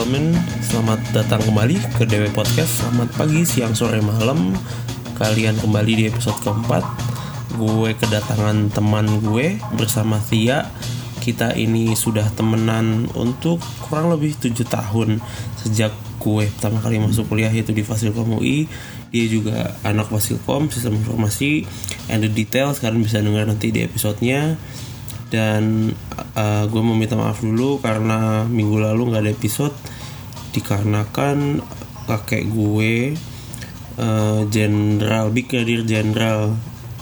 gentlemen, selamat datang kembali ke DW Podcast. Selamat pagi, siang, sore, malam. Kalian kembali di episode keempat. Gue kedatangan teman gue bersama Tia. Kita ini sudah temenan untuk kurang lebih 7 tahun. Sejak gue pertama kali masuk kuliah, yaitu di Fasilkom UI. Dia juga anak Fasilkom, sistem informasi. And the details kalian bisa dengar nanti di episodenya. Dan gue mau minta maaf dulu karena minggu lalu gak ada episode, dikarenakan kakek gue, Brigadier Jenderal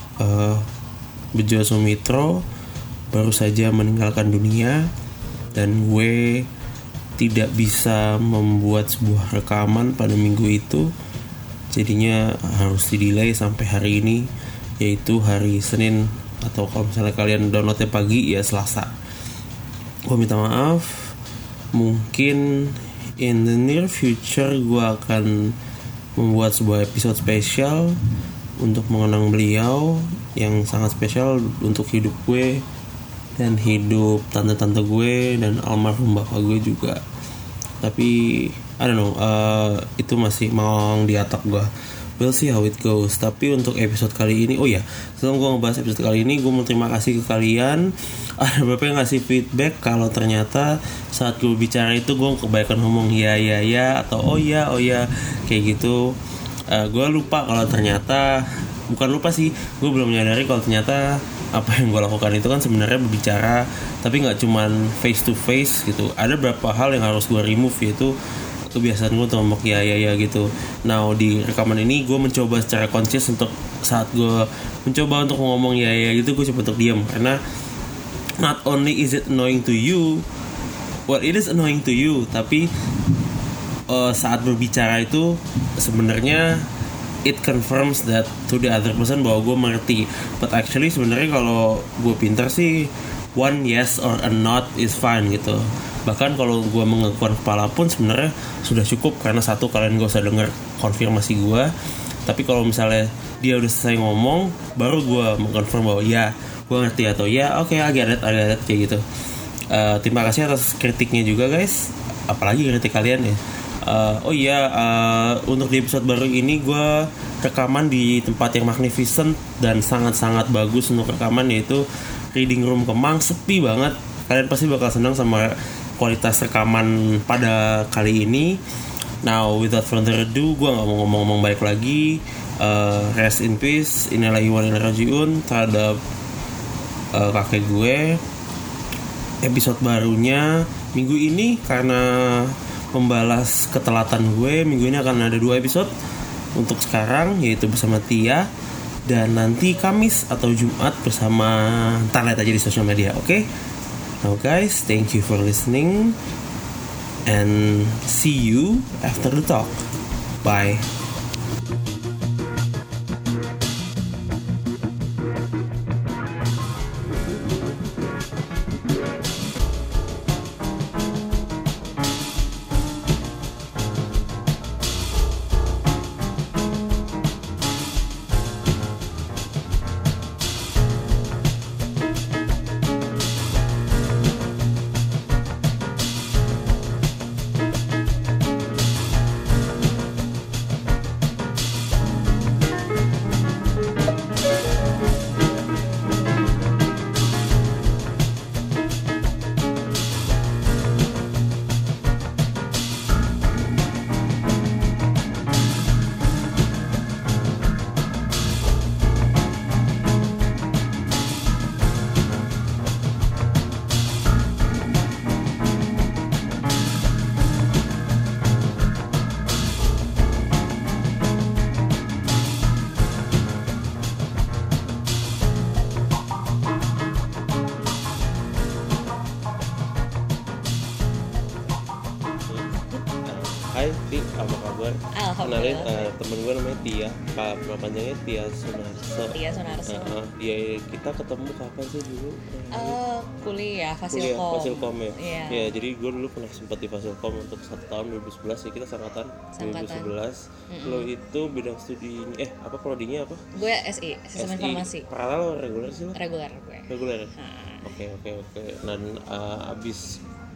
Bejo Sumitro, baru saja meninggalkan dunia. Dan gue tidak bisa membuat sebuah rekaman pada minggu itu, jadinya harus di-delay sampai hari ini, yaitu hari Senin. Atau kalau misalnya kalian downloadnya pagi, ya Selasa. Gue minta maaf. Mungkin in the near future gue akan membuat sebuah episode spesial untuk mengenang beliau, yang sangat spesial untuk hidup gue dan hidup tante-tante gue dan almarhum bapak gue juga. Tapi I don't know, itu masih mau diatak gue. We'll see how it goes. Tapi untuk episode kali ini, sebelum gue ngebahas episode kali ini, gue mau terima kasih ke kalian. Ada beberapa yang ngasih feedback kalau ternyata saat gue bicara itu gue kebanyakan ngomong ya atau oh ya kayak gitu. Gue lupa kalau ternyata, bukan lupa sih, gue belum menyadari kalau ternyata apa yang gue lakukan itu kan sebenarnya berbicara, tapi nggak cuman face to face gitu. Ada beberapa hal yang harus gue remove, yaitu kebiasaan gue untuk ngomong ya gitu. Nah, di rekaman ini gue mencoba secara conscious untuk saat gue mencoba untuk ngomong ya gitu, gue coba untuk diam, karena not only is it annoying to you, it is annoying to you, tapi saat berbicara itu sebenarnya it confirms that to the other person bahwa gue mengerti. But actually sebenarnya kalau gue pintar sih, one yes or a not is fine gitu. Bahkan kalau gue mengakukan kepala pun sebenarnya sudah cukup, karena satu, kalian gak usah denger konfirmasi gue. Tapi kalau misalnya dia udah selesai ngomong, baru gue mengkonfirm bahwa ya gue ngerti, atau ya oke, I get it kayak gitu. Terima kasih atas kritiknya juga guys, apalagi kritik kalian ya. Untuk di episode baru ini gue rekaman di tempat yang magnificent dan sangat-sangat bagus untuk rekaman, yaitu Reading Room Kemang. Sepi banget. Kalian pasti bakal senang sama kualitas rekaman pada kali ini. Now without further ado, gue gak mau ngomong baik lagi. Rest in peace, innalillahi wa inna ilaihi raji'un terhadap kakek gue. Episode barunya minggu ini, karena membalas ketelatan gue, minggu ini akan ada 2 episode untuk sekarang, yaitu bersama Tia, dan nanti Kamis atau Jumat bersama, ntar lihat aja di sosial media, oke? Now guys, thank you for listening and see you after the talk. Bye. Hai Ti, apa kabar? Kenalin, temen gue namanya Tia, nama panjangnya Tia Sunarso. Kita ketemu kapan sih dulu? Kuliah Fasilkom ya. Ya, jadi gue dulu pernah sempat di Fasilkom untuk 1 tahun 2011 ya, kita sangkatan 2011. Lo itu bidang studi prodinya apa? Gue SI, Sistem Informasi. Paralel reguler sih lo? Reguler gue. Reguler. Oke. Dan abis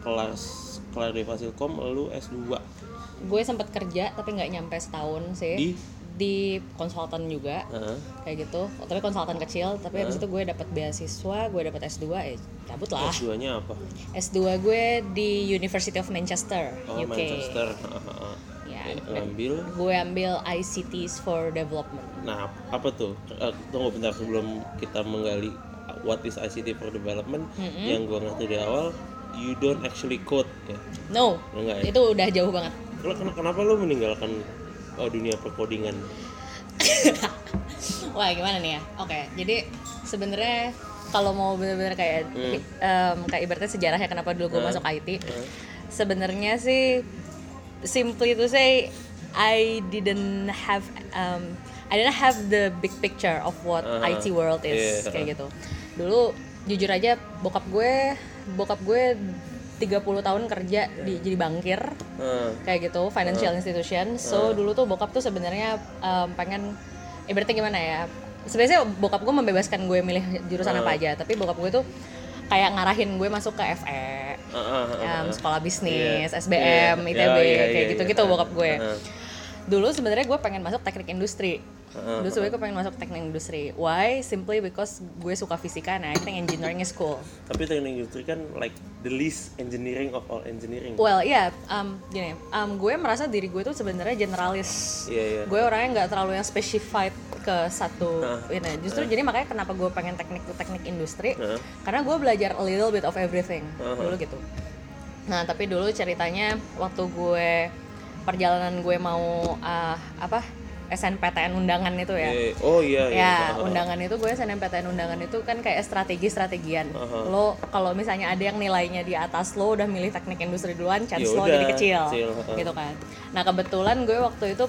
kelar di Fasilkom lu S2. Gue sempat kerja tapi nggak nyampe setahun sih. Di konsultan juga, kayak gitu. Tapi konsultan kecil. Tapi habis itu gue dapat beasiswa, gue dapat S2, cabut lah. S2-nya apa? S2 gue di University of Manchester, UK. Manchester. Ya, Gue ambil ICTs for Development. Nah, apa tuh? Tunggu bentar sebelum kita menggali what is ICT for Development. Yang gue ngerti di awal, you don't actually code ya? No, enggak, ya? Itu udah jauh banget. Kenapa lo meninggalkan dunia perkodingan? Wah, gimana nih ya? Oke, jadi sebenarnya kalau mau benar-benar kayak kayak ibaratnya sejarahnya kenapa dulu gue masuk IT. Sebenarnya sih simply to say I didn't have the big picture of what IT world is, kayak gitu. Dulu jujur aja bokap gue 30 tahun kerja jadi bankir, kayak gitu, financial institution. So dulu tuh bokap tuh sebenarnya pengen, ibaratnya gimana ya, sebenarnya bokap gue membebaskan gue milih jurusan apa aja, tapi bokap gue tuh kayak ngarahin gue masuk ke FE, sekolah bisnis, SBM, ITB, kayak gitu-gitu bokap gue. Dulu sebenarnya gue pengen masuk teknik industri. Dulu sebenarnya gue pengen masuk teknik industri. Why? Simply because gue suka fisika, and I think engineering is cool. Tapi teknik industri kan like the least engineering of all engineering. Well, gini, gue merasa diri gue tuh sebenarnya generalis. Gue orangnya nggak terlalu yang specified ke satu ini. Justru jadi makanya kenapa gue pengen teknik industri, karena gue belajar a little bit of everything dulu gitu. Nah, tapi dulu ceritanya waktu perjalanan gue mau SNPTN undangan itu ya. Undangan itu gue SNMPTN undangan itu kan kayak strategian. Lo kalau misalnya ada yang nilainya di atas lo udah milih teknik industri duluan, chance lo jadi kecil. Gitu kan. Nah, kebetulan gue waktu itu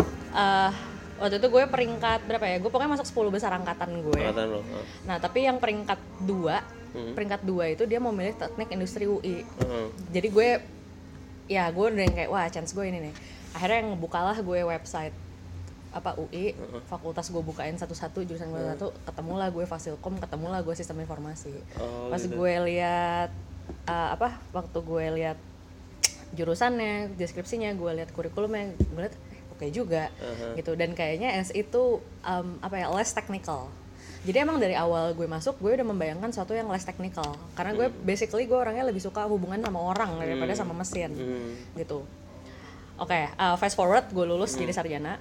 gue peringkat berapa ya? Gue pokoknya masuk 10 besar angkatan gue. Nah, tapi yang peringkat 2 itu dia mau milih teknik industri UI. Jadi gue udah kayak wah, chance gue ini nih. Akhirnya ngebukalah gue website UI, fakultas gue bukain satu-satu, jurusan gue satu, ketemulah gue Fasilkom, ketemulah gue sistem informasi. Pas gitu. Gue lihat waktu gue lihat jurusannya, deskripsinya, gue lihat kurikulumnya, gue lihat oke juga gitu. Dan kayaknya itu less technical. Jadi emang dari awal gue masuk, gue udah membayangkan sesuatu yang less technical. Karena gue basically gue orangnya lebih suka hubungan sama orang daripada sama mesin gitu. Fast forward, gue lulus jadi sarjana.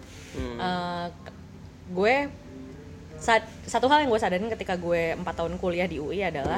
Gue satu hal yang gue sadarin ketika gue 4 tahun kuliah di UI adalah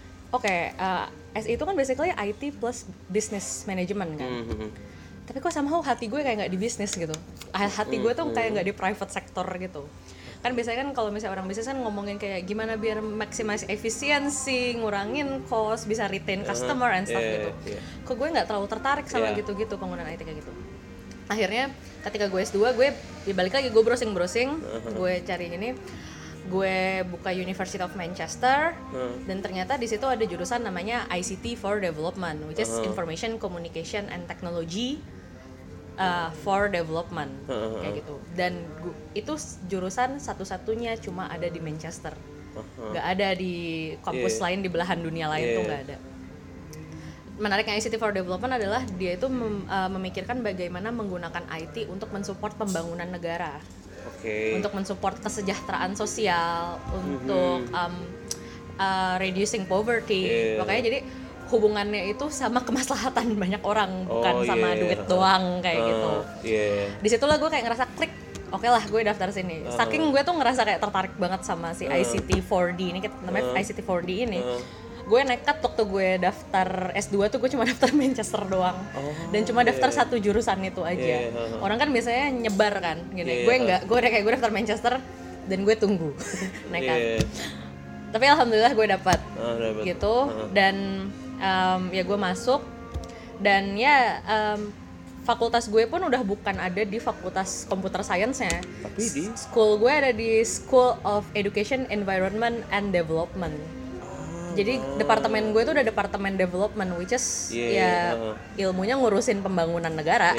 SI itu kan basically IT plus business management kan. Tapi kok somehow hati gue kayak nggak di bisnis gitu. Hati gue tuh kayak nggak di private sector gitu. Kan biasanya kan kalau misalnya orang bisnis kan ngomongin kayak gimana biar maximize efisiensi, ngurangin cost, bisa retain customer and stuff gitu. Kok gue nggak terlalu tertarik sama gitu-gitu, penggunaan IT kayak gitu. Akhirnya ketika gue S2, gue balik lagi, gue browsing, gue cari ini, gue buka University of Manchester, dan ternyata di situ ada jurusan namanya ICT for Development, which is Information Communication and Technology for Development, kayak gitu. Dan itu jurusan satu-satunya cuma ada di Manchester, nggak ada di kampus lain di belahan dunia lain tuh nggak ada. Menariknya ICT for Development adalah dia itu memikirkan bagaimana menggunakan IT untuk mensupport pembangunan negara, untuk mensupport kesejahteraan sosial, untuk reducing poverty. Makanya jadi hubungannya itu sama kemaslahatan banyak orang, bukan sama duit doang kayak gitu. Disitulah gue kayak ngerasa klik, oke lah gue daftar sini. Saking gue tuh ngerasa kayak tertarik banget sama si ICT 4D ini, namanya ICT 4D ini. Gue nekat waktu gue daftar S2 tuh gue cuma daftar Manchester doang. Dan cuma daftar satu jurusan itu aja. Orang kan biasanya nyebar kan gini. Gue enggak, gue daftar Manchester dan gue tunggu nekat. Tapi alhamdulillah gue dapat gitu. Dan ya gue masuk, dan fakultas gue pun udah bukan ada di fakultas computer science-nya. Tapi di school gue ada di School of Education, Environment and Development. Jadi departemen gue tuh udah departemen development, which is ilmunya ngurusin pembangunan negara.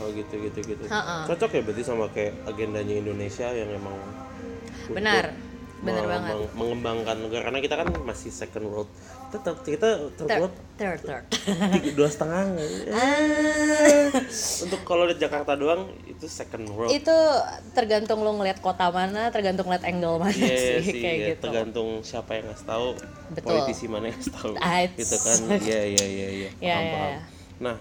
Gitu. Cocok ya berarti sama kayak agendanya Indonesia yang emang benar. Bener banget. mengembangkan negara, karena kita kan masih second world. Kita third world Third. 2,5. Untuk kalau di Jakarta doang itu second world. Itu tergantung lo ngeliat kota mana, tergantung ngeliat angle mana sih kayak ya, gitu. tergantung siapa yang ngasih tahu, Betul. politisi mana yang ngasih tahu, gitu kan. Iya. Paham. Nah,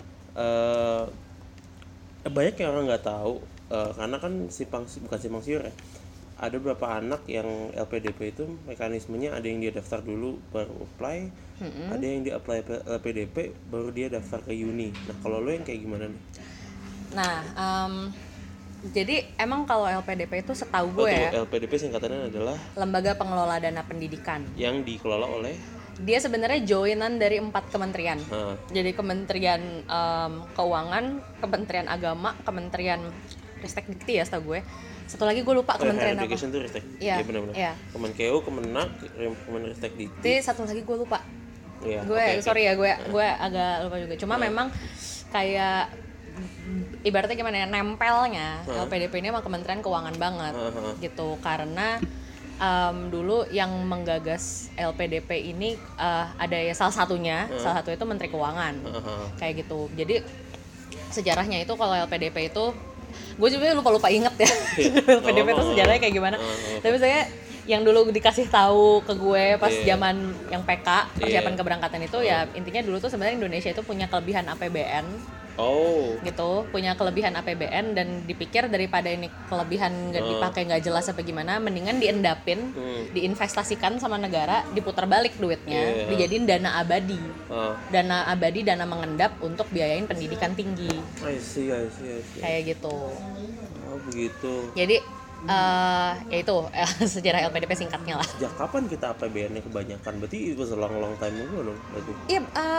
banyak yang orang nggak tahu, karena kan bukan simpang siur ya. Ada beberapa anak yang LPDP itu mekanismenya ada yang dia daftar dulu baru apply, ada yang dia apply LPDP baru dia daftar ke uni. Nah kalau lo yang kayak gimana nih? Nah, jadi emang kalau LPDP itu setahu gue ya, LPDP singkatannya adalah Lembaga Pengelola Dana Pendidikan. Yang dikelola oleh? Dia sebenarnya joinan dari 4 kementerian. Jadi Kementerian Keuangan, Kementerian Agama, Kementerian Ristek-Dikti ya setahu gue. Satu lagi gue lupa kementerian apa. Education tuh Ristek. Iya, benar-benar. Iya. Kemenkeu, Kemenak, Ristek-Dikti. Satu lagi gue lupa. Iya. Sorry ya, gue agak lupa juga. Cuma memang kayak ibaratnya gimana ya, nempelnya LPDP ini emang Kementerian Keuangan banget gitu, karena dulu yang menggagas LPDP ini ada ya salah satu itu Menteri Keuangan kayak gitu. Jadi sejarahnya itu kalau LPDP itu gue juga lupa inget ya LPDP itu sejarahnya kayak gimana. Tapi saya yang dulu dikasih tahu ke gue pas zaman yang PK persiapan keberangkatan itu ya intinya dulu tuh sebenarnya Indonesia itu punya kelebihan APBN. Gitu, punya kelebihan APBN dan dipikir daripada ini kelebihan nggak dipakai nggak jelas apa gimana, mendingan diendapin, diinvestasikan sama negara, diputar balik duitnya, dijadiin dana abadi, dana mengendap untuk biayain pendidikan tinggi. I see. Kayak gitu. Oh begitu. Jadi ya itu sejarah LPDP singkatnya lah. Sejak kapan kita APBN-nya kebanyakan? Berarti itu long time ago dong berarti. Iya,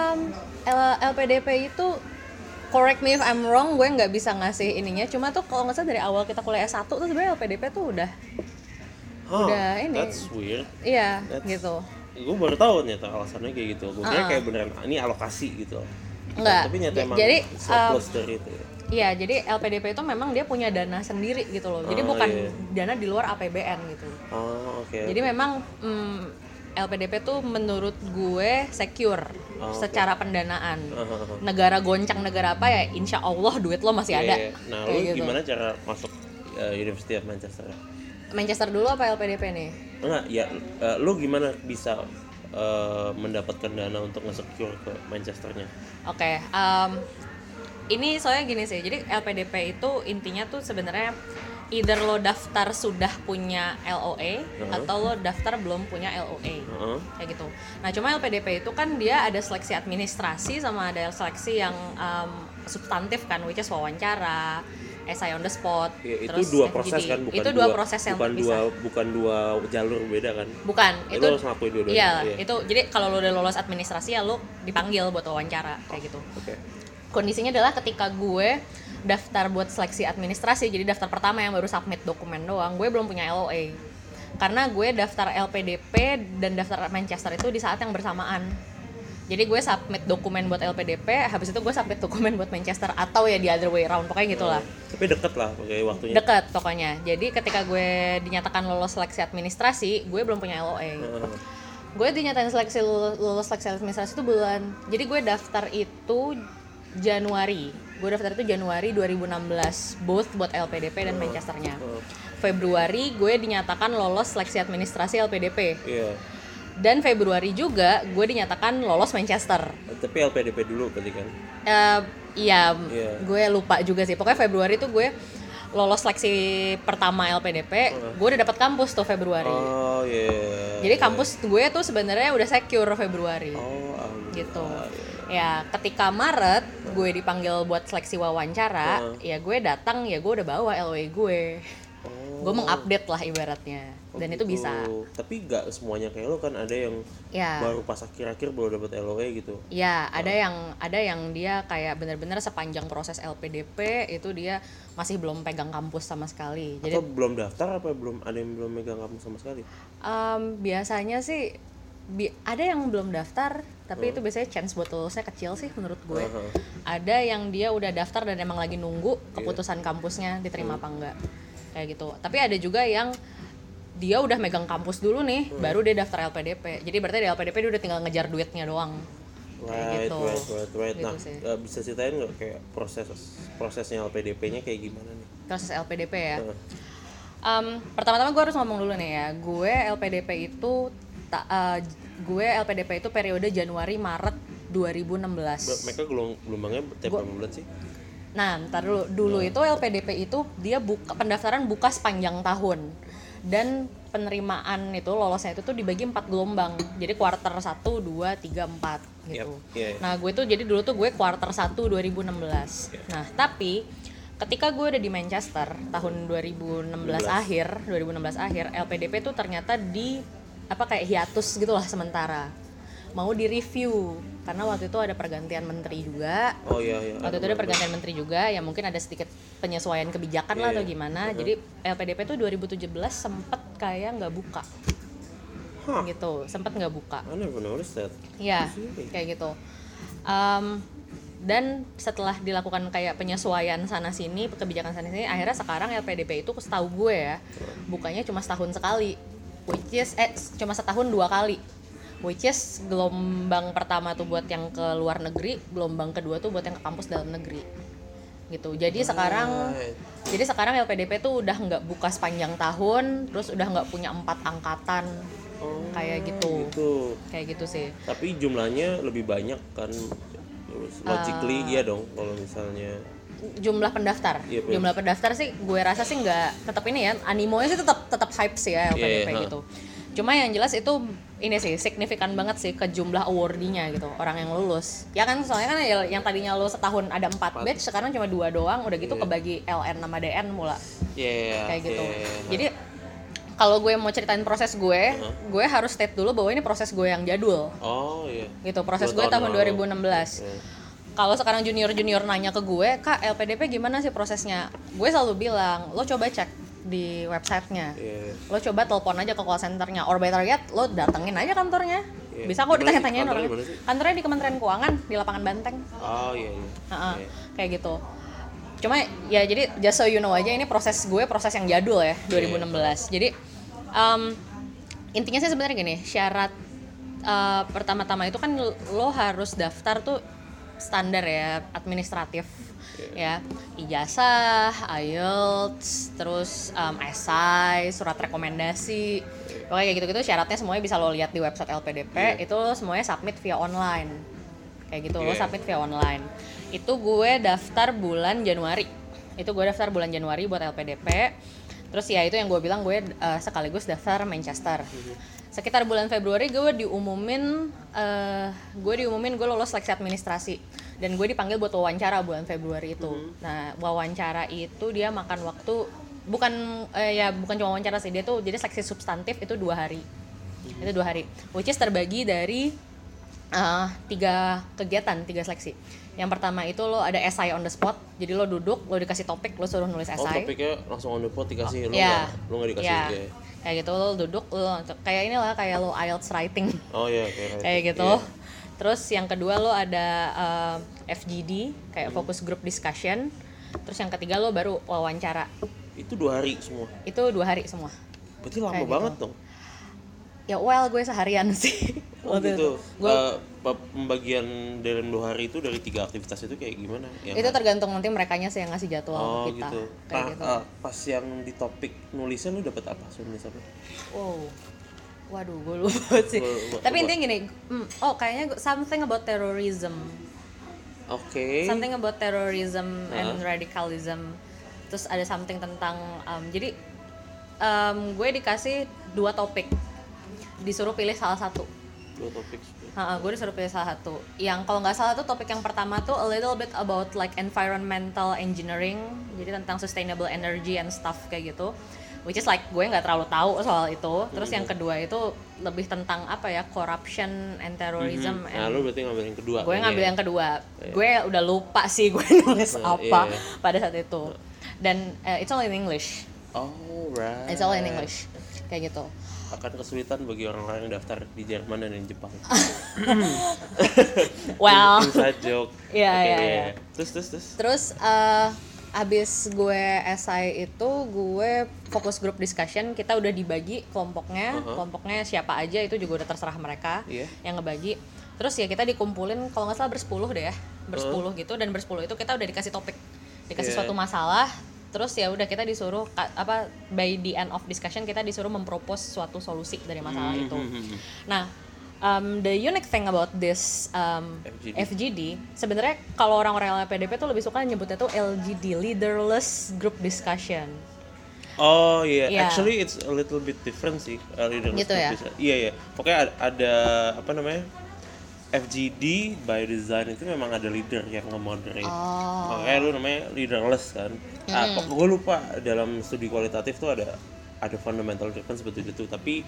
LPDP itu, correct me if I'm wrong, gue nggak bisa ngasih ininya. Cuma tuh kalau nggak salah dari awal kita kuliah S1 tuh sebenarnya LPDP tuh udah ini. That's weird. Iya, gitu. Gue baru tahu ternyata alasannya kayak gitu. Gue kira kayak beneran ini alokasi gitu. Enggak. Tapi nyata emang jadi surplus dari itu. Iya, jadi LPDP itu memang dia punya dana sendiri gitu loh. Jadi bukan dana di luar APBN gitu. Oke. Jadi memang LPDP tuh menurut gue secure secara pendanaan. Negara goncang negara apa ya, insya Allah duit lo masih ada. Nah, lu gitu. Gimana cara masuk University of Manchester? Manchester dulu apa LPDP nih? Enggak, ya lu gimana bisa mendapatkan dana untuk nge-secure ke Manchesternya? Oke, ini soalnya gini sih. Jadi LPDP itu intinya tuh sebenarnya either lo daftar sudah punya LOA atau lo daftar belum punya LOA, kayak gitu. Nah cuma LPDP itu kan dia ada seleksi administrasi sama ada seleksi yang substantif kan, which is wawancara, essay on the spot. Ya, itu dua proses kan, proses yang berpisah. Bukan dua jalur beda kan? Bukan, itu lo harus ngelakuin dua-duanya. Iya, itu jadi kalau lo udah lolos administrasi ya lo dipanggil buat wawancara kayak gitu. Kondisinya adalah ketika gue daftar buat seleksi administrasi, jadi daftar pertama yang baru submit dokumen doang, gue belum punya LOA. Karena gue daftar LPDP dan daftar Manchester itu di saat yang bersamaan. Jadi gue submit dokumen buat LPDP, habis itu gue submit dokumen buat Manchester, atau ya the other way around, pokoknya gitulah. Tapi deket lah pokoknya waktunya. Deket pokoknya. Jadi ketika gue dinyatakan lolos seleksi administrasi, gue belum punya LOA. Gue dinyatain lolos seleksi administrasi itu bulan. Jadi gue daftar itu Januari. Gue daftar itu Januari 2016, both buat LPDP dan Manchesternya. Februari gue dinyatakan lolos seleksi administrasi LPDP. Dan Februari juga gue dinyatakan lolos Manchester. Tapi LPDP dulu berarti kan? Iya, gue lupa juga sih. Pokoknya Februari tuh gue lolos seleksi pertama LPDP, gue udah dapat kampus tuh Februari. Jadi kampus gue tuh sebenarnya udah secure Februari. Gitu. Ya ketika Maret gue dipanggil buat seleksi wawancara, ya gue datang, ya gue udah bawa LOA gue. Gue mengupdate lah ibaratnya. Dan itu bisa. Tapi nggak semuanya kayak lo kan, ada yang baru pas akhir-akhir baru dapat LOA gitu. Ya, ada yang dia kayak benar-benar sepanjang proses LPDP itu dia masih belum pegang kampus sama sekali. Atau belum daftar apa ada yang belum megang kampus sama sekali? Biasanya sih ada yang belum daftar, tapi itu biasanya chance buat lulusnya kecil sih menurut gue. Ada yang dia udah daftar dan emang lagi nunggu keputusan kampusnya diterima apa enggak, kayak gitu. Tapi ada juga yang dia udah megang kampus dulu nih, baru dia daftar LPDP. Jadi berarti di LPDP dia udah tinggal ngejar duitnya doang. Right. Gitu Nah, sih. bisa ceritain nggak kayak prosesnya LPDP-nya kayak gimana nih? Proses LPDP ya. Pertama-tama gue harus ngomong dulu nih ya. Gue LPDP itu periode Januari Maret 2016. Mereka gelombangnya tiap berapa bulan sih? Nah, ntar dulu itu LPDP itu dia pendaftaran buka sepanjang tahun. Dan penerimaan itu lolosnya itu tuh dibagi 4 gelombang. Jadi kuarter 1, 2, 3, 4 gitu. Yep. Nah, gue tuh jadi dulu tuh gue kuarter 1 2016. Nah, tapi ketika gue udah di Manchester tahun 2016 akhir LPDP tuh ternyata kayak hiatus gitulah sementara. Mau di-review karena waktu itu ada pergantian menteri juga. Oh iya. Waktu itu ada pergantian menteri juga, ya mungkin ada sedikit penyesuaian kebijakan lah atau gimana. Jadi LPDP tuh 2017 sempet kayak nggak buka. Gitu, sempet nggak buka. I never noticed that. Iya, kayak gitu. Dan setelah dilakukan kayak penyesuaian sana sini, kebijakan sana sini, akhirnya sekarang LPDP itu setahu gue ya, bukanya cuma setahun sekali, which is cuma setahun 2 kali. Which is gelombang pertama tuh buat yang ke luar negeri, gelombang kedua tuh buat yang ke kampus dalam negeri. Gitu. Jadi sekarang LPDP tuh udah nggak buka sepanjang tahun, terus udah nggak punya 4 angkatan. Kayak gitu. Kayak gitu sih. Tapi jumlahnya lebih banyak kan, logically iya dong kalau misalnya jumlah pendaftar. Jumlah pendaftar sih gue rasa sih nggak, tetap ini ya, animonya sih tetap hype sih ya LPDP gitu. Cuma yang jelas itu ini sih signifikan banget sih ke jumlah awardee-nya gitu, orang yang lulus. Ya kan soalnya kan yang tadinya lulus setahun ada 4 batch, sekarang cuma 2 doang, udah gitu kebagi LN sama DN mula. Kayak gitu. Jadi kalau gue mau ceritain proses gue harus state dulu bahwa ini proses gue yang jadul. Gitu, proses gue tahun 2016. Kalau sekarang junior nanya ke gue, "Kak, LPDP gimana sih prosesnya?" Gue selalu bilang, "Lo coba cek di websitenya, lo coba telepon aja ke call centernya, or better yet lo datengin aja kantornya. Bisa kok ditanya-tanyain orang. Kantornya di Kementerian Keuangan di lapangan Banteng. Kayak gitu. Cuma ya jadi just so you know aja, ini proses yang jadul ya, 2016. Jadi intinya sih sebenarnya gini, syarat pertama-tama itu kan lo harus daftar tuh standar ya, administratif. Ya, ijazah, IELTS, terus esai, surat rekomendasi, pokoknya kayak gitu-gitu syaratnya semuanya bisa lo lihat di website LPDP. Itu semuanya submit via online, kayak gitu. Lo submit via online. Itu gue daftar bulan Januari. Buat LPDP. Terus ya itu yang gue bilang, gue sekaligus daftar Manchester. Sekitar bulan Februari gue diumumin gue lolos seleksi administrasi. Dan gue dipanggil buat wawancara bulan Februari itu. Nah, wawancara itu dia makan waktu bukan cuma wawancara sih, dia tuh jadi seleksi substantif itu 2 hari. Itu 2 hari. Which is terbagi dari 3 kegiatan, 3 seleksi. Yang pertama itu lo ada essay on the spot. Jadi lo duduk, lo dikasih topik, lo suruh nulis essay. Topiknya langsung on the spot dikasih, lo nggak dikasih. Kayak gitu, lo duduk, lo kayak inilah kayak lo IELTS writing. Kayak gitu. Terus yang kedua lo ada FGD, kayak focus group discussion. Terus yang ketiga lo baru wawancara. Itu 2 hari semua? Itu 2 hari semua. Berarti lama banget dong? Ya gue seharian sih. Gitu. Pembagian dalam 2 hari itu dari 3 aktivitas itu kayak gimana? Itu tergantung nanti merekanya sih yang ngasih jadwal kita. Gitu. Kayak gitu. Pas yang di topik nulisnya lu dapet apa? Waduh, gue lupa sih. Tapi intinya gini, kayaknya something about terrorism. Something about terrorism and radicalism. Terus ada something tentang, jadi gue dikasih 2 topik, disuruh pilih salah satu. 2 topik. Gue disuruh pilih salah satu. Yang kalau nggak salah tuh topik yang pertama tuh a little bit about like environmental engineering, jadi tentang sustainable energy and stuff kayak gitu. Which is like gue nggak terlalu tahu soal itu. Terus yang kedua itu lebih tentang corruption and terrorism. Nah, lu berarti ngambil yang kedua. Gue ngambil yang kedua. Gue udah lupa sih gue nulis apa pada saat itu. Dan it's all in English. Right. It's all in English. Kayak gitu. Akan kesulitan bagi orang-orang yang daftar di Jerman dan di Jepang. Well. Inside joke. Iya. Terus. Terus abis gue SI itu gue fokus group discussion, kita udah dibagi kelompoknya, kelompoknya siapa aja itu juga udah terserah mereka yang ngebagi. Terus ya kita dikumpulin kalau nggak salah bersepuluh deh ya, bersepuluh gitu, dan bersepuluh itu kita udah dikasih topik, dikasih suatu masalah. Terus ya udah kita disuruh by the end of discussion kita disuruh mempropose suatu solusi dari masalah itu. Nah, the unique thing about this FGD sebenarnya kalau orang-orang LPDP tuh lebih suka nyebutnya tuh LGD, Leaderless Group Discussion. Oh iya, actually it's a little bit different sih, Leaderless gitu Group ya? Discussion. Iya, pokoknya ada apa namanya, FGD by design itu memang ada leader yang nge-moderate. Makanya lu namanya leaderless kan. Gue lupa dalam studi kualitatif tuh ada fundamental difference seperti itu, tapi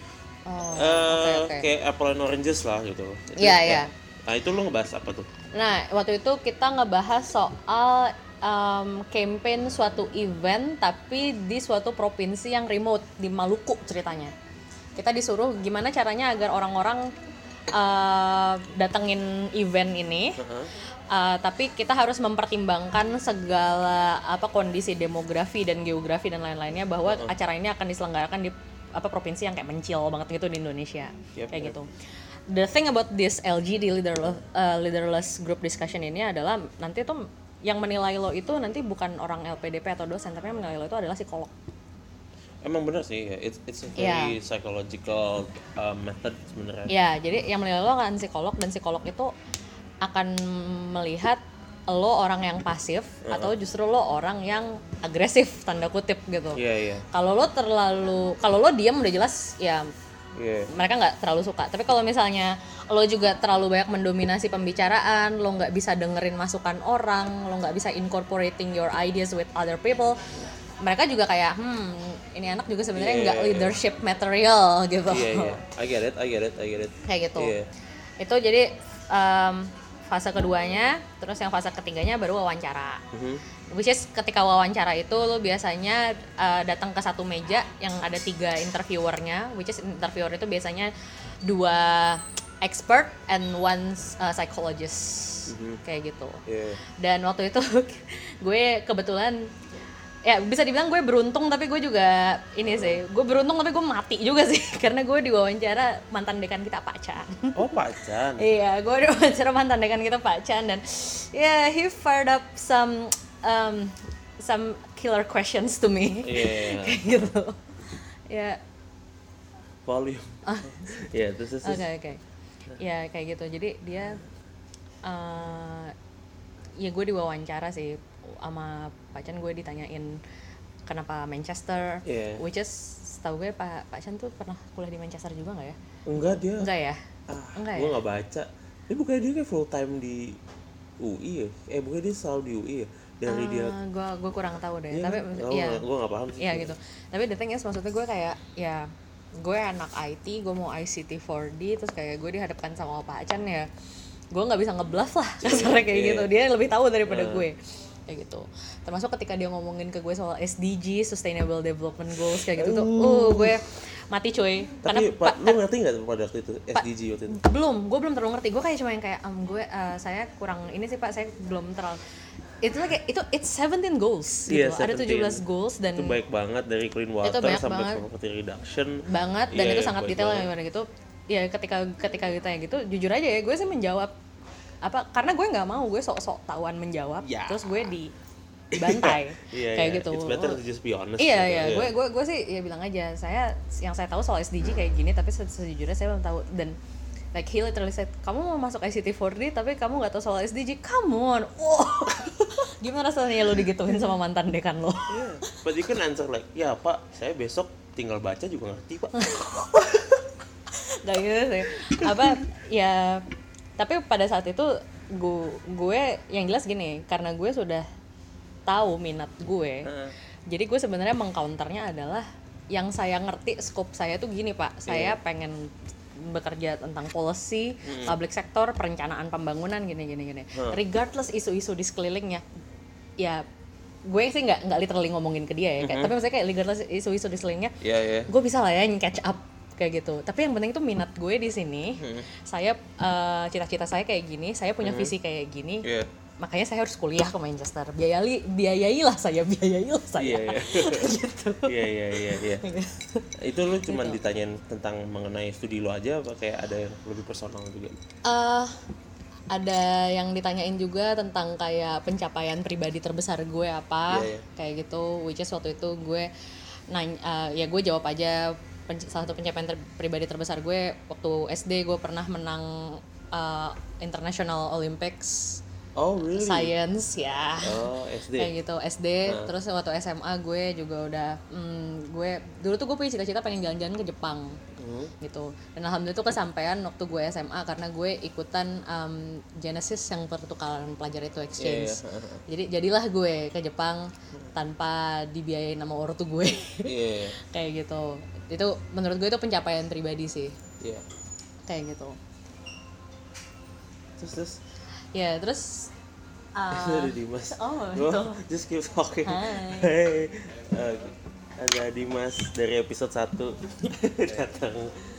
kayak apple and oranges lah gitu. Iya. Nah itu lu ngebahas apa tuh? Nah waktu itu kita ngebahas soal campaign suatu event tapi di suatu provinsi yang remote di Maluku ceritanya. Kita disuruh gimana caranya agar orang-orang datengin event ini. Tapi kita harus mempertimbangkan segala kondisi demografi dan geografi dan lain-lainnya, bahwa acara ini akan diselenggarakan di provinsi yang kayak mencil banget gitu di Indonesia. Kayak gitu. The thing about this LGD, leaderless group discussion ini adalah nanti tuh yang menilai lo itu nanti bukan orang LPDP atau dosen, tapi yang menilai lo itu adalah psikolog. Emang benar sih, it's a very psychological method sebenarnya. Ya, jadi yang menilai lo kan psikolog, dan psikolog itu akan melihat lo orang yang pasif atau justru lo orang yang agresif tanda kutip gitu. Kalau lo diam udah jelas ya mereka nggak terlalu suka. Tapi kalau misalnya lo juga terlalu banyak mendominasi pembicaraan, lo nggak bisa dengerin masukan orang, lo nggak bisa incorporating your ideas with other people, mereka juga kayak ini anak juga sebenarnya nggak leadership material gitu. I get it. Kayak gitu. Itu jadi fase keduanya, terus yang fase ketiganya baru wawancara. Which is ketika wawancara itu lo biasanya datang ke satu meja yang ada 3 interviewernya, which is interviewer itu biasanya 2 expert and 1 psychologist. Kayak gitu. Dan waktu itu gue kebetulan ya bisa dibilang gue beruntung, tapi gue juga gue beruntung tapi gue mati juga sih karena gue diwawancara mantan dekan kita Pak Chan. Oh Pak Chan. Iya, gue diwawancara mantan dekan kita Pak Chan, dan he fired up some killer questions to me. Kayak gitu. Volume. This is Okay. Ya kayak gitu. Jadi dia gue diwawancara sih sama Pak Chan. Gue ditanyain kenapa Manchester, which is setahu gue Pak Chan tuh pernah kuliah di Manchester juga nggak ya? Enggak ya. Gue nggak baca. Ini bukannya dia kayak full time di UI ya? Bukannya dia selalu di UI ya? Dari dia. Gue kurang tahu deh. Tapi gue nggak paham sih. Iya gitu. Tapi the thing is, maksudnya gue kayak gue anak IT, gue mau ICT 4D, terus kayak gue dihadapkan sama Pak Chan ya, gue nggak bisa ngebluff lah kasarnya kayak gitu. Dia lebih tahu daripada gue. Kayak gitu. Termasuk ketika dia ngomongin ke gue soal SDG, Sustainable Development Goals kayak gitu tuh, gue mati cuy. Tapi lu ngerti nggak pada waktu itu SDG waktu itu? Gue belum terlalu ngerti. Gue kayak cuma yang kayak saya kurang ini sih Pak, saya belum terlalu. Itu like it's 17 goals gitu. Ada 17 goals, dan itu baik banget dari clean water sampai poverty reduction. Banget, dan itu sangat detail gimana gitu. Ya ketika ditanya gitu, jujur aja ya, gue sih menjawab karena gue nggak mau gue sok-sok tahuan menjawab, terus gue dibantai kayak gitu. It's better to just be honest. Gue sih ya bilang aja, yang saya tahu soal SDG kayak gini, tapi sejujurnya saya belum tahu. Dan like he literally said, kamu mau masuk ICT 4D tapi kamu nggak tahu soal SDG, come on. Gimana rasanya lo digituin sama mantan dekan lo? But you can answer like, ya Pak, saya besok tinggal baca juga ngerti Pak. Gak gitu sih. Tapi pada saat itu gue yang jelas gini, karena gue sudah tahu minat gue, jadi gue sebenarnya mengcounternya adalah yang saya ngerti scope saya tuh gini Pak, saya pengen bekerja tentang policy, public sector, perencanaan pembangunan gini. Regardless isu-isu di sekelilingnya, ya gue sih nggak literally ngomongin ke dia ya, tapi maksudnya kayak regardless isu-isu di sekelilingnya, gue bisa lah ya catch up kayak gitu. Tapi yang penting itu minat gue di sini. Saya cita-cita saya kayak gini, saya punya visi kayak gini. makanya saya harus kuliah ke Manchester. Biayailah saya. Iya. Gitu. Iya. Itu lu cuman ditanyain tentang mengenai studi lu aja apa kayak ada yang lebih personal juga? Ada yang ditanyain juga tentang kayak pencapaian pribadi terbesar gue apa, kayak gitu. Which is waktu itu gue ya gue jawab aja salah satu pencapaian pribadi terbesar gue waktu SD gue pernah menang International Olympics. Oh really? Science ya. Oh SD. Kayak gitu SD. Terus waktu SMA gue juga udah gue dulu tuh gue punya cita-cita pengen jalan-jalan ke Jepang gitu. Dan alhamdulillah itu kesampaian waktu gue SMA karena gue ikutan Genesis yang pertukaran pelajar itu exchange. Jadi jadilah gue ke Jepang tanpa dibiayain sama ortu gue. Kayak gitu. Itu menurut gue itu pencapaian pribadi sih. Kayak gitu. Terus ya terus ada Dimas. Itu. Just keep talking. Hai. Hey. Ada Dimas dari episode 1 datang.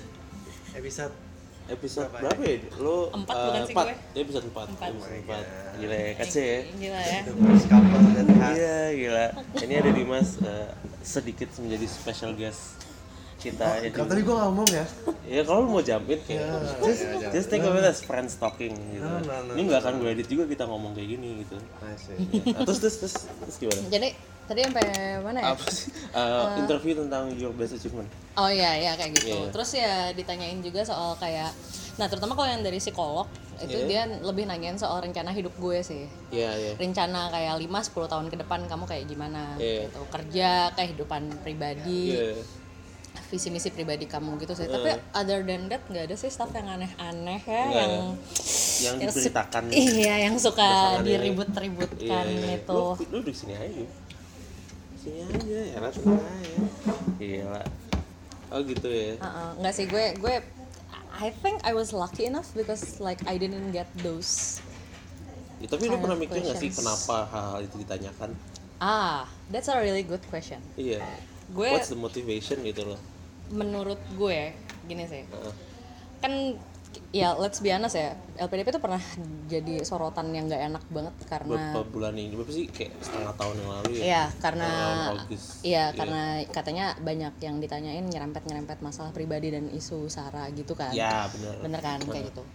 Episode berapa ya? Lo 4 bukan sih gue? Episode 4. Gila ya, kace ya. Gila ya. Iya, gila. Ini ada Dimas sedikit menjadi special guest kita. Kan tadi gue ngomong ya. Ya kalau lu mau jump in kayak just think of it as friends talking gitu. Ini nggak akan gue edit juga kita ngomong kayak gini gitu. Terus gimana? Jadi tadi sampai mana ya? Apa sih? Interview tentang your best achievement. Oh iya kayak gitu. Terus ya ditanyain juga soal kayak, nah terutama kalau yang dari psikolog itu dia lebih nanyain soal rencana hidup gue sih. Rencana kayak 5-10 tahun ke depan kamu kayak gimana gitu. Kerja, kehidupan pribadi. Visi misi pribadi kamu gitu sih. Tapi other than that nggak ada sih stuff yang aneh-aneh ya, yang diberitakan. Iya, yang suka diribut-ributkan itu. Lu di sini aja. Sini aja ya, tenang aja. Gila. Oh gitu ya. Nggak sih, gue I think I was lucky enough because like I didn't get those. Ya, tapi lu pernah mikir nggak sih kenapa hal-hal itu ditanyakan? That's a really good question. Iya. What's the motivation gitu loh? Menurut gue gini sih, kan ya let's be honest ya, LPDP itu pernah jadi sorotan yang nggak enak banget karena beberapa bulan ini, berapa sih kayak setengah tahun yang lalu ya? Iya, karena katanya banyak yang ditanyain nyerempet masalah pribadi dan isu sara gitu kan? Ya bener kan kayak gitu.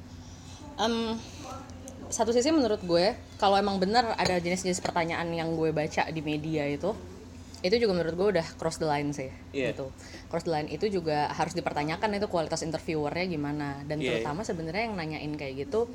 Satu sisi menurut gue kalau emang bener ada jenis-jenis pertanyaan yang gue baca di media itu juga menurut gue udah cross the line sih, gitu. Cross the line itu juga harus dipertanyakan itu kualitas interviewernya gimana, dan terutama sebenarnya yang nanyain kayak gitu,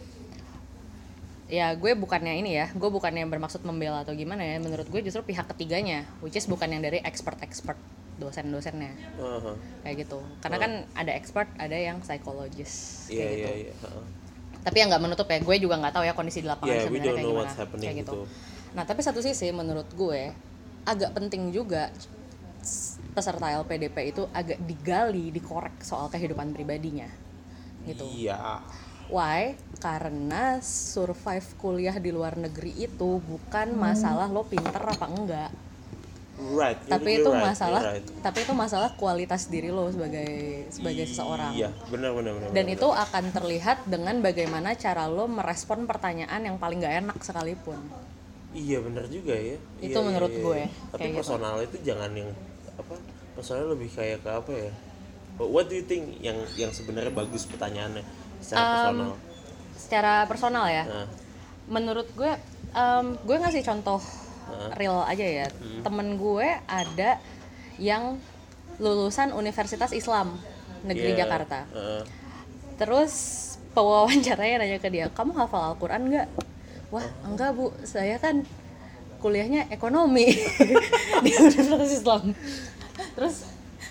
ya gue bukannya bermaksud membela atau gimana ya, menurut gue justru pihak ketiganya, which is bukan yang dari expert dosen-dosennya, kayak gitu. Karena kan ada expert, ada yang psikologis, kayak gitu. Tapi yang nggak menutup ya, gue juga nggak tahu ya kondisi di lapangan sebenarnya kayak gimana, kayak gitu. Nah tapi satu sisi menurut gue agak penting juga peserta LPDP itu agak digali, dikorek soal kehidupan pribadinya gitu. Why? Karena survive kuliah di luar negeri itu bukan masalah lo pinter apa enggak. Tapi itu masalah kualitas diri lo sebagai seseorang. Iya, benar. Dan itu akan terlihat dengan bagaimana cara lo merespon pertanyaan yang paling enggak enak sekalipun. Iya benar juga ya. Itu menurut gue. Tapi personal gitu. Itu jangan yang personal lebih kayak ke apa ya? What do you think yang sebenarnya bagus pertanyaannya secara personal? Secara personal ya. Menurut gue, gue ngasih contoh real aja ya. Temen gue ada yang lulusan Universitas Islam Negeri Jakarta. Terus pewawancaranya nanya ke dia, kamu hafal Al-Quran nggak? Wah, enggak Bu, saya kan kuliahnya ekonomi di Universitas Islam. Terus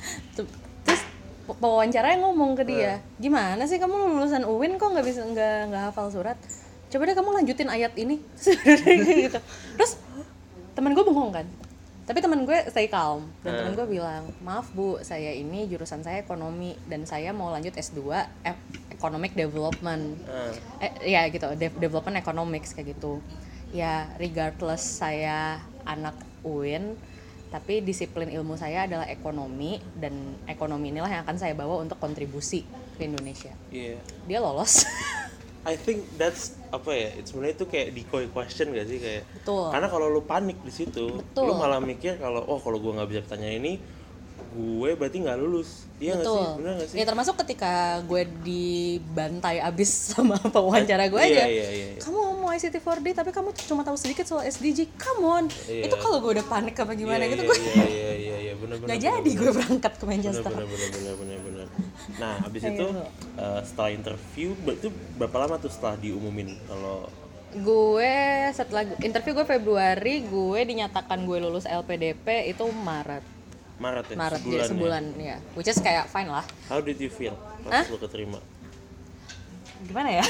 pewawancaranya ngomong ke dia, gimana sih kamu lulusan UIN kok nggak hafal surat? Coba deh kamu lanjutin ayat ini. Gitu. Terus teman gue bengong kan, tapi teman gue stay calm dan teman gue bilang, maaf Bu, saya ini jurusan saya ekonomi dan saya mau lanjut S2 economic development, ya gitu, development economics kayak gitu. Ya regardless saya anak UIN, tapi disiplin ilmu saya adalah ekonomi dan ekonomi inilah yang akan saya bawa untuk kontribusi ke Indonesia. Dia lolos. I think that's apa ya? It's sebenarnya itu kayak decoy question gak sih kayak? Betul. Karena kalau lu panik di situ, lu malah mikir kalau kalau gue nggak bisa pertanyaan ini, gue berarti nggak lulus. Iya nggak sih? Bener nggak sih? Ya termasuk ketika gue dibantai abis sama pewawancara gue aja. Iya. Kamu mau ICT 4D tapi kamu cuma tahu sedikit soal SDG. Come on. Itu kalau gue udah panik apa gimana gitu gue. Iya, benar. Gak jadi gue berangkat ke Manchester. Benar. Nah, abis itu setelah interview itu berapa lama tuh setelah diumumin kalau gue setelah interview gue Februari, gue dinyatakan gue lulus LPDP itu Maret ya? Sebulan ya. Which is kayak fine lah. How did you feel pas lu keterima? Gimana ya?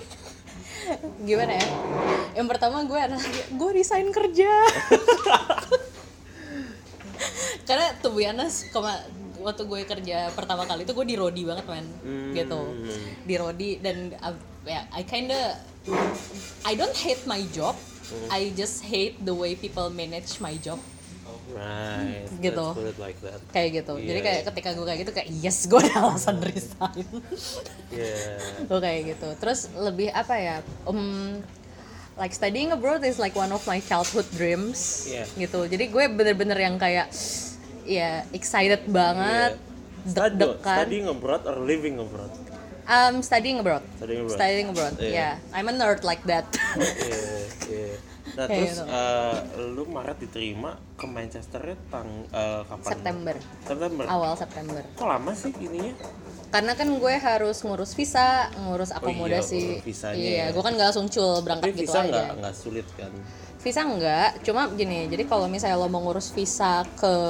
Yang pertama gue resign kerja. Karena to be honest, waktu gue kerja pertama kali itu gue di Rodi banget gitu. Di Rodi dan I don't hate my job. I just hate the way people manage my job. Right, gitu. Let's put it like that. Kayak gitu. Jadi kayak ketika gue kayak gitu kayak yes, gue ada alasan resign. Gue kayak gitu. Terus lebih apa ya? Like studying abroad is like one of my childhood dreams. Gitu. Jadi gue bener-bener yang kayak excited banget. Deg-degan. Studying abroad or living abroad? Studying abroad. I'm a nerd like that. Nah terus lu Maret diterima ke Manchesternya kapan? September. Awal September. Kok lama sih ininya? Karena kan gue harus ngurus visa, ngurus akomodasi. Iya, gue kan nggak langsung berangkat gitu aja. Tapi visa nggak sulit kan? Visa nggak, cuma gini. Jadi kalau misalnya lo mau ngurus visa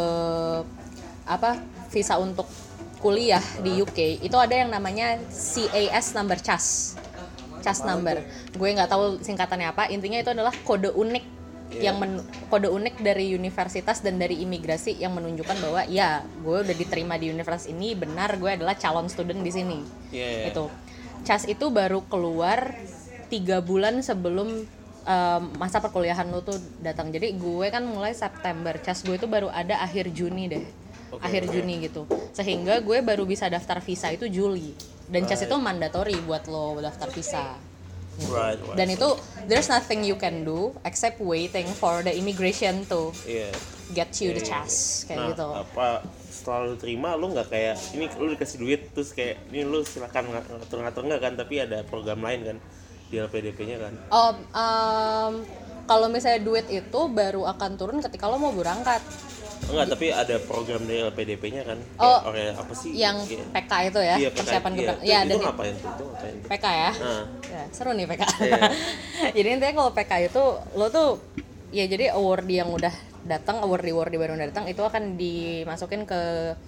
visa untuk kuliah di UK, itu ada yang namanya CAS number, CAS number. Gue nggak tahu singkatannya apa. Intinya itu adalah kode unik kode unik dari universitas dan dari imigrasi yang menunjukkan bahwa ya gue udah diterima di universitas ini, benar gue adalah calon student di sini. Itu CAS itu baru keluar 3 bulan sebelum masa perkuliahan lo tuh datang. Jadi gue kan mulai September, CAS gue itu baru ada akhir Juni deh. Akhir Juni gitu. Sehingga gue baru bisa daftar visa itu Juli. Dan CAS itu mandatory buat lo daftar visa. Gitu. Dan itu there's nothing you can do except waiting for the immigration to get you the CAS kayak gitu. Apa setelah lu terima lu nggak kayak ini lu dikasih duit terus kayak ini lu silakan ngatur-ngatur nggak kan, tapi ada program lain kan di LPDP-nya kan? Kalau misalnya duit itu baru akan turun ketika lo mau berangkat. Enggak, tapi ada program dari LPDP-nya kan? Apa sih? Yang PK itu ya, persiapan keberangkatan. Iya, itu ngapain tuh? PK ya? Ya, seru nih PK. Jadi intinya kalau PK itu, lo tuh, ya jadi award yang udah datang, award baru udah datang, itu akan dimasukin ke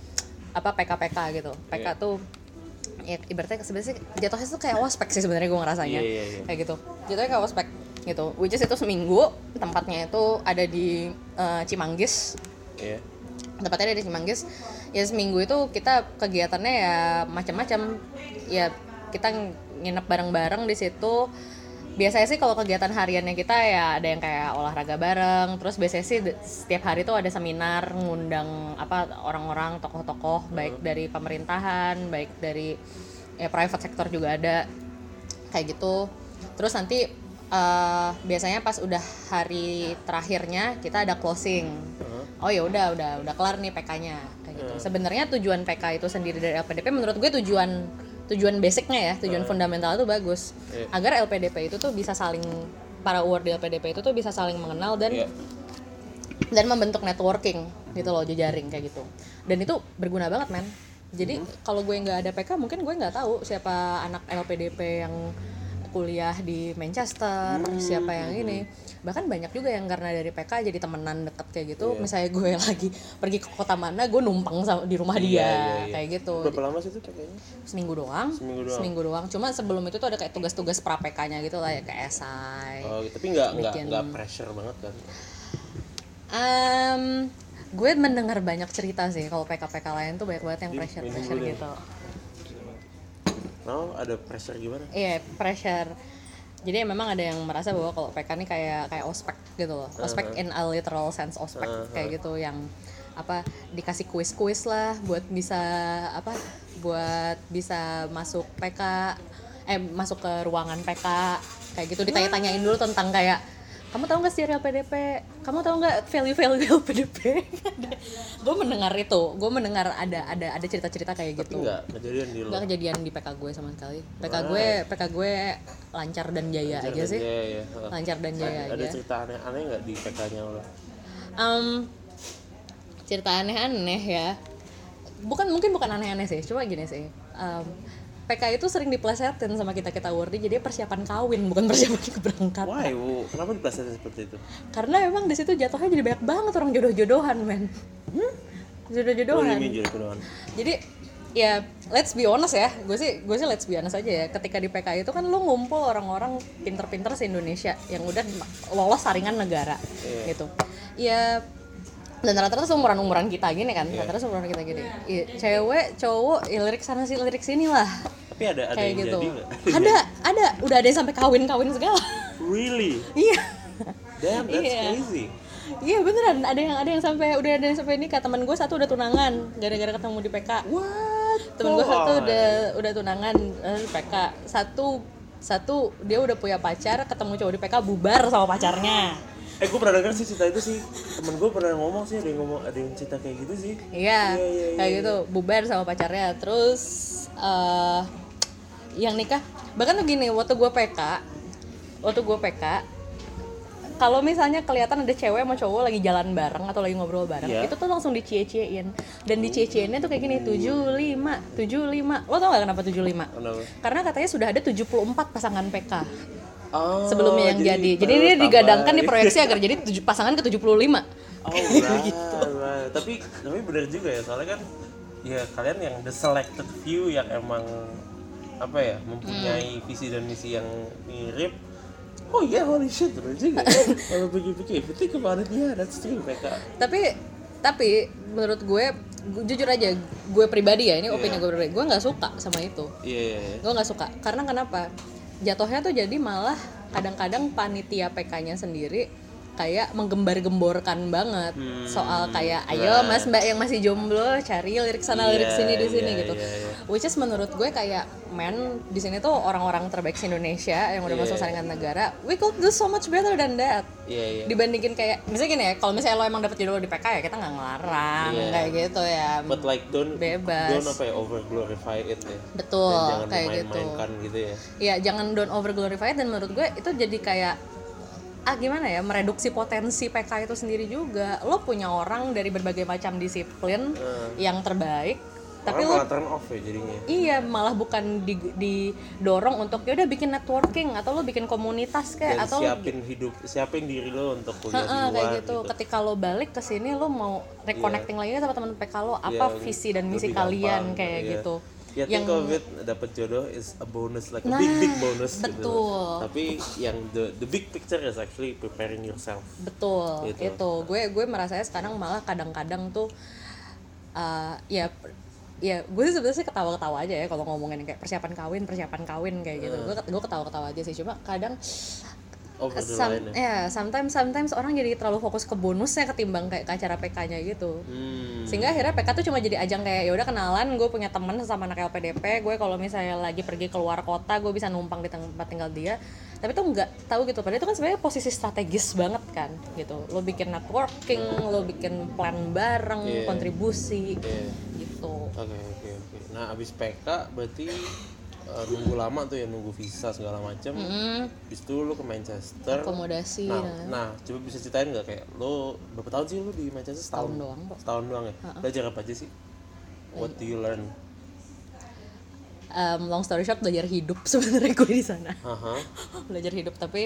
PK gitu. PK tuh, ya ibaratnya sebenarnya jatuhnya tuh kayak ospek sih sebenarnya gue ngerasanya. Kayak gitu. Jatuhnya kayak ospek gitu. Which is itu seminggu, tempatnya itu ada di Cimanggis. Tempatnya ada di Cimanggis. Ya seminggu itu kita kegiatannya ya macam-macam. Ya kita nginep bareng-bareng di situ. Biasanya sih kalau kegiatan hariannya kita ya ada yang kayak olahraga bareng. Terus biasanya sih setiap hari tuh ada seminar ngundang orang-orang, tokoh-tokoh baik dari pemerintahan, baik dari private sector juga ada. Kayak gitu. Terus nanti biasanya pas udah hari terakhirnya kita ada closing. Oh ya udah kelar nih PK-nya kayak gitu. Sebenarnya tujuan PK itu sendiri dari LPDP menurut gue tujuan basicnya ya, tujuan fundamental itu bagus. Agar LPDP itu tuh bisa saling, para award di LPDP itu tuh bisa saling mengenal dan membentuk networking gitu loh, jejaring kayak gitu. Dan itu berguna banget men. Jadi kalau gue nggak ada PK mungkin gue nggak tahu siapa anak LPDP yang kuliah di Manchester, siapa yang ini. Bahkan banyak juga yang karena dari PK jadi temenan deket kayak gitu. Misalnya gue lagi pergi ke kota mana, gue numpang di rumah dia kayak gitu. Berapa lama sih itu PK-nya? Seminggu doang. Cuma sebelum itu tuh ada kayak tugas-tugas pra PK-nya gitu lah ya, kayak esai. Tapi nggak pressure banget kan? Gue mendengar banyak cerita sih kalau PK lain tuh banyak banget yang pressure gitu. Ada pressure gimana? Iya, pressure. Jadi memang ada yang merasa bahwa kalau PK ini kayak ospek gitu loh. Ospek in a literal sense ospek kayak gitu, yang dikasih kuis lah buat bisa masuk PK. masuk ke ruangan PK kayak gitu, ditanya-tanyain dulu tentang kayak kamu tahu nggak sejarah LPDP, kamu tahu nggak value LPDP. Gue mendengar ada cerita-cerita kayak gitu. Tapi nggak kejadian di lo? Nggak kejadian di PK gue sama sekali. PK gue lancar dan jaya aja sih. Lancar dan jaya aja. Ada cerita aneh-aneh nggak di PK-nya lo? Cerita aneh-aneh ya. Mungkin bukan aneh-aneh sih, cuma gini sih. PK itu sering diplesetin sama kita wordy, jadi persiapan kawin bukan persiapan keberangkatan. Why? Kenapa diplesetin seperti itu? Karena emang di situ jatuhnya jadi banyak banget orang jodoh-jodohan, men. Jodoh-jodohan. Jadi ya let's be honest ya, gue sih let's be honest aja ya. Ketika di PK itu kan lu ngumpul orang-orang pinter-pinter se-Indonesia yang udah lolos saringan negara gitu. Ya dan rata-rata umuran kita gini kan, rata-rata umuran kita gini. Ya, cewek, cowok, ya lirik sana sih, lirik sini lah. Tapi ada kayak yang gitu. Jadi nggak? Ada. Udah ada yang sampai kawin segala. Really? Iya. Damn, that's crazy. Iya beneran, ada yang sampai nikah. Teman gue satu udah tunangan gara-gara ketemu di PK. What? Temen gue satu udah tunangan di PK. Satu dia udah punya pacar, ketemu cowok di PK, bubar sama pacarnya. Gue pernah dengar sih cerita itu sih. Temen gue pernah ngomong sih, ada yang cerita kayak gitu sih. Iya. Kayak gitu, bubar sama pacarnya. Terus yang nikah, bahkan tuh gini, waktu gue PK, kalau misalnya kelihatan ada cewek sama cowok lagi jalan bareng atau lagi ngobrol bareng, itu tuh langsung dicie-ciein. Dan dicie-cieinnya tuh kayak gini, 75. Lo tau gak kenapa 75? Kenapa? Karena katanya sudah ada 74 pasangan PK. Sebelumnya yang jadi dia digadangkan diproyeksi agar jadi pasangan ke 75. Gitu. Tapi benar juga ya, soalnya kan ya kalian yang the selected few yang emang mempunyai visi dan misi yang mirip. Oh iya, holy shit, bener juga. Kalau pikir-pikir, think about it, that's true mereka. Tapi menurut gue jujur aja, gue pribadi ya, ini opini gue pribadi, gue nggak suka sama itu. Gue nggak suka, karena kenapa? Jatuhnya tuh jadi malah kadang-kadang panitia PK-nya sendiri kayak menggembar-gemborkan banget soal kayak ayo mas mbak yang masih jomblo cari lirik sana lirik sini di sini gitu. Which is menurut gue kayak di sini tuh orang-orang terbaik Indonesia yang udah masuk saringan negara, we could do so much better than that. Dibandingin kayak misalnya gini ya, kalau misalnya lo emang dapet jodoh di PK ya kita nggak ngelarang kayak gitu ya. But like don't bebas. Don't over glorify it ya. Betul. Dan jangan kayak main-mainkan gitu ya. Iya jangan don't over glorify it, dan menurut gue itu jadi kayak gimana ya, mereduksi potensi PK itu sendiri juga. Lo punya orang dari berbagai macam disiplin yang terbaik, tapi lo turn off ya jadinya. Iya, malah bukan didorong untuk ya udah bikin networking atau lo bikin komunitas kayak, atau siapin diri lo untuk kuliah di luar kayak gitu. Ketika lo balik ke sini lo mau reconnecting lagi sama teman PK lo, apa visi dan misi kalian kayak gitu. Ya think of it, dapat jodoh is a bonus, like a big bonus. Betul. Gitu. Tapi yang the big picture is actually preparing yourself. Betul. Gitu. Itu gue merasanya sekarang malah kadang-kadang tuh ya gue sih sebenarnya ketawa-ketawa aja ya kalau ngomongin kayak persiapan kawin kayak gitu. Gue ketawa-ketawa aja sih, cuma kadang sometimes orang jadi terlalu fokus ke bonusnya ketimbang kayak ke acara PK-nya gitu. Sehingga akhirnya PK tuh cuma jadi ajang kayak ya udah kenalan, gue punya teman sama anak LPDP, gue kalau misalnya lagi pergi keluar kota gue bisa numpang di tempat tinggal dia. Tapi tuh nggak tahu gitu, padahal itu kan sebenarnya posisi strategis banget kan gitu. Lo bikin networking, lo bikin plan bareng, kontribusi gitu. Oke. Nah abis PK berarti nunggu lama tuh ya, nunggu visa segala macam. Habis itu lu ke Manchester. Akomodasi. Nah, coba bisa ceritain nggak kayak lu berapa tahun sih lu di Manchester? Setahun doang ya. Belajar apa aja sih? What do you learn? Long story short, belajar hidup sebenarnya gue di sana. Belajar hidup, tapi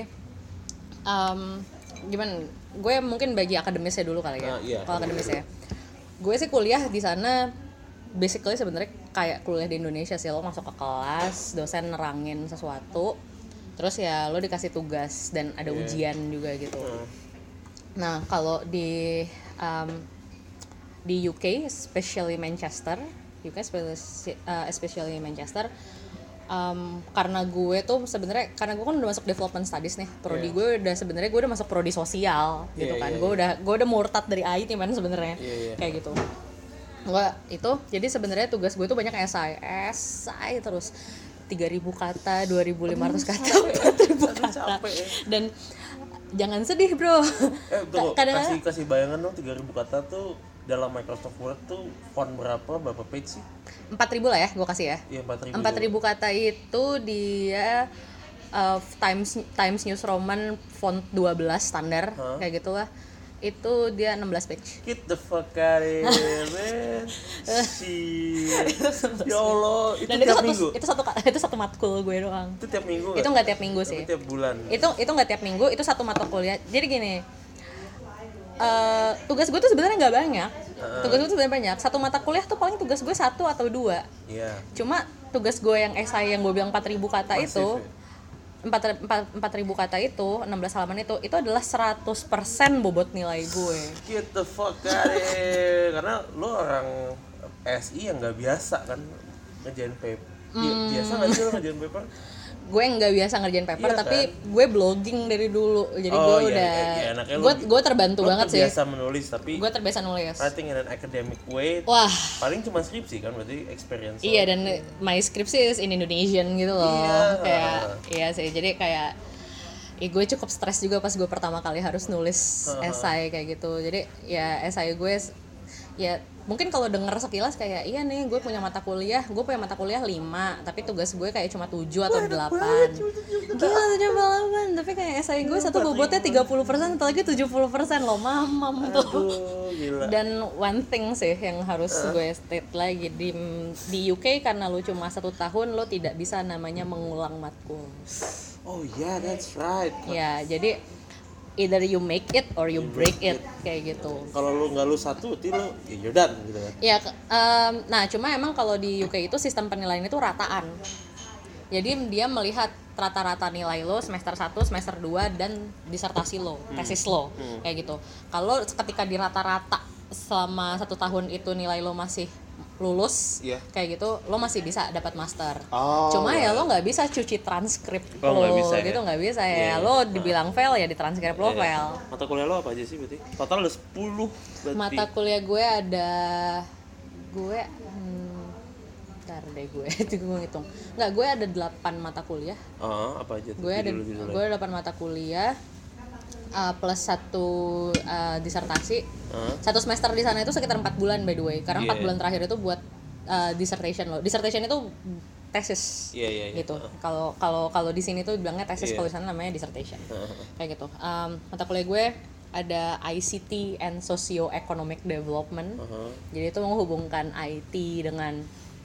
gimana? Gue mungkin bagi akademisnya dulu kali ya. Kalau akademisnya, gue sih kuliah di sana. Basically sebenarnya kayak kuliah di Indonesia sih, lo masuk ke kelas, dosen nerangin sesuatu, terus ya lo dikasih tugas dan ada ujian juga gitu. Nah kalau di UK, especially Manchester, karena gue tuh sebenarnya karena gue kan udah masuk development studies nih, prodi gue udah masuk prodi sosial gitu kan. Gue udah murtad dari IT man sebenarnya kayak gitu. Jadi sebenarnya tugas gue tuh banyak esai terus. 3.000 kata, 2.500 kata, 4.000 kata. Capek ya. Dan jangan sedih bro. Kadang kasih bayangan dong 3.000 kata tuh dalam Microsoft Word tuh font berapa page sih? 4.000 lah ya, gue kasih ya. Iya 4.000 kata itu dia Times New Roman font 12 standar kayak gitulah. Itu dia 16 page. Get the fuck out of here, man. Shit. Ya Allah, itu Dan tiap minggu. Itu satu matkul gue doang. Itu tiap minggu. Itu nggak tiap minggu sih. Tiap bulan. Itu nggak tiap minggu, itu satu mata kuliah. Jadi gini, tugas gue tuh sebenarnya nggak banyak. Tugas gue tuh sebenarnya banyak. Satu mata kuliah tuh paling tugas gue 1 atau 2. Iya. Cuma tugas gue yang esai yang gue bilang 4.000 kata Masif, itu, ya? 4.000 kata itu, 16 halaman itu adalah 100% bobot nilai gue. Get the fuck out of here. Karena lo orang SI yang nggak biasa kan ngerjain paper. Biasa nggak sih lo ngerjain paper? Gue nggak biasa ngerjain paper, Iya, tapi kan? gue blogging dari dulu, jadi gue udah, gue terbantu banget sih. Gue terbiasa menulis, tapi gue terbiasa nulis. writing in an academic way. Wah. Paling cuma skripsi kan, berarti experience. Iya, dan my skripsi is in Indonesian gitu loh. Iya. Kayak, iya sih, jadi kayak gue cukup stres juga pas gue pertama kali harus nulis esai kayak gitu. Jadi ya esai gue ya mungkin kalau denger sekilas kayak iya nih gue punya mata kuliah 5, tapi tugas gue kayak cuma 7 atau 8. Gila 7 8, tapi kayak esai gue satu bobotnya 30%, satu lagi 70% loh, mamam tuh. Gila. Dan one thing sih yang harus gue state lagi di UK, karena lo cuma 1 tahun lo tidak bisa namanya mengulang matkul. Oh yeah, that's right. Ya, jadi either you make it or you break it kayak gitu. Kalau lu nggak lu satu, berarti lu you're done gitu kan. Ya, nah cuma emang kalau di UK itu sistem penilaian itu rataan. Jadi dia melihat rata-rata nilai lo semester 1, semester 2 dan disertasi lo, tesis lo kayak gitu. Kalau ketika di rata-rata selama 1 tahun itu nilai lo masih lulus kayak gitu, lo masih bisa dapat master. Cuma ya lo nggak bisa cuci transkrip lo gitu, nggak bisa ya. Lo dibilang fail ya di transkrip lo fail. Mata kuliah lo apa aja sih berarti? Total ada 10 berarti. Mata kuliah gue ada bentar deh gue ngitung. Nggak, gue ada 8 mata kuliah. Apa aja tuh? Gue ada 8 mata kuliah. Plus 1 disertasi. 1 semester di sana itu sekitar 4 bulan by the way. Karena 4 bulan terakhir itu buat dissertation lo. Dissertation itu tesis. Gitu. Kalau di sini tuh bilangnya tesis, kalau di sana namanya dissertation. Kayak gitu. Mata kuliah gue ada ICT and Socio-Economic Development. Jadi itu menghubungkan IT dengan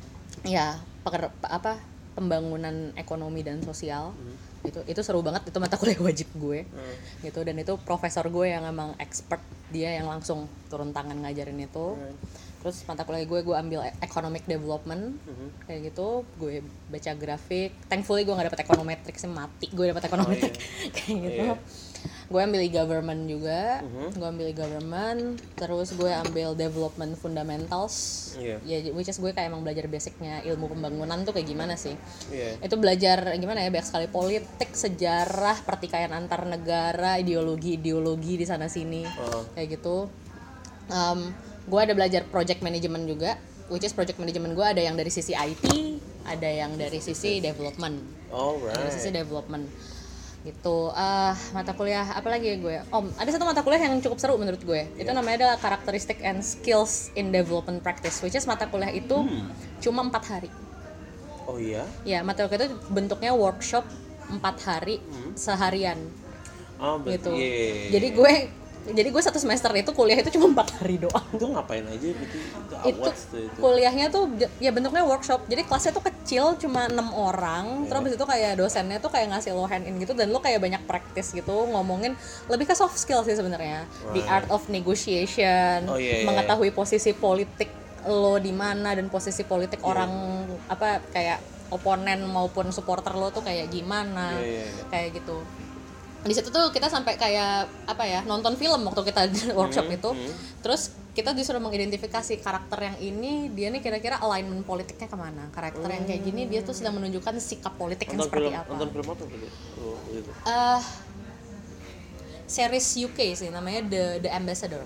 pembangunan ekonomi dan sosial. Itu seru banget, itu mata kuliah wajib gue gitu. Dan itu profesor gue yang emang expert, dia yang langsung turun tangan ngajarin itu. Terus mata kuliah gue ambil economic development kayak gitu. Gue baca grafik, thankfully gue nggak dapet econometrics, mati gue dapet econometric kayak gitu. Gue ambil e-government juga. Terus gue ambil development fundamentals, which is gue kayak emang belajar basicnya ilmu pembangunan tuh kayak gimana sih. Itu belajar gimana ya, banyak sekali politik, sejarah, pertikaian antar negara, ideologi di sana sini kayak gitu. Gue ada belajar project management juga, which is project management gue ada yang dari sisi IT, ada yang dari sisi development. Dari sisi development gitu. Mata kuliah apa lagi ya gue? Ada satu mata kuliah yang cukup seru menurut gue. Itu namanya adalah Characteristic and Skills in Development Practice, which is mata kuliah itu cuma 4 hari. Oh iya? Ya, mata kuliah itu bentuknya workshop 4 hari seharian. Gitu. Jadi gue 1 semester itu kuliah itu cuma 4 hari doang. Itu ngapain aja gitu? Itu kuliahnya tuh ya bentuknya workshop. Jadi kelasnya tuh kecil, cuma 6 orang. Terus habis itu kayak dosennya tuh kayak ngasih lo hand in gitu, dan lo kayak banyak practice gitu, ngomongin lebih ke soft skill sih sebenarnya. The art of negotiation, mengetahui posisi politik lo di mana, dan posisi politik orang kayak oponen maupun supporter lo tuh kayak gimana. Kayak gitu. Di situ tuh kita sampai kayak nonton film waktu kita workshop itu. Terus kita disuruh mengidentifikasi karakter yang ini, dia nih kira-kira alignment politiknya kemana. Karakter yang kayak gini dia tuh sedang menunjukkan sikap politik yang seperti apa. Nonton film apa gitu? Series UK sih, namanya The Ambassador.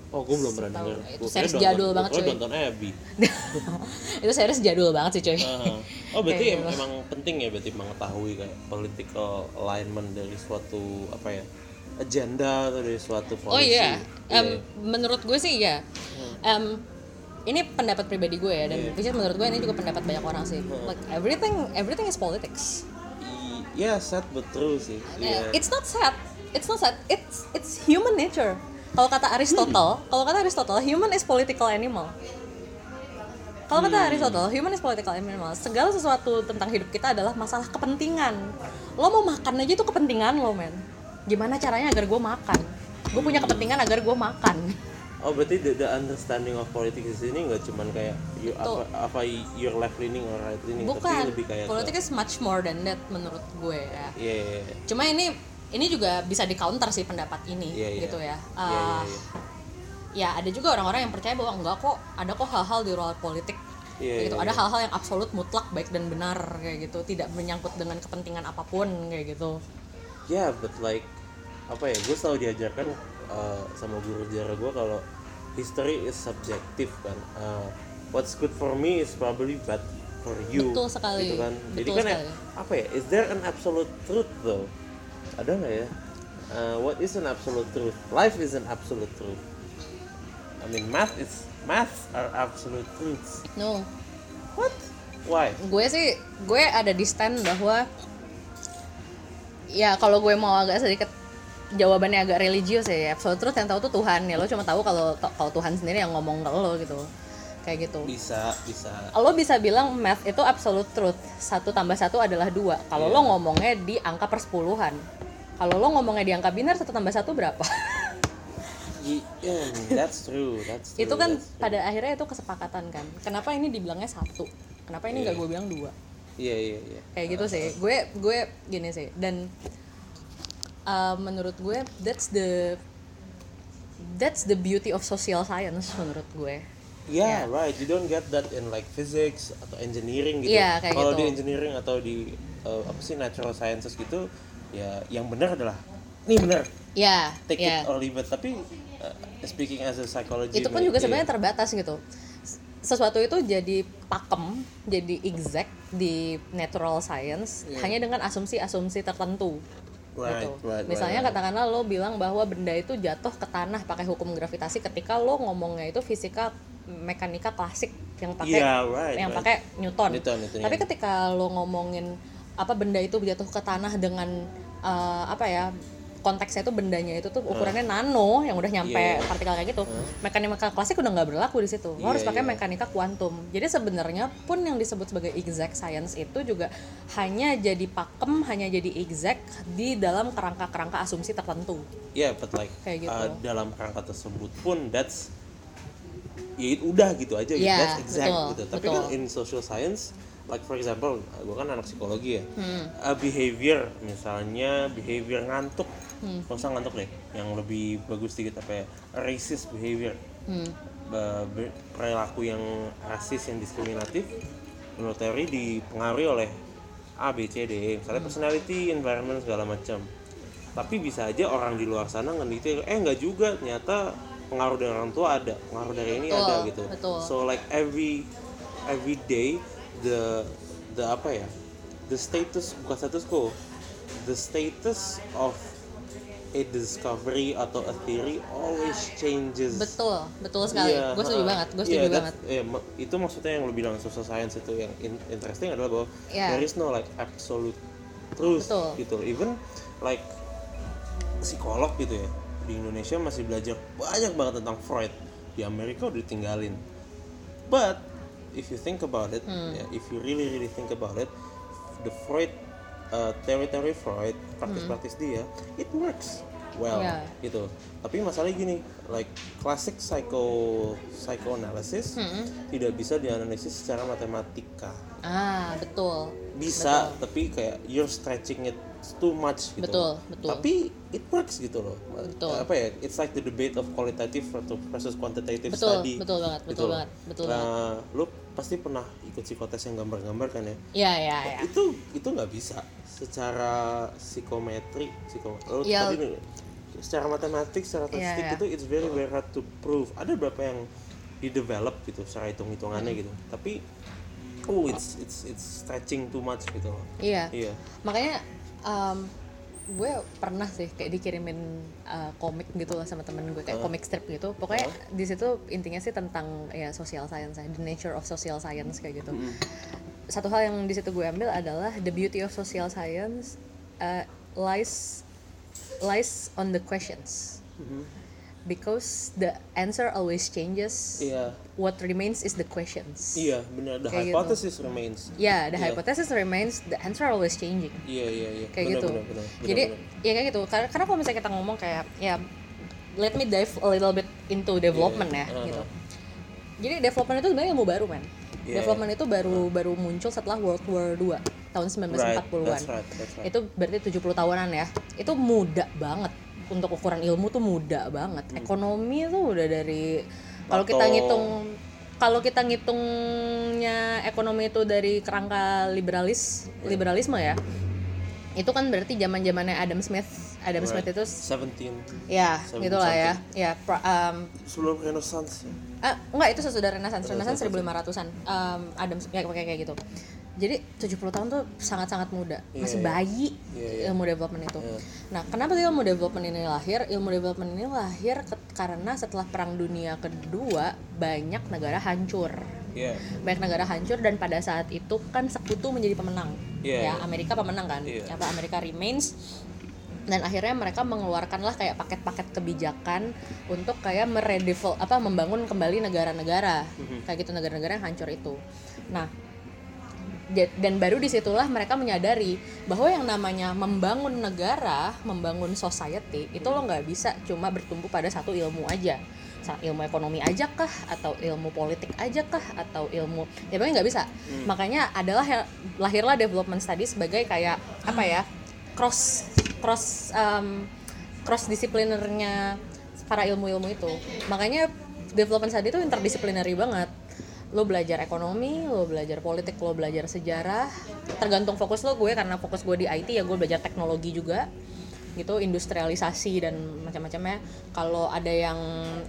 Oh, gue belum pernah denger. Itu series jadul banget cuy. Gue nonton Abby. Itu series jadul banget sih cuy. Oh, berarti emang penting ya berarti mengetahui kayak political alignment dari suatu apa ya, agenda atau dari suatu policy. Oh iya, menurut gue sih ya. Ini pendapat pribadi gue ya, dan menurut gue ini juga pendapat banyak orang sih. Like everything is politics. Yeah, sad but true sih. Yeah. It's not sad. It's human nature. Kalau kata Aristotle, human is political animal. Kalau kata Aristotle, human is political animal. Segala sesuatu tentang hidup kita adalah masalah kepentingan. Lo mau makan aja itu kepentingan lo, men. Gimana caranya agar gue makan? Gue punya kepentingan agar gue makan. Oh, berarti the understanding of politics ini nggak cuman kayak your left leaning or right leaning, tapi lebih kayak politics is much more than that menurut gue ya. Yeah. Cuma ini juga bisa di counter sih pendapat ini gitu ya. Ya ada juga orang-orang yang percaya bahwa ada kok hal-hal di luar politik gitu. Ada hal-hal yang absolut mutlak baik dan benar kayak gitu, tidak menyangkut dengan kepentingan apapun kayak gitu. Yeah, but like apa ya, gue selalu diajarkan sama guru sejarah gue kalau history is subjective kan. What's good for me is probably bad for you. Betul sekali. Gitu kan. Jadi kan apa ya? Is there an absolute truth though? Ada nggak ya? What is an absolute truth? Life is an absolute truth. I mean, math are absolute truths. No. What? Why? Gue ada di stand bahwa ya kalau gue mau agak sedikit jawabannya agak religius ya, absolute truth yang tahu tuh Tuhan ya. Lo cuma tahu kalau Tuhan sendiri yang ngomong ke lo gitu. Kayak gitu. Bisa. Lo bisa bilang math itu absolute truth. 1 + 1 adalah 2. Kalau lo ngomongnya di angka persepuluhan. Kalau lo ngomongnya di angka binar 1 + 1 berapa? Yeah, that's true. Itu kan pada akhirnya itu kesepakatan kan. Kenapa ini dibilangnya 1? Kenapa ini nggak gue bilang 2? Iya. Kayak gitu sih. Gue gini sih. Dan menurut gue that's the beauty of social science menurut gue. Yeah, right. You don't get that in like physics atau engineering gitu. Yeah, kalau gitu. Di engineering atau di natural sciences gitu, ya yang benar adalah ini benar. Yeah, take it or leave it. Tapi speaking as a psychology, itu pun juga sebenarnya terbatas gitu. Sesuatu itu jadi pakem, jadi exact di natural science hanya dengan asumsi-asumsi tertentu. Gitu. Misalnya katakanlah lo bilang bahwa benda itu jatuh ke tanah pakai hukum gravitasi ketika lo ngomongnya itu fisika mekanika klasik yang pakai pakai Newton. Tapi ketika lo ngomongin benda itu jatuh ke tanah dengan konteksnya itu bendanya itu tuh ukurannya nano yang udah nyampe partikel kayak gitu. Mekanika klasik udah nggak berlaku di situ. Lo harus pakai mekanika kuantum. Jadi sebenarnya pun yang disebut sebagai exact science itu juga hanya jadi pakem, hanya jadi exact di dalam kerangka-kerangka asumsi tertentu. Yeah, but like kayak gitu. Dalam kerangka tersebut pun that's udah gitu aja gitu. That's exact gitu. Tapi kan in social science, like for example, gue kan anak psikologi ya. Behavior misalnya behavior ngantuk. Gak usah ngantuk deh, yang lebih bagus sedikit racist behavior, perilaku yang rasis, yang diskriminatif, menurut teori dipengaruhi oleh A, B, C, D, E, misalnya personality, environment, segala macam. Tapi bisa aja orang di luar sana ngenditin, enggak juga, ternyata pengaruh dari orang tua ada, pengaruh dari ini ada gitu. So like every day the status, bukan status quo, the status of a discovery atau a theory always changes. Betul sekali. Gue setuju banget. Itu maksudnya yang lo bilang social science itu yang interesting adalah bahwa there is no like absolute truth gitu. Even like psikolog gitu ya, di Indonesia masih belajar banyak banget tentang Freud. Di Amerika udah ditinggalin. But if you think about it, if you really think about it, the Freud teori-teori Freud, praktis-praktis dia, it works well gitu. Tapi masalahnya gini, like classic psychoanalysis tidak bisa dianalisis secara matematika. Betul. Bisa, tapi kayak you're stretching it too much gitu. Betul. Tapi it works gitu loh. It's like the debate of qualitative versus quantitative study. Betul banget. Lu pasti pernah ikut psikotes yang gambar-gambar kan ya? Iya. Itu nggak bisa secara psikometri. secara matematik, secara statistik itu it's very very hard to prove. Ada beberapa yang di develop gitu secara hitung-hitungannya gitu. Tapi it's stretching too much gitu. Iya. Makanya gue pernah sih kayak dikirimin komik gitu lah sama temen gue, kayak komik strip gitu. Pokoknya di situ intinya sih tentang ya social science, the nature of social science kayak gitu. Satu hal yang di situ gue ambil adalah the beauty of social science lies on the questions. Because the answer always changes. What remains is the questions. Iya, benar. The hypothesis remains. The hypothesis remains. The answer always changing. Iya. Kayak gitu. Jadi ya kayak gitu. Karena kalau misalnya kita ngomong kayak let me dive a little bit into development gitu. Jadi development itu sebenarnya ilmu baru, man. Development itu baru muncul setelah World War II tahun 1940-an. That's right. Itu berarti 70 tahunan ya. Itu muda banget. Untuk ukuran ilmu tuh muda banget. Ekonomi tuh udah dari kalau kita ngitungnya ekonomi itu dari kerangka liberalisme ya. Itu kan berarti zaman-zamannya Adam Smith itu 17. Ya, gitulah ya. Ya, sebelum Renaissance. Enggak, itu sesudah Renaissance 1500-an. Adam ya kayak gitu. Jadi 70 tahun tuh sangat-sangat muda, masih bayi ilmu development itu. Nah, kenapa ilmu development ini lahir? Ilmu development ini lahir karena setelah Perang Dunia Kedua banyak negara hancur. Banyak negara hancur dan pada saat itu kan sekutu menjadi pemenang. Amerika pemenang kan. Amerika remains. Dan akhirnya mereka mengeluarkanlah kayak paket-paket kebijakan untuk kayak membangun kembali negara-negara. Kayak gitu, negara-negara yang hancur itu. Nah, dan baru disitulah mereka menyadari bahwa yang namanya membangun negara, membangun society itu lo nggak bisa cuma bertumpu pada satu ilmu aja, ilmu ekonomi aja kah, atau ilmu politik aja kah, atau ilmu ya pokoknya nggak bisa. Makanya lahirlah development studies sebagai kayak cross disiplinernya para ilmu-ilmu itu. Makanya development study itu interdisciplinary banget. Lo belajar ekonomi, lo belajar politik, lo belajar sejarah, tergantung fokus lo. Gue karena fokus gue di IT ya gue belajar teknologi juga gitu, industrialisasi dan macam-macamnya. Kalau ada yang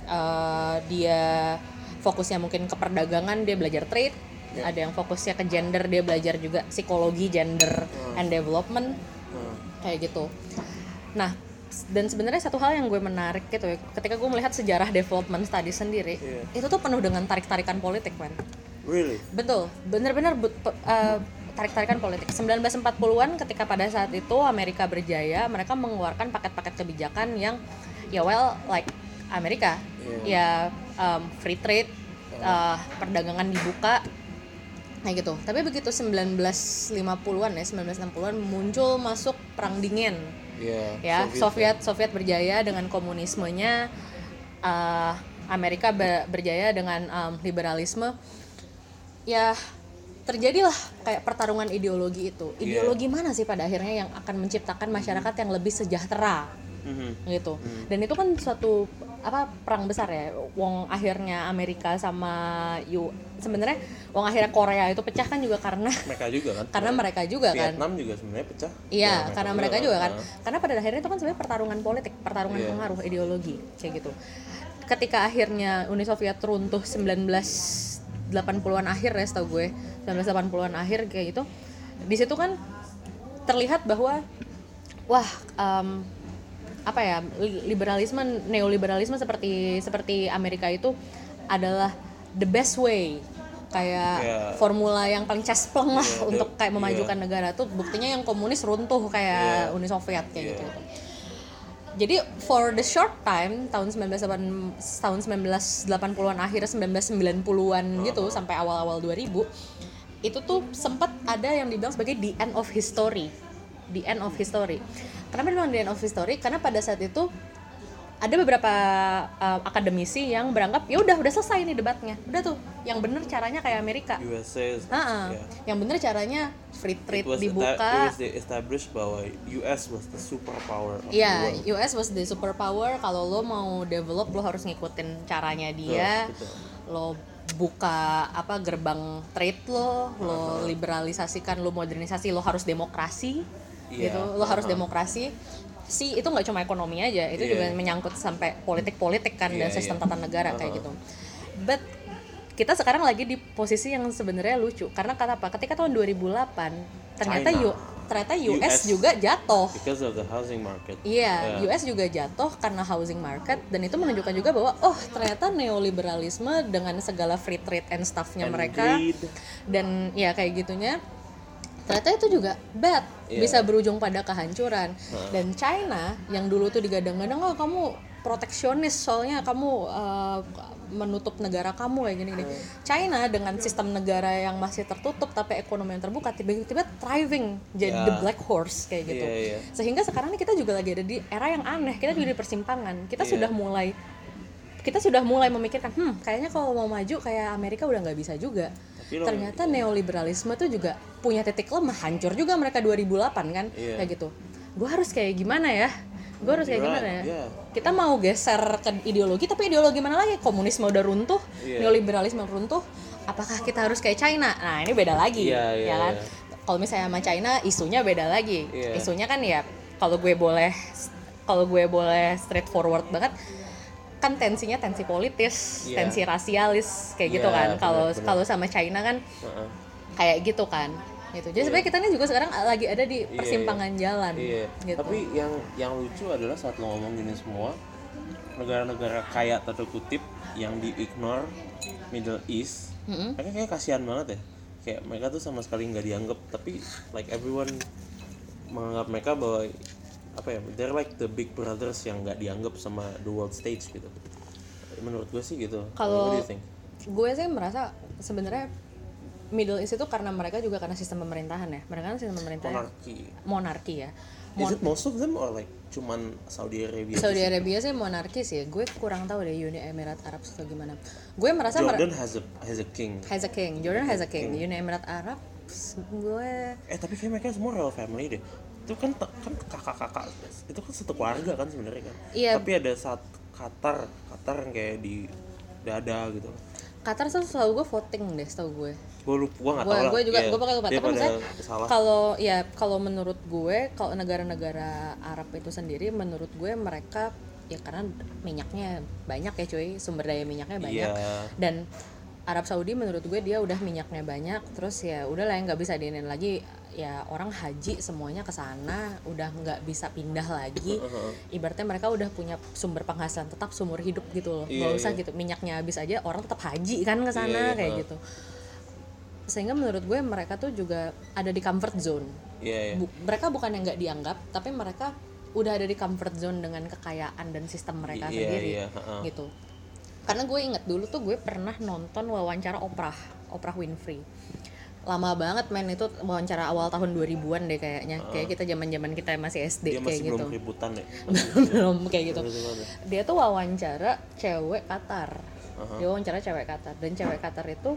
dia fokusnya mungkin ke perdagangan, dia belajar trade. Ada yang fokusnya ke gender, dia belajar juga psikologi gender and development kayak gitu. Nah, dan sebenarnya satu hal yang gue menarik gitu ya, ketika gue melihat sejarah development study sendiri, itu tuh penuh dengan tarik-tarikan politik, man. Really? Betul, benar-benar tarik-tarikan politik. 1940-an ketika pada saat itu Amerika berjaya, mereka mengeluarkan paket-paket kebijakan yang like Amerika, free trade, perdagangan dibuka, kayak gitu. Tapi begitu 1960-an muncul masuk perang dingin. Soviet berjaya dengan komunismenya, Amerika berjaya dengan liberalisme. Ya terjadilah kayak pertarungan ideologi itu. Ideologi mana sih pada akhirnya yang akan menciptakan masyarakat yang lebih sejahtera gitu. Dan itu kan suatu perang besar ya. Wong akhirnya Amerika sama sebenarnya wong akhirnya Korea itu pecah kan juga karena mereka juga kan. Vietnam juga sebenarnya pecah. Iya, karena mereka juga kan. Karena pada akhirnya itu kan sebenarnya pertarungan politik, pertarungan pengaruh ideologi kayak gitu. Ketika akhirnya Uni Soviet runtuh 1980-an akhir ya, setahu gue 1980-an akhir kayak gitu. Di situ kan terlihat bahwa liberalisme, neoliberalisme seperti Amerika itu adalah the best way, kayak formula yang paling cespleng lah untuk kayak memajukan negara tuh. Buktinya yang komunis runtuh kayak Uni Soviet kayak gitu. Jadi for the short time tahun 1980-an akhir 1990-an gitu sampai awal-awal 2000 itu tuh sempat ada yang dibilang sebagai the end of history. Kenapa dibilang the end of history? Karena pada saat itu ada beberapa akademisi yang beranggap ya udah selesai nih debatnya, udah tuh yang bener caranya kayak Amerika. Yang bener caranya free trade dibuka. It was established bahwa US was the superpower of the world. US was the superpower. Kalau lo mau develop lo harus ngikutin caranya dia. Lo buka gerbang trade lo liberalisasikan, lo modernisasi, lo harus demokrasi gitu. Lo harus demokrasi. itu nggak cuma ekonomi aja, itu juga menyangkut sampai politik kan dan sistem tata negara kayak gitu. But kita sekarang lagi di posisi yang sebenarnya lucu karena ketika tahun 2008 ternyata US juga jatuh because of the housing market. US juga jatuh karena housing market, dan itu menunjukkan juga bahwa ternyata neoliberalisme dengan segala free trade and stuff-nya mereka greed. Dan ya kayak gitunya ternyata itu juga bad, bisa berujung pada kehancuran. Dan China yang dulu tuh digadang-gadang kamu proteksionis soalnya kamu menutup negara kamu kayak gini-gini. China dengan sistem negara yang masih tertutup tapi ekonomi yang terbuka tiba-tiba thriving jadi the black horse kayak gitu. Sehingga sekarang ini kita juga lagi ada di era yang aneh, kita juga di persimpangan. Kita sudah mulai memikirkan kayaknya kalau mau maju kayak Amerika udah nggak bisa juga. Ternyata neoliberalisme tuh juga punya titik lemah, hancur juga mereka 2008 kan kayak gitu. Gue harus kayak gimana ya? Kita mau geser ke ideologi, tapi ideologi mana lagi? Komunisme udah runtuh, neoliberalisme runtuh. Apakah kita harus kayak China? Nah ini beda lagi, ya kan? Kalau misalnya sama China, isunya beda lagi. Isunya kan ya, kalau gue boleh straightforward banget, kan tensinya tensi politis, tensi rasialis kayak gitu kan. Kalau sama China kan kayak gitu kan. Gitu. Jadi sebenarnya kita ini juga sekarang lagi ada di persimpangan jalan. Gitu. Tapi yang lucu adalah saat lo ngomong gini semua, negara-negara kaya tanda kutip yang di-ignore Middle East, mereka kayak kasihan banget ya. Kayak mereka tuh sama sekali nggak dianggap, tapi like everyone menganggap mereka bahwa they're like the big brothers yang nggak dianggap sama the world stage gitu. Menurut gue sih gitu. Kalau gue sih merasa sebenarnya Middle East itu karena mereka juga karena sistem pemerintahan ya. Mereka kan sistem pemerintahan monarki ya. Is it most of them or like cuman Saudi Arabia? Saudi Arabia sih monarki sih. Gue kurang tahu deh Uni Emirat Arab atau gimana. Gue merasa Jordan has a king. Jordan has a king. Uni Emirat Arab gue tapi kayak mereka semua royal family deh. Itu kan kakak-kakak itu kan satu keluarga kan sebenarnya kan. Tapi ada saat Qatar yang kayak di dada gitu. Qatar tuh selalu gue voting deh, setahu gue. Gue nggak tahu lah. Gue pakai lupa. Tapi misalnya kalau menurut gue, kalau negara-negara Arab itu sendiri, menurut gue mereka ya karena minyaknya banyak ya cuy, sumber daya minyaknya banyak. Dan Arab Saudi menurut gue dia udah minyaknya banyak, terus ya udahlah yang nggak bisa diinin lagi. Ya orang haji semuanya ke sana, udah nggak bisa pindah lagi. Ibaratnya mereka udah punya sumber penghasilan tetap seumur hidup gitu loh. Nggak usah gitu minyaknya habis aja orang tetap haji kan ke sana kayak gitu. Sehingga menurut gue mereka tuh juga ada di comfort zone. Mereka bukan yang nggak dianggap, tapi mereka udah ada di comfort zone dengan kekayaan dan sistem mereka sendiri gitu. Karena gue inget dulu tuh gue pernah nonton wawancara Oprah Winfrey. Lama banget men, itu wawancara awal tahun 2000-an deh kayaknya. Kayak kita zaman-zaman kita masih SD dia kayak masih gitu. Belum ributan ya. Belum kayak gitu. Dia tuh wawancara cewek Qatar. Dia wawancara cewek Qatar, dan cewek Qatar itu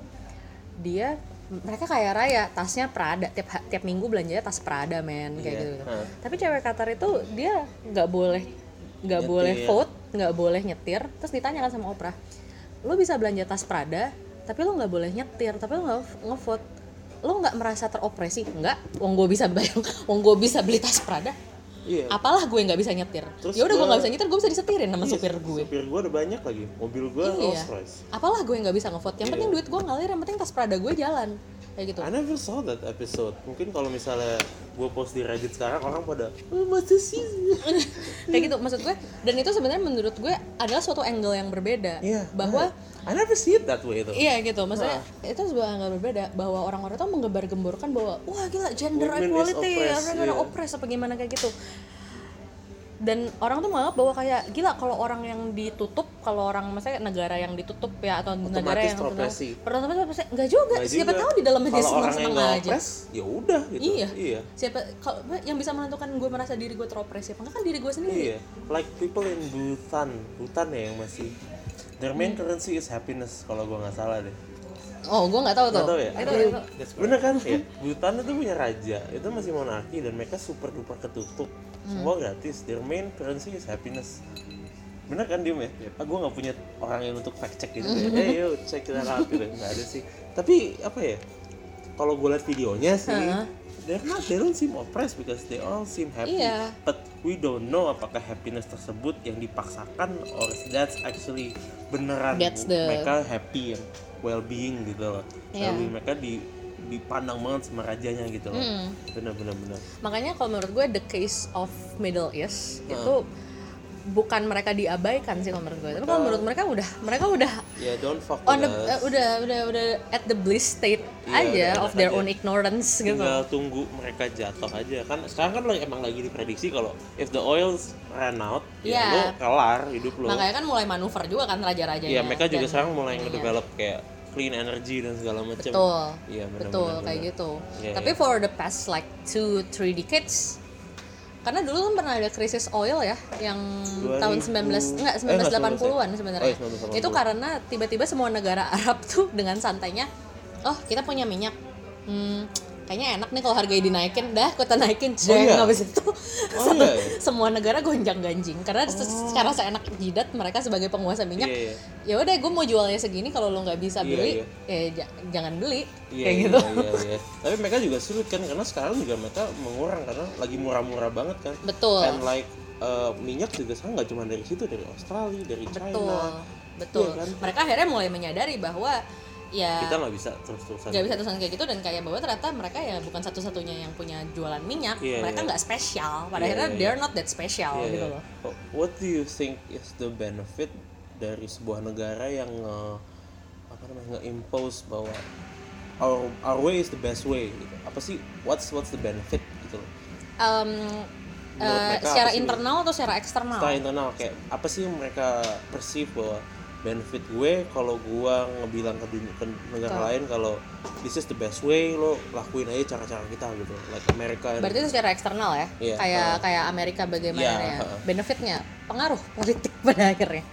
mereka kaya raya, tasnya Prada, tiap minggu belanjanya tas Prada men kayak gitu. Tapi cewek Qatar itu dia nggak boleh vote, nggak boleh nyetir. Terus ditanyakan sama Oprah, lo bisa belanja tas Prada tapi lo nggak boleh nyetir, tapi lo nggak ngevote, lo nggak merasa teropresi? Nggak, wong gue bisa beli tas Prada. Apalah gue nggak bisa nyetir. Ya udah gue nggak bisa nyetir, gue bisa disetirin sama supir gue. Supir gue ada banyak lagi, mobil gue Rolls Royce. Apalah gue nggak bisa ngevote, yang penting duit gue ngalir, yang penting tas Prada gue jalan kayak gitu. I never saw that episode. Mungkin kalau misalnya gue post di Reddit sekarang orang pada masa sih kayak gitu maksud gue. Dan itu sebenarnya menurut gue adalah suatu angle yang berbeda, bahwa I never see it that way itu. Iya gitu, maksudnya itu sebuah angle berbeda, bahwa orang-orang itu menggembar-gemborkan bahwa wah gila gender equality, orang oppress apa gimana kayak gitu. Dan orang tuh menganggap bahwa kayak gila kalau orang yang ditutup, kalau orang misalnya negara yang ditutup ya, atau otomatis negara yang otomatis enggak juga. Siapa tahu di dalamnya dia senang-senang aja. Ya udah gitu. Iya. Siapa kalau yang bisa menentukan gue merasa diri gue teropresi apa enggak kan diri gue sendiri. Iya. Like people in Bhutan ya yang masih their main currency is happiness kalau gue nggak salah deh. Oh, gue nggak tahu tuh. Tahu ya? Itu. Bener kan ya? Bhutan itu punya raja, itu masih monarki dan mereka super duper ketutup. Semua gratis. Their main currency is happiness. Bener kan Dim ya? Gue nggak punya orang yang untuk fact check gitu ya. Check it out gitu. Nggak ada sih. Tapi apa ya? Kalau gue liat videonya sih, they don't seem oppressed because they all seem happy. Iya. But we don't know apakah happiness tersebut yang dipaksakan or that's actually beneran mereka happy and well-being gitu loh. Iya. Lalu mereka dipandang banget sama rajanya gitu loh. Bener. Makanya kalau menurut gue the case of Middle East itu bukan mereka diabaikan sih kalau menurut gue. Tapi kalau menurut mereka udah don't fuck on with udah at the bliss state aja of their own ignorance gitu. Tinggal tunggu mereka jatuh aja kan. Sekarang kan emang lagi diprediksi kalau if the oil ran out ya lo kelar hidup lo. Makanya kan mulai manuver juga kan raja-rajanya. Iya, mereka juga sekarang mulai ngedevelop kayak clean energy dan segala macam. Betul. Iya, betul kayak gitu. Tapi for the past like 2-3 decades, karena dulu kan pernah ada krisis oil ya yang tahun 1980-an sebenarnya. Itu karena tiba-tiba semua negara Arab tuh dengan santainya, oh kita punya minyak, kayaknya enak nih kalau harganya dinaikin, kita naikin. Habis itu semua negara gonjang-ganjing karena secara seenak jidat mereka sebagai penguasa minyak, ya udah gue mau jualnya segini, kalau lo nggak bisa beli ya jangan beli kayak gitu. Tapi mereka juga sulit kan karena sekarang juga mereka mengurang karena lagi murah-murah banget kan. Betul. And like minyak juga sekarang nggak cuma dari situ, dari Australia, dari China. Betul. Kan? Mereka akhirnya mulai menyadari bahwa ya kita nggak bisa terus-terusan kayak gitu, dan kayak bahwa ternyata mereka ya bukan satu-satunya yang punya jualan minyak. Mereka nggak spesial, pada akhirnya they're not that special gitu loh. What do you think is the benefit dari sebuah negara yang nge-impose bahwa our way is the best way gitu? Apa sih what's the benefit gitu loh? Secara internal atau secara eksternal? Secara internal, kayak apa sih yang mereka perceive bahwa benefit gue kalau gue ngebilang ke negara lain kalau this is the best way, lo lakuin aja cara-cara kita gitu, like Amerika. Berarti itu secara eksternal ya? Kayak Amerika bagaimana benefitnya, pengaruh politik pada akhirnya.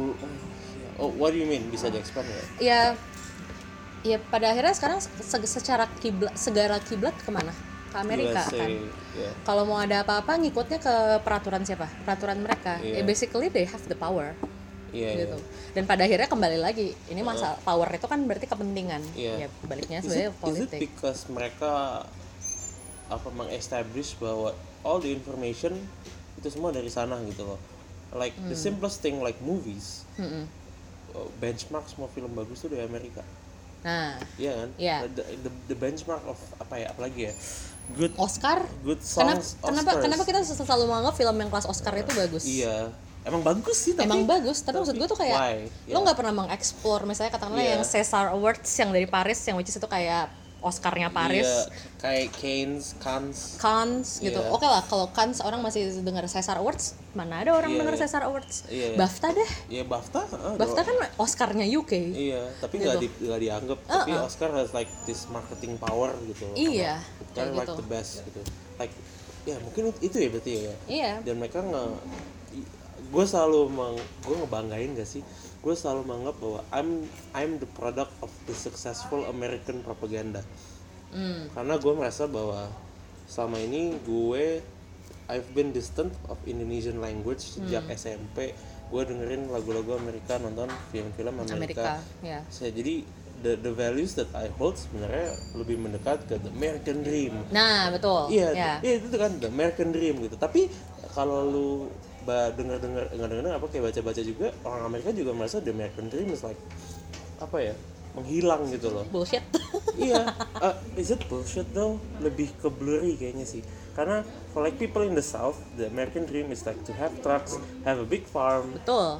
What do you mean? Bisa di-expand ya? Ya pada akhirnya sekarang secara segala kiblat kemana? Ke Amerika USA, kan. Kalau mau ada apa-apa ngikutnya ke peraturan siapa? Peraturan mereka. Basically they have the power. Gitu. Dan pada akhirnya kembali lagi, ini masalah power itu kan berarti kepentingan. Ya baliknya sebenarnya politik. Is it because mereka meng-establish bahwa all the information itu semua dari sana gitu loh. Like the simplest thing like movies. Benchmark semua film bagus tuh dari Amerika. Nah, iya kan? The benchmark of apalagi ya? Good Oscar? Good songs. Kenapa kita selalu menganggap film yang kelas Oscar itu bagus? Iya. Emang bagus sih, tapi maksud gue tuh kayak lo nggak pernah mengeksplor misalnya katakanlah yang César Awards yang dari Paris, yang which is itu kayak Oscarnya Paris, kayak Cannes gitu. Oke lah, kalau Cannes orang masih dengar César Awards, mana ada orang dengar César Awards. BAFTA deh. BAFTA kan Oscarnya UK. Tapi nggak dianggap. Tapi Oscar has like this marketing power gitu. Karena like the best gitu. Like mungkin itu ya berarti ya. Dan mereka gue selalu ngebanggain gak sih, gue selalu menganggap bahwa I'm the product of the successful American propaganda. Karena gue merasa bahwa selama ini I've been distant of Indonesian language sejak SMP. Gue dengerin lagu-lagu Amerika, nonton film-film Amerika. Jadi the values that I hold sebenarnya lebih mendekat ke the American Dream. Nah betul. Iya itu kan the American Dream gitu. Tapi kalau lu dengar kayak baca juga, orang Amerika juga merasa the American Dream is like menghilang gitu loh. Bullshit. Is it bullshit though? Lebih ke blurry kayaknya sih. Karena for like people in the South, the American Dream is like to have trucks, have a big farm. Betul.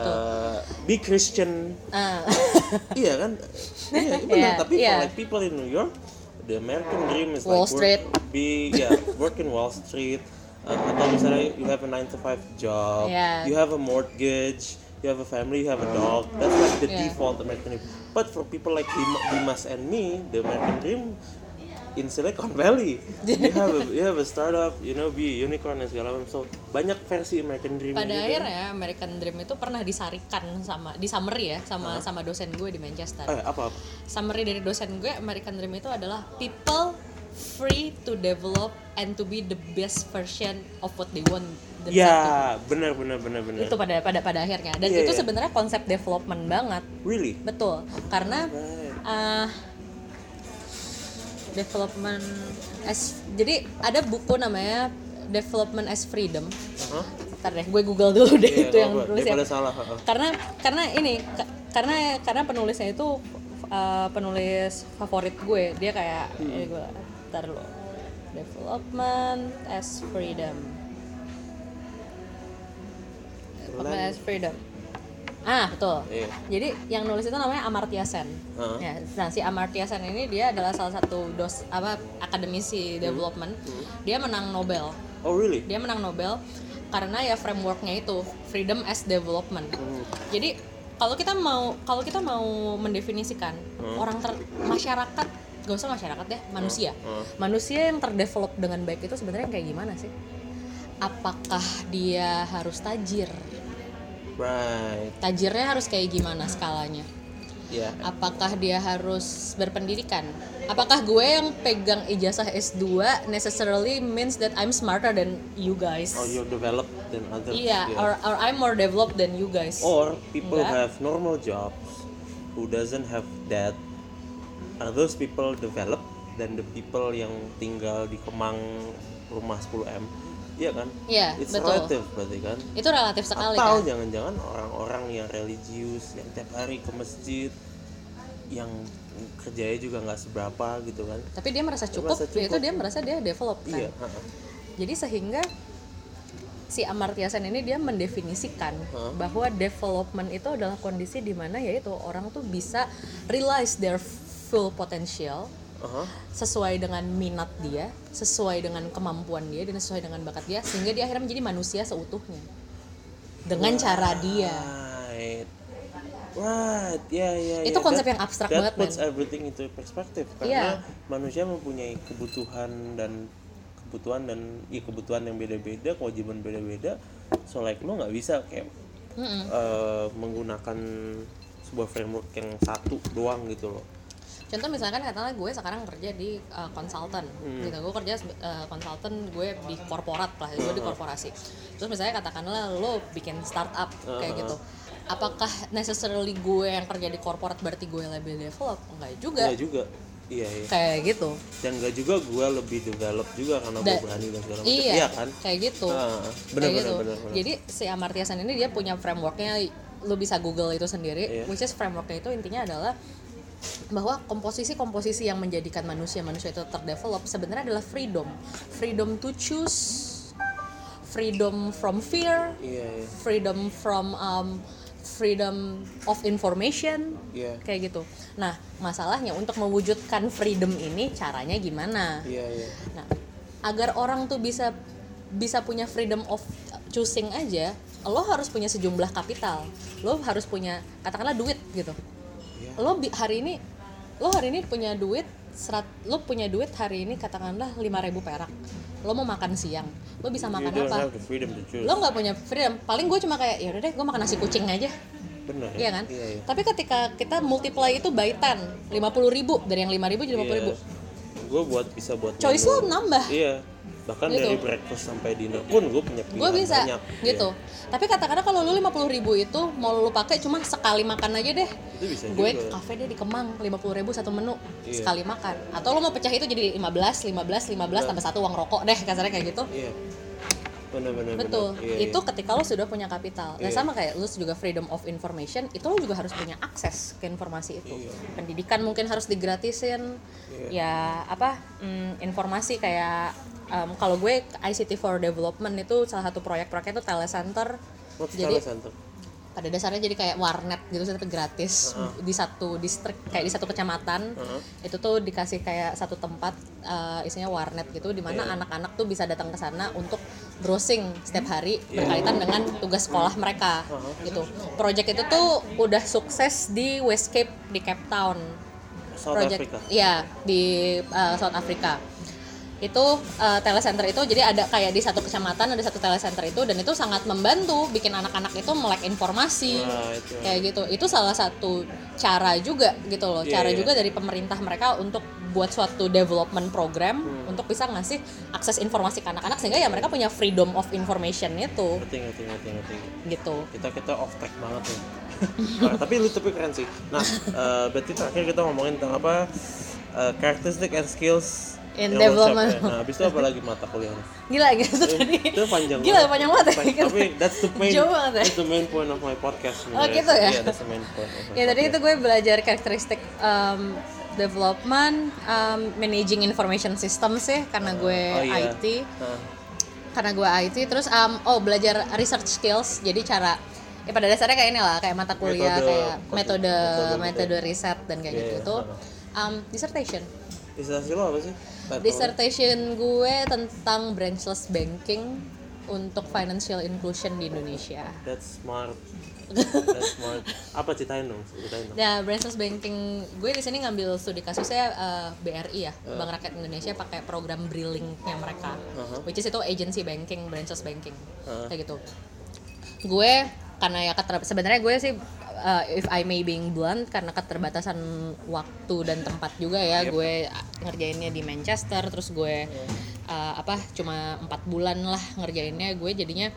Be Christian. Iya kan? Benar. Tapi for like people in New York, the American Dream is Wall Street. Work in Wall Street. Atau misalnya you have a 9-to-5 job, you have a mortgage, you have a family, you have a dog. That's like the default American dream. But for people like Dimas and me, the American dream in Silicon Valley, you have a startup, be a unicorn dan segala macam. So banyak versi American dream. Pada akhirnya American dream itu pernah disarikan di summary ya sama dosen gue di Manchester. Apa? Summary dari dosen gue, American dream itu adalah people free to develop and to be the best version of what they want. Benar. Itu pada akhirnya. Dan itu sebenarnya konsep development banget. Really? Betul. Karena development as, jadi ada buku namanya Development as Freedom. Ntar deh, gue Google dulu deh itu yang nulisnya. Salah. Karena penulisnya itu penulis favorit gue. Dia kayak gue ntar dulu. Development as Freedom. Development as Freedom. Betul. Yeah. Jadi yang nulis itu namanya Amartya Sen. Ya, nah si Amartya Sen ini dia adalah salah satu akademisi development. Dia menang Nobel. Oh really? Dia menang Nobel karena ya frameworknya itu freedom as development. Jadi kalau kita mau mendefinisikan masyarakat, gak usah masyarakat deh, manusia yang terdevelop dengan baik itu sebenarnya kayak gimana sih? Apakah dia harus tajir? Right. Tajirnya harus kayak gimana skalanya? Yeah. Apakah dia harus berpendidikan? Apakah gue yang pegang ijazah S2 necessarily means that I'm smarter than you guys? Or you're developed than others? Yeah, or I'm more developed than you guys. Or people have normal jobs who doesn't have that. Are those people developed than the people yang tinggal di Kemang rumah 10M? Iya kan? Iya, It's betul. relative berarti kan? Itu relatif sekali. Atau kan? jangan-jangan orang-orang yang religius, yang tiap hari ke masjid, yang kerjanya juga nggak seberapa gitu kan? Tapi dia merasa cukup. Itu dia merasa dia develop kan? Iya. Jadi sehingga si Amartya Sen ini dia mendefinisikan bahwa development itu adalah kondisi di mana yaitu orang tuh bisa realize their full potential. Sesuai dengan minat dia, sesuai dengan kemampuan dia, dan sesuai dengan bakat dia, sehingga dia akhirnya menjadi manusia seutuhnya dengan cara dia. Right, yeah. Itu konsep yang abstrak banget, That puts everything into perspective. Karena manusia mempunyai kebutuhan yang beda-beda, kewajiban beda-beda. So like lo nggak bisa kayak menggunakan sebuah framework yang satu doang gitu loh. Contoh misalkan katakanlah gue sekarang kerja di konsultan, gitu. Gue kerja konsultan, gue di korporat lah, gue di korporasi. Terus misalnya katakanlah lo bikin startup kayak gitu. Apakah necessarily gue yang kerja di korporat berarti gue lebih develop? Enggak juga. Iya. Kayak gitu. Dan enggak juga gue lebih develop juga karena gue berani dan segala macam. Iya kan? Kayak gitu. Benar. Jadi si Amartya Sen ini dia punya frameworknya, lo bisa Google itu sendiri. Which is frameworknya itu intinya adalah bahwa komposisi yang menjadikan manusia itu terdevelop sebenarnya adalah freedom to choose, freedom from fear, freedom from freedom of information, kayak gitu. Nah, masalahnya untuk mewujudkan freedom ini caranya gimana? Nah, agar orang tuh bisa punya freedom of choosing aja, lo harus punya sejumlah kapital, lo harus punya katakanlah duit gitu. Lo hari ini punya duit hari ini katakanlah 5.000 perak. Lo mau makan siang, lo bisa makan apa? Lo nggak punya freedom. Paling gue cuma kayak ya udah deh, gue makan nasi kucing aja. Bener. Iya kan? Iya. Tapi ketika kita multiply itu by 10, 50.000 dari yang 5.000 jadi 50.000. Gue bisa buat choice lo nambah. Iya. Bahkan gitu. Dari breakfast sampai dinner pun gue punya pilihan gue bisa, banyak gitu. Tapi kata-kata kalau lu 50.000 itu mau lu pakai cuma sekali makan aja deh. Itu bisa gue juga. Kafe deh di Kemang 50.000 satu menu sekali makan. Atau lu mau pecah itu jadi 15 tambah satu uang rokok deh kasarnya kayak gitu. Iya. Benar. Betul. Itu ketika lo sudah punya kapital. Nah sama kayak lo juga freedom of information, itu lo juga harus punya akses ke informasi itu. Pendidikan mungkin harus digratisin. Ya informasi kayak kalau gue ICT for Development itu salah satu proyeknya itu telecenter. Jadi telecenter? Pada dasarnya jadi kayak warnet gitu tapi gratis di satu distrik kayak di satu kecamatan. Itu tuh dikasih kayak satu tempat isinya warnet gitu di mana anak-anak tuh bisa datang ke sana untuk browsing setiap hari berkaitan dengan tugas sekolah mereka gitu. Project itu tuh udah sukses di Westcape di Cape Town. South Africa. Iya, di South Africa. Itu telecenter itu jadi ada kayak di satu kecamatan ada satu telecenter itu, dan itu sangat membantu bikin anak-anak itu melek informasi kayak gitu. Itu salah satu cara juga gitu loh, cara juga dari pemerintah mereka untuk buat suatu development program untuk bisa ngasih akses informasi ke anak-anak sehingga ya mereka punya freedom of information itu. Ngerti. Gitu. Kita off track banget nih. Nah, tapi keren sih. Nah, berarti terakhir kita ngomongin tentang apa? characteristic and skills in yang development. workshop, ya. Nah, habis itu apa lagi mata kuliahnya? Gila gitu tadi. Itu panjang. Gila panjang banget ya. Tapi that's the main, Jauh banget ya. that's the main point of my podcast. Oh gitu ya? Iya, that's the main point of my Ya tadi podcast. itu gue belajar karakteristik development, managing information system sih karena gue iya. IT. Karena gue IT terus belajar research skills. Jadi cara ya pada dasarnya kayak ini lah, kayak mata kuliah kayak metode riset dan kayak gitu itu. Dissertation. Disertasi lo apa sih? Dissertation gue tentang branchless banking untuk financial inclusion di Indonesia. That's smart. That's smart. Apa ceritain dong? Nah, branchless banking gue di sini ngambil studi kasusnya BRI ya, Bank Rakyat Indonesia pakai program Brilink-nya mereka, which is itu agency banking, branchless banking, kayak gitu. Gue karena ya sebenarnya gue sih if I may being blunt karena keterbatasan waktu dan tempat juga ya, gue ngerjainnya di Manchester, terus gue cuma 4 bulan lah ngerjainnya, gue jadinya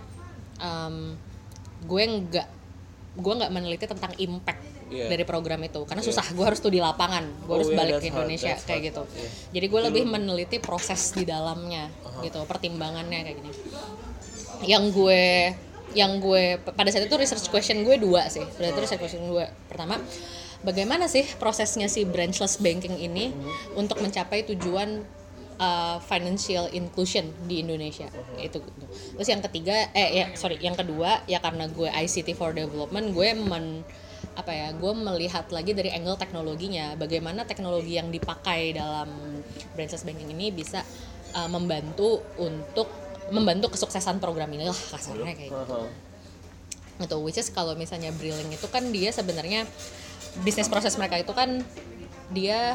gue nggak meneliti tentang impact dari program itu karena susah, gue harus tuh di lapangan, gue harus balik ke Indonesia kayak gitu. Jadi gue lebih meneliti proses di dalamnya gitu, pertimbangannya kayak gini. Yang gue pada saat itu research question gue 2 sih. Research question gue pertama, bagaimana sih prosesnya si branchless banking ini untuk mencapai tujuan financial inclusion di Indonesia itu. Terus yang kedua ya karena gue ICT for Development, gue gue melihat lagi dari angle teknologinya, bagaimana teknologi yang dipakai dalam branchless banking ini bisa membantu kesuksesan program ini lah kasarnya kayak gitu. Gitu, which is kalau misalnya Brilink itu kan dia sebenarnya bisnis proses mereka itu kan dia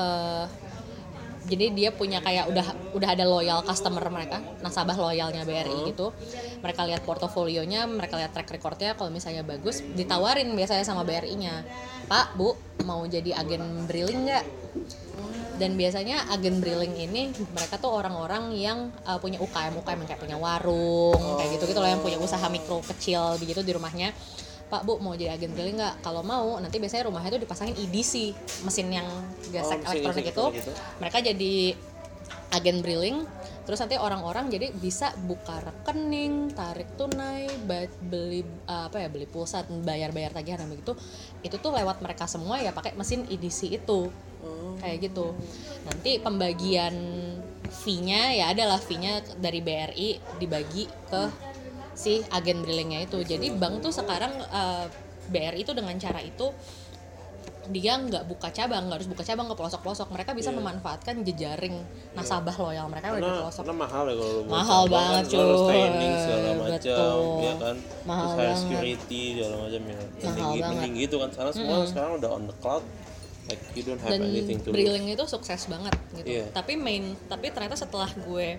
jadi dia punya kayak udah ada loyal customer mereka, nasabah loyalnya BRI gitu. Mereka lihat portofolionya, mereka lihat track recordnya, kalau misalnya bagus ditawarin biasanya sama BRI-nya, Pak, Bu, mau jadi agen Brilink nggak? Dan biasanya agen Brilink ini mereka tuh orang-orang yang punya UKM yang kayak punya warung kayak gitu loh, yang punya usaha mikro kecil begitu di rumahnya. Pak, Bu, mau jadi agen Brilink nggak? Kalau mau nanti biasanya rumahnya tuh dipasangin EDC, mesin yang gesek elektronik itu. Mereka jadi agen Brilink, terus nanti orang-orang jadi bisa buka rekening, tarik tunai, beli pulsa, bayar tagihan begitu. Itu tuh lewat mereka semua ya pakai mesin EDC itu. Kayak gitu. Nanti pembagian fee-nya ya adalah fee-nya dari BRI dibagi ke si agen Brilink-nya itu. Jadi bank tuh sekarang BRI itu dengan cara itu dia nggak harus buka cabang ke pelosok-pelosok. Mereka bisa memanfaatkan jejaring nasabah loyal mereka di pelosok. Karena mahal ya kalau mahal banget cuy. Harus training segala macam, ya kan. Mahal terus banget. Security segala macam ya. Mending gitu kan. Karena semua sekarang udah on the cloud. Like you don't have dan anything to Brilink itu sukses banget gitu. Yeah. Tapi ternyata setelah gue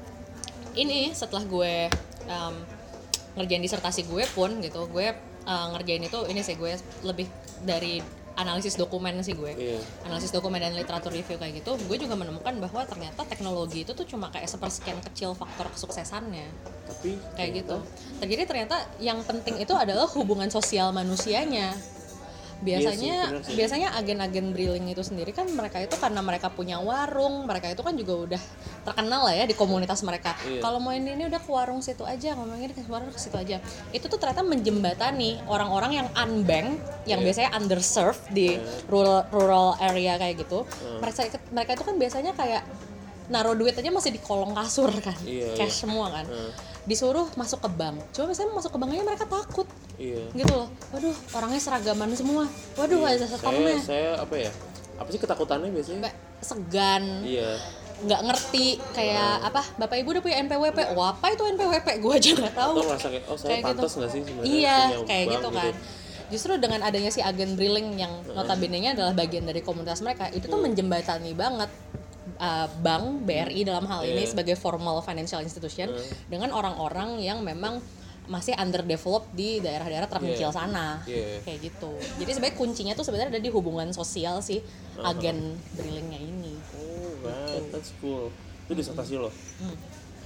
ngerjain disertasi gue pun gitu, gue ngerjain itu gue lebih dari analisis dokumen sih gue. Analisis dokumen dan literatur review kayak gitu, gue juga menemukan bahwa ternyata teknologi itu tuh cuma kayak sepersekian kecil faktor kesuksesannya. Tapi kayak gitu. Jadi ternyata yang penting itu adalah hubungan sosial manusianya. Biasanya agen-agen Brilink itu sendiri kan mereka itu karena mereka punya warung, mereka itu kan juga udah terkenal lah ya di komunitas mereka. Kalau mau ini udah ke warung situ aja, ngomongin ke warung ke situ aja. Itu tuh ternyata menjembatani orang-orang yang unbanked, yang biasanya underserved di rural area kayak gitu. Mereka itu kan biasanya kayak naruh duit aja masih di kolong kasur kan, cash semua kan. Disuruh masuk ke bank, coba misalnya masuk ke bank aja mereka takut. Gitu loh, waduh orangnya seragaman semua, waduh ada satpamnya. Saya apa sih ketakutannya biasanya? Segan, nggak ngerti kayak Bapak Ibu udah punya NPWP, apa itu NPWP, gue aja nggak tahu. Atau merasa kayak saya pantas nggak sih sebenarnya? Iya kayak gitu kan. Justru dengan adanya si agen Brilink yang notabene-nya adalah bagian dari komunitas mereka, itu tuh menjembatani banget bank BRI dalam hal ini sebagai formal financial institution dengan orang-orang yang memang masih underdeveloped di daerah-daerah terpencil sana, kayak gitu. Jadi sebenarnya kuncinya tuh sebenarnya ada di hubungan sosial si agen Brilink-nya ini. Oh, right, that's cool. Itu disertasi lo.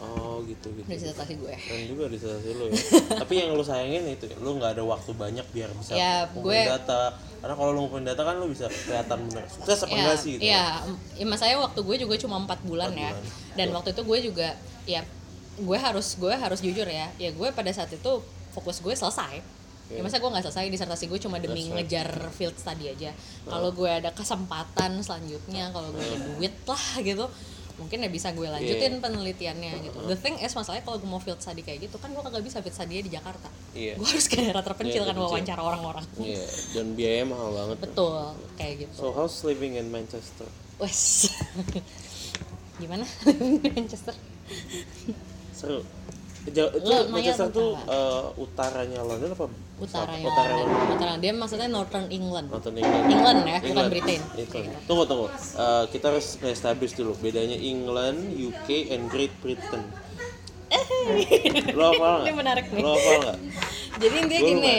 Oh gitu. disertasi gue. Keren juga disertasi lo ya. Tapi yang lo sayangin itu ya, lo nggak ada waktu banyak biar bisa Ya, ngumpulin data. Karena kalau lo ngumpulin data kan lo bisa kelihatan bener sukses apa enggak sih gitu. Iya, masalahnya waktu gue juga cuma 4 bulan ya. Dan waktu itu gue juga ya gue harus jujur ya. Ya gue pada saat itu fokus gue selesai. Ya masa gue nggak selesai disertasi gue cuma demi ngejar field study aja. Kalau gue ada kesempatan selanjutnya, kalau gue ada duit lah gitu, mungkin ya bisa gue lanjutin penelitiannya gitu. The thing is masalahnya kalau gue mau field study kayak gitu kan gue kagak bisa field study di Jakarta. Gue harus ke daerah terpencil kan wawancara orang-orang. Iya, dan biayanya mahal banget. Betul, kayak gitu. So how's living in Manchester? Wes. Gimana Manchester? Seru. Itu Manchester tuh utaranya London apa? Utaranya London. Utara. Dia maksudnya Northern England. England Ya, bukan Britain. Tunggu. Kita harus establish dulu bedanya England, UK, and Great Britain. Lo hafal nggak? Ini menarik nih. Lo hafal nggak? Jadi intinya gini.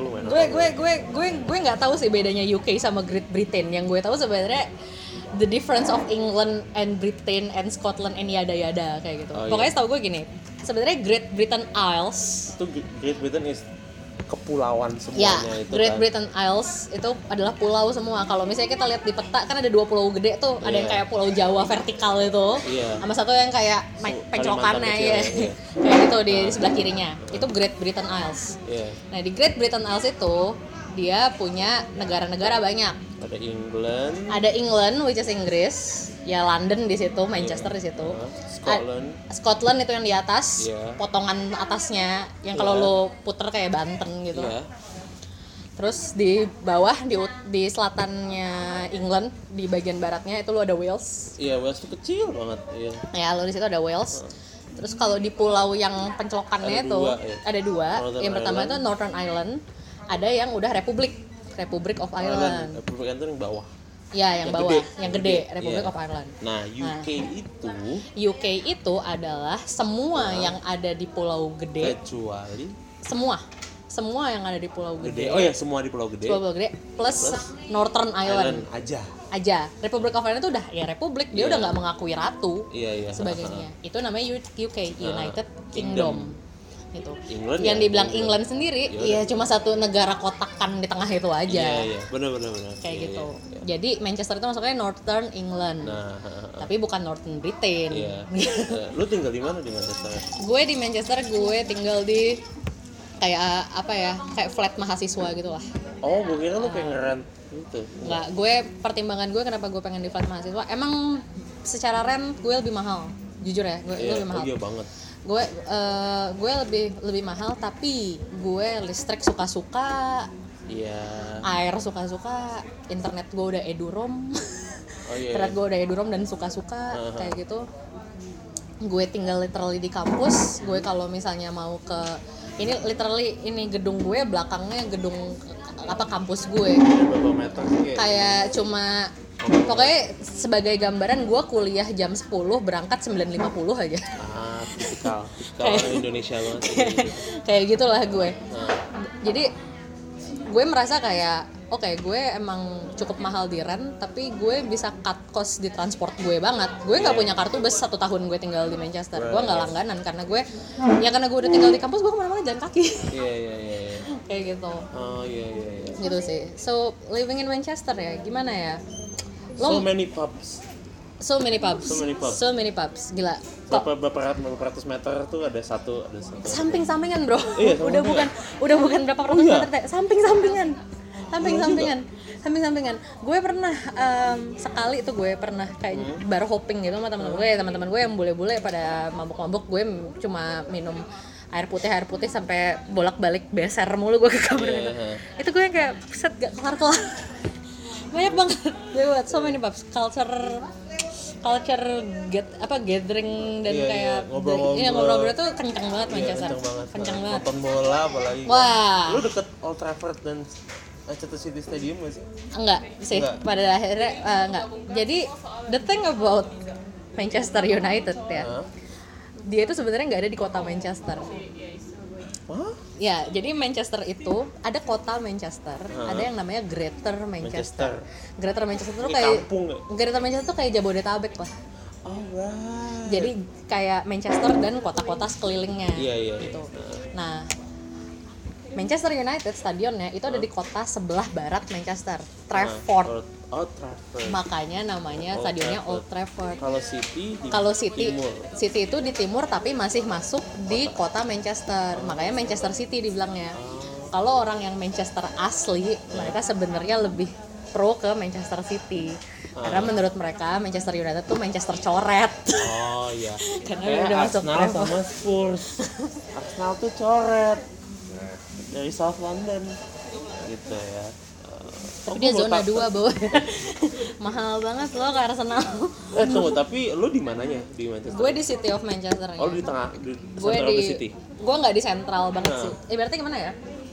Gue nggak tahu sih bedanya UK sama Great Britain. Yang gue tahu sebenarnya the difference of England and Britain and Scotland and yada kayak gitu. Pokoknya setahu gue gini. Sebenarnya Great Britain Isles. Itu Great Britain is kepulauan semuanya itu Great kan. Britain Isles itu adalah pulau semua. Kalau misalnya kita lihat di peta kan ada 2 pulau gede tuh, ada yang kayak Pulau Jawa vertikal itu, sama satu yang kayak pencokannya ya. Kayak gitu di sebelah kirinya. Itu Great Britain Isles. Nah, di Great Britain Isles itu dia punya negara-negara banyak. Ada England which is Inggris, ya London di situ, Manchester di situ. Scotland itu yang di atas, potongan atasnya yang kalau lo puter kayak Banten gitu. Terus di bawah di selatannya England, di bagian baratnya itu lo ada Wales. Iya, Wales itu kecil banget. Ya, lo di situ ada Wales. Terus kalau di pulau yang pencelokannya itu ada dua. Yang pertama itu Northern Ireland, ada yang udah Republic of Ireland. Republik itu yang bawah. Ya, yang bawah, yang gede, Republic of Ireland. Nah, UK itu adalah semua yang ada di pulau gede. Kecuali semua yang ada di pulau gede. Oh ya, semua di pulau gede. Pulau gede plus Northern Ireland aja. Republic of Ireland itu udah ya republik, dia udah nggak mengakui ratu. Sebagainya. Itu namanya UK, United Kingdom. Itu. Yang dibilang England sendiri, ya cuma satu negara kotakan di tengah itu aja. Iya, benar. Kayak gitu. Jadi Manchester itu masuknya Northern England. Tapi bukan Northern Britain. Lu tinggal di mana di Manchester? Gue di Manchester, gue tinggal di kayak apa ya? Kayak flat mahasiswa gitu lah. Oh, gue kira lu kayak ngerent gitu. Enggak, gue pertimbangan gue kenapa gue pengen di flat mahasiswa, emang secara rent gue lebih mahal. Jujur ya, gue lebih mahal. Iya banget. Gue lebih mahal, tapi gue listrik suka-suka, air suka-suka, internet gue udah eduroam, internet gue udah eduroam dan suka-suka kayak gitu. Gue tinggal literally di kampus. Gue kalau misalnya mau ke ini gedung gue belakangnya gedung kampus gue. Berapa meter sih? Kayak cuma pokoknya sebagai gambaran gue kuliah jam 10 berangkat 9.50 aja. Tipikal Indonesia banget. Kayak gitulah gue. Jadi gue merasa kayak gue emang cukup mahal di rent, tapi gue bisa cut cost di transport gue banget. Gue nggak punya kartu bus 1 tahun gue tinggal di Manchester. Gue nggak langganan karena gue udah tinggal di kampus, gue kemana-mana jalan kaki. Kayak gitu. Gitu sih. So living in Manchester ya gimana ya? So many pubs. Gila. Berapa ratus meter tuh ada satu. Samping-sampingan, bro. Udah bukan berapa ratus meter teh. Samping-sampingan. Gue pernah sekali tuh gue pernah kayak bar hopping gitu sama teman-teman gue yang bule-bule pada mabuk-mabuk. Gue cuma minum air putih sampai bolak-balik beser mulu gue ke kamar gitu. Itu gue yang kayak set gak kelar-kelar. Banyak banget. So many pubs, culture gathering dan kayak ngobrol-ngobrol tuh kencang banget Manchester. Kencang banget. Nonton bola apalagi. Wah. Lu deket Old Trafford dan Manchester City Stadium gak sih? Enggak sih. Pada akhirnya enggak. Jadi the thing about Manchester United ya. Dia itu sebenarnya enggak ada di kota Manchester. Ya, jadi Manchester itu ada kota Manchester, ada yang namanya Greater Manchester. Greater Manchester tuh kayak kampung, Greater Manchester tuh kayak Jabodetabek lah. Alright. Jadi kayak Manchester dan kota-kota sekelilingnya. Iya. Gitu. Nah, Manchester United stadionnya itu ada di kota sebelah barat Manchester, Trafford. Trafford. Makanya namanya stadionnya Old Trafford. Kalau City di timur. City itu di timur tapi masih masuk di kota Manchester. Makanya Manchester City dibilangnya. Kalau orang yang Manchester asli, mereka sebenarnya lebih pro ke Manchester City. Karena menurut mereka Manchester United tuh Manchester coret. Oh iya. Karena kayak udah masuk Arsenal Trafford. sama Spurs. Arsenal tuh coret. Dari South London. Gitu ya. Tapi dia zona 2 bawah. Mahal banget loh ke Arsenal. Tunggu, tapi lu di mananya di Manchester? Gue di City of Manchester. Oh, lu di tengah di Gue center of di the city. gue nggak di sentral banget sih. Berarti gimana ya?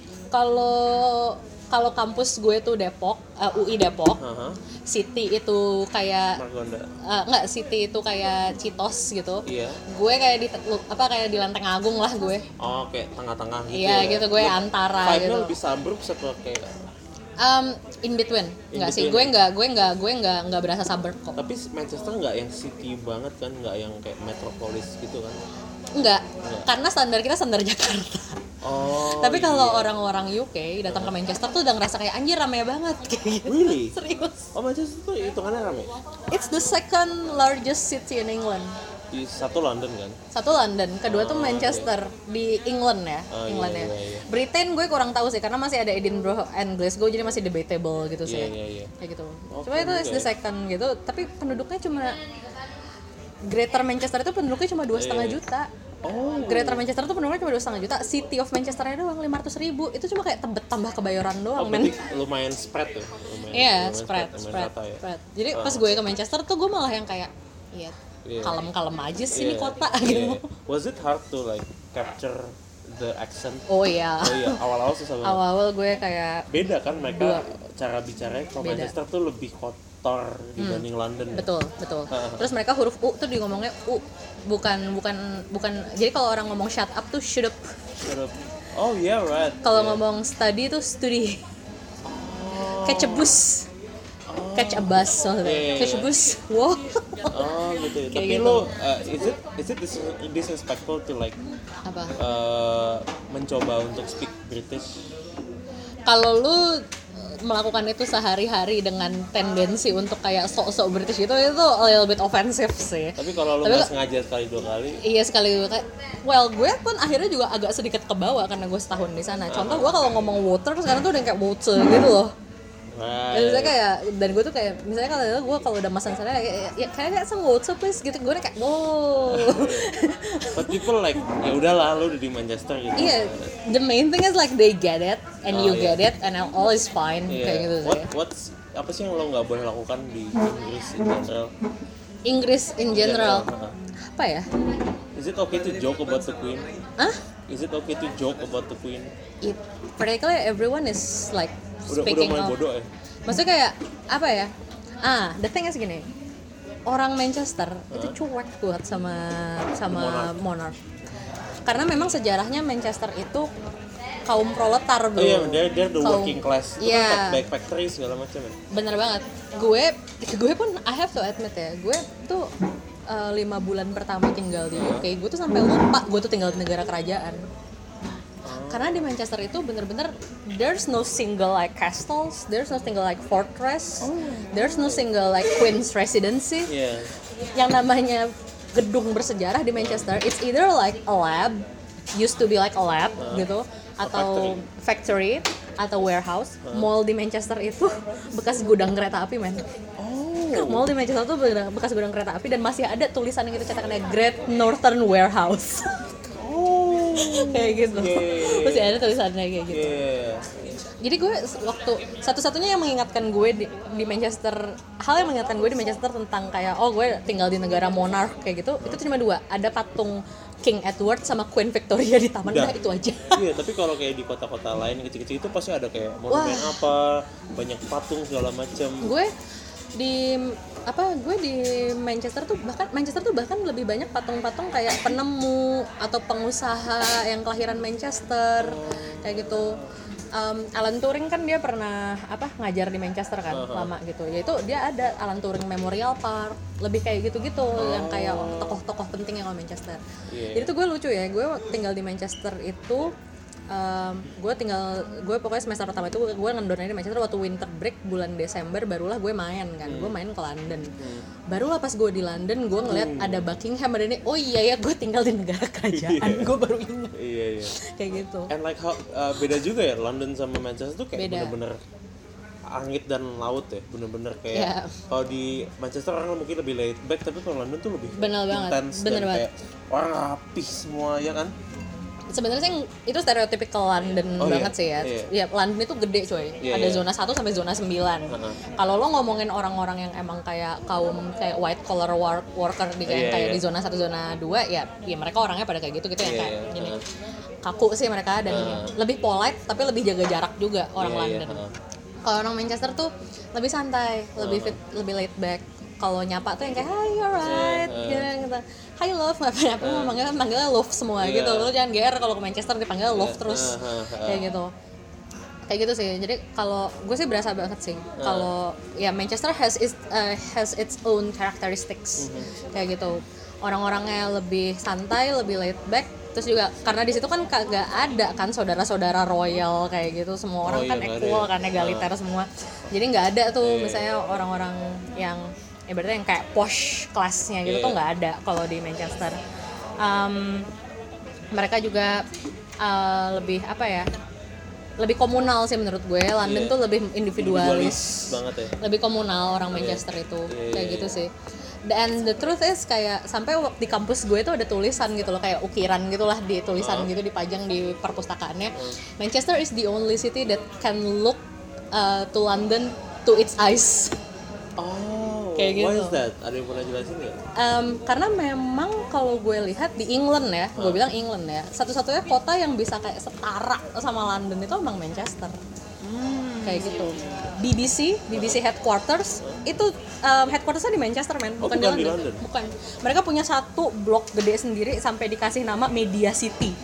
Kalau kampus gue tuh Depok, UI Depok. City itu kayak Margonda. Enggak, City itu kayak Citos gitu. Iya. Gue kayak di Lenteng Agung lah gue. Oh, kayak tengah-tengah gitu. Iya, ya. gitu gue antara Vibe-nya gitu. lebih suburbs atau kayak In between. Enggak sih, between. gue enggak berasa suburb kok. tapi Manchester nggak yang city banget kan, nggak yang kayak metropolis gitu kan. Enggak. Karena standar kita standar Jakarta. Oh. Tapi kalau iya. orang-orang UK datang ke Manchester tuh udah ngerasa kayak anjir rame banget kayak gitu. Really? Serius. Oh, Manchester tuh hitungannya rame. It's the second largest city in England. Di satu London kan. Satu London, kedua tuh Manchester di England ya, England ya. Iya. Britain gue kurang tahu sih karena masih ada Edinburgh and Glasgow jadi masih debatable gitu sih. Iya. Kayak gitu. Oh, Cuma itu is the second gitu, tapi penduduknya cuma Greater Manchester itu penduduknya cuma 2,5 juta. Oh. Greater Manchester tuh penduduknya cuma 2,5 juta. City of Manchesternya doang 500.000. Itu cuma kayak Tebet tambah Kebayoran doang, men. Berarti lumayan spread tuh. Iya, lumayan spread. rata ya. Jadi pas gue ke Manchester tuh gue malah yang kayak kalem-kalem aja sih nih kota gitu. Was it hard to like capture the accent? Oh iya. Awal-awal susah banget. Awal-awal gue kayak Beda kan mereka cara bicaranya. Kalau Beda. Manchester tuh lebih kotor dibanding London. Ya? betul. Terus mereka huruf U tuh di ngomongnya U, bukan. Jadi kalau orang ngomong shut up tuh should up. Oh yeah, right. Kalau ngomong study tuh studi. Catch a bus. Catch a bus maksudnya. Catch a bus. Wow. Oh gitu. Kayak Tapi gitu. lo is it disrespectful to like Apa? mencoba untuk speak British? Kalau lu melakukan itu sehari-hari dengan tendensi untuk kayak sok-sok British gitu, itu a little bit offensive sih. Tapi kalau lo nggak sengaja sekali dua kali, Iya sekali kayak, well gue pun akhirnya juga agak sedikit kebawa karena gue setahun di sana. Contoh gue kalau ngomong water sekarang tuh udah kayak water gitu loh. right. Dan misalnya kayak, dan gue tuh kayak misalnya kalau udah masan sana ya kayak some water please gitu, gue kayak wow. But people like ya udahlah lo udah di Manchester gitu. Iya, the main thing is like they get it and you iya. get it and all is fine kayak gitu sih. What's apa sih yang lo nggak boleh lakukan di Inggris in general? Inggris in general. Apa ya? Is it okay to joke about the Queen? Hah? Is it okay to joke about the Queen? Particularly everyone is like Udah speaking mulai of. bodoh ya? Maksudnya kayak apa ya? The thing is gini. Orang Manchester itu cuek buat sama monarch. Karena memang sejarahnya Manchester itu kaum proletar bro. Oh iya, they're the working class. Itu Iya. kan back factory segala macam ya. Bener banget. Gue pun I have to admit ya, gue tuh 5 bulan pertama tinggal di UK, gue tuh sampai lupa gue tuh tinggal di negara kerajaan. Karena di Manchester itu bener-bener there's no single like castles, there's no single like fortress, there's no single like queen's residency. Iya. Yang namanya gedung bersejarah di Manchester, it's either like a lab, used to be like a lab gitu, atau factory atau warehouse. Mall di Manchester itu bekas gudang kereta api, men. Mall di Manchester itu bekas gudang kereta api dan masih ada tulisan yang itu cetakannya Great Northern Warehouse. Kayak gitu. Masih ada tulisannya kayak gitu. Jadi gue waktu satu-satunya yang mengingatkan gue di Manchester, hal yang mengingatkan gue di Manchester tentang kayak gue tinggal di negara monarch kayak gitu, itu cuma 2. Ada patung King Edward sama Queen Victoria di taman, udah itu aja. Iya, tapi kalau kayak di kota-kota lain kecil-kecil itu pasti ada kayak monumen apa, banyak patung segala macam. Gue di Manchester tuh bahkan lebih banyak patung-patung kayak penemu atau pengusaha yang kelahiran Manchester kayak gitu. Alan Turing kan dia pernah ngajar di Manchester kan lama gitu. Yaitu dia ada Alan Turing Memorial Park, lebih kayak gitu-gitu yang kayak tokoh-tokoh penting yang di Manchester. Jadi tuh gue lucu ya, gue tinggal di Manchester itu gue pokoknya semester pertama itu gue ngendonnya di Manchester waktu winter break bulan Desember, barulah gue main kan. Gue main ke London. Barulah pas gue di London gue ngeliat ada Buckingham, ada ini, oh iya ya gue tinggal di negara kerajaan. Gue baru ingat. Iya. Kayak gitu. And like how beda juga ya London sama Manchester tuh kayak bener-bener langit dan laut ya, bener-bener kayak kalau di Manchester orang mungkin lebih laid back, tapi kalau London tuh lebih intense dan kayak orang rapi semua ya kan. Sebenarnya sih itu stereotypical London banget sih ya. Ya London itu gede coy. Ada zona 1 sampai zona 9. Kalau lo ngomongin orang-orang yang emang kayak kaum kayak white collar worker di kayak di zona 1 zona 2 ya mereka orangnya pada kayak gitu yang kayak gini. Kaku sih mereka dan lebih polite tapi lebih jaga jarak juga orang London. Kalau orang Manchester tuh lebih santai, lebih laid back. Kalau nyapa tuh yang kayak hi alright gitu. Hi love, manggilnya love semua gitu. Lo jangan GR kalau ke Manchester dipanggil love terus kayak gitu sih. Jadi kalau gue sih berasa banget sih kalau ya Manchester has its own characteristics kayak gitu. Orang-orangnya lebih santai, lebih laid back. Terus juga karena di situ kan kagak ada kan saudara-saudara royal kayak gitu, semua orang kan equal kan, egaliter semua. Jadi nggak ada tuh misalnya orang-orang yang berarti yang kayak posh kelasnya gitu tuh nggak ada kalau di Manchester. Mereka juga lebih lebih komunal sih menurut gue. London tuh lebih individualis banget ya. Lebih komunal orang Manchester itu kayak gitu sih. Dan the truth is kayak sampai di kampus gue tuh ada tulisan gitu loh, kayak ukiran gitulah di tulisan gitu dipajang di perpustakaannya. Manchester is the only city that can look to London to its eyes. Kayak gitu. Why is that? Ada yang pernah jelasin nggak? Karena memang kalau gue lihat di England ya, gue bilang England ya, satu-satunya kota yang bisa kayak setara sama London itu emang Manchester. Kayak gitu. BBC headquarters itu headquartersnya di Manchester bukan di London. Bukan. Mereka punya satu blok gede sendiri sampai dikasih nama Media City.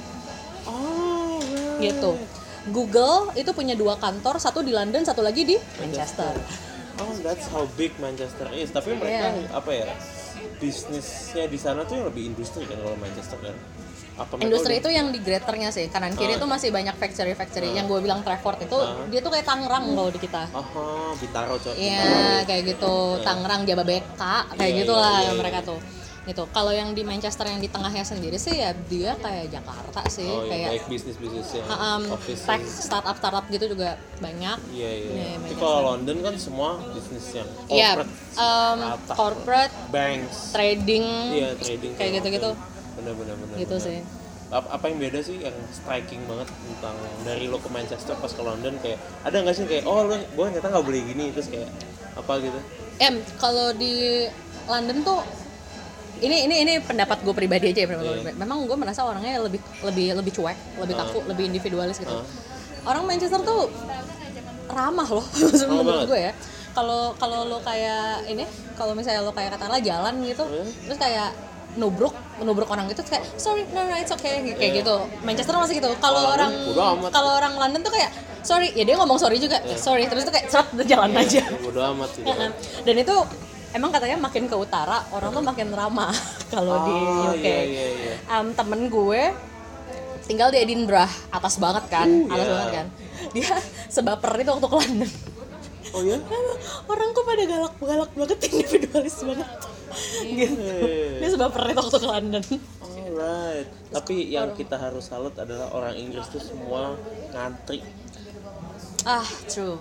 Gitu. Google itu punya 2 kantor, satu di London, satu lagi di Manchester. That's how big Manchester is. Tapi mereka bisnisnya di sana tuh yang lebih industri kan kalau Manchester kan. Industri itu yang di Greaternya sih, kanan kiri itu masih banyak factory. Yang gue bilang Trafford itu dia tuh kayak Tangerang kalau di kita. Bintaro coy. Iya, kayak gitu. Tangerang, Jababeka, kayak gitulah mereka tuh. Gitu. Kalau yang di Manchester yang di tengahnya sendiri sih ya dia kayak Jakarta sih, kayak bisnis ya. Tech startup gitu juga banyak. Tapi kalau London kan semua bisnis yang corporate, corporate, banks, trading, trading kayak gitu-gitu. Benar. Gitu sih. Apa yang beda sih yang striking banget tentang dari lo ke Manchester pas ke London, kayak ada nggak sih kayak gue ternyata nggak boleh gini, terus kayak apa gitu? Kalau di London tuh ini pendapat gue pribadi aja ya. Memang gue merasa orangnya lebih cuek, lebih kaku, lebih individualis gitu. Orang Manchester tuh ramah loh menurut gue ya. Kalau lo kayak kalau misalnya lo kayak katakanlah jalan gitu, terus kayak nubruk orang gitu kayak sorry no it's okay kayak gitu. Manchester masih gitu. Kalau orang London tuh kayak sorry ya dia ngomong sorry juga sorry terus tuh kayak jalan aja. Bodo amat gitu. Dan itu emang katanya makin ke utara orang tuh makin ramah kalau di UK. Temen gue tinggal di Edinburgh, atas banget kan. Dia sebaper itu waktu ke London. Oh ya? Orang kok pada galak banget, individualis banget. Gitu. Dia sebaper itu waktu ke London. Alright. Tapi yang kita harus salut adalah orang Inggris tuh semua ngantri. True.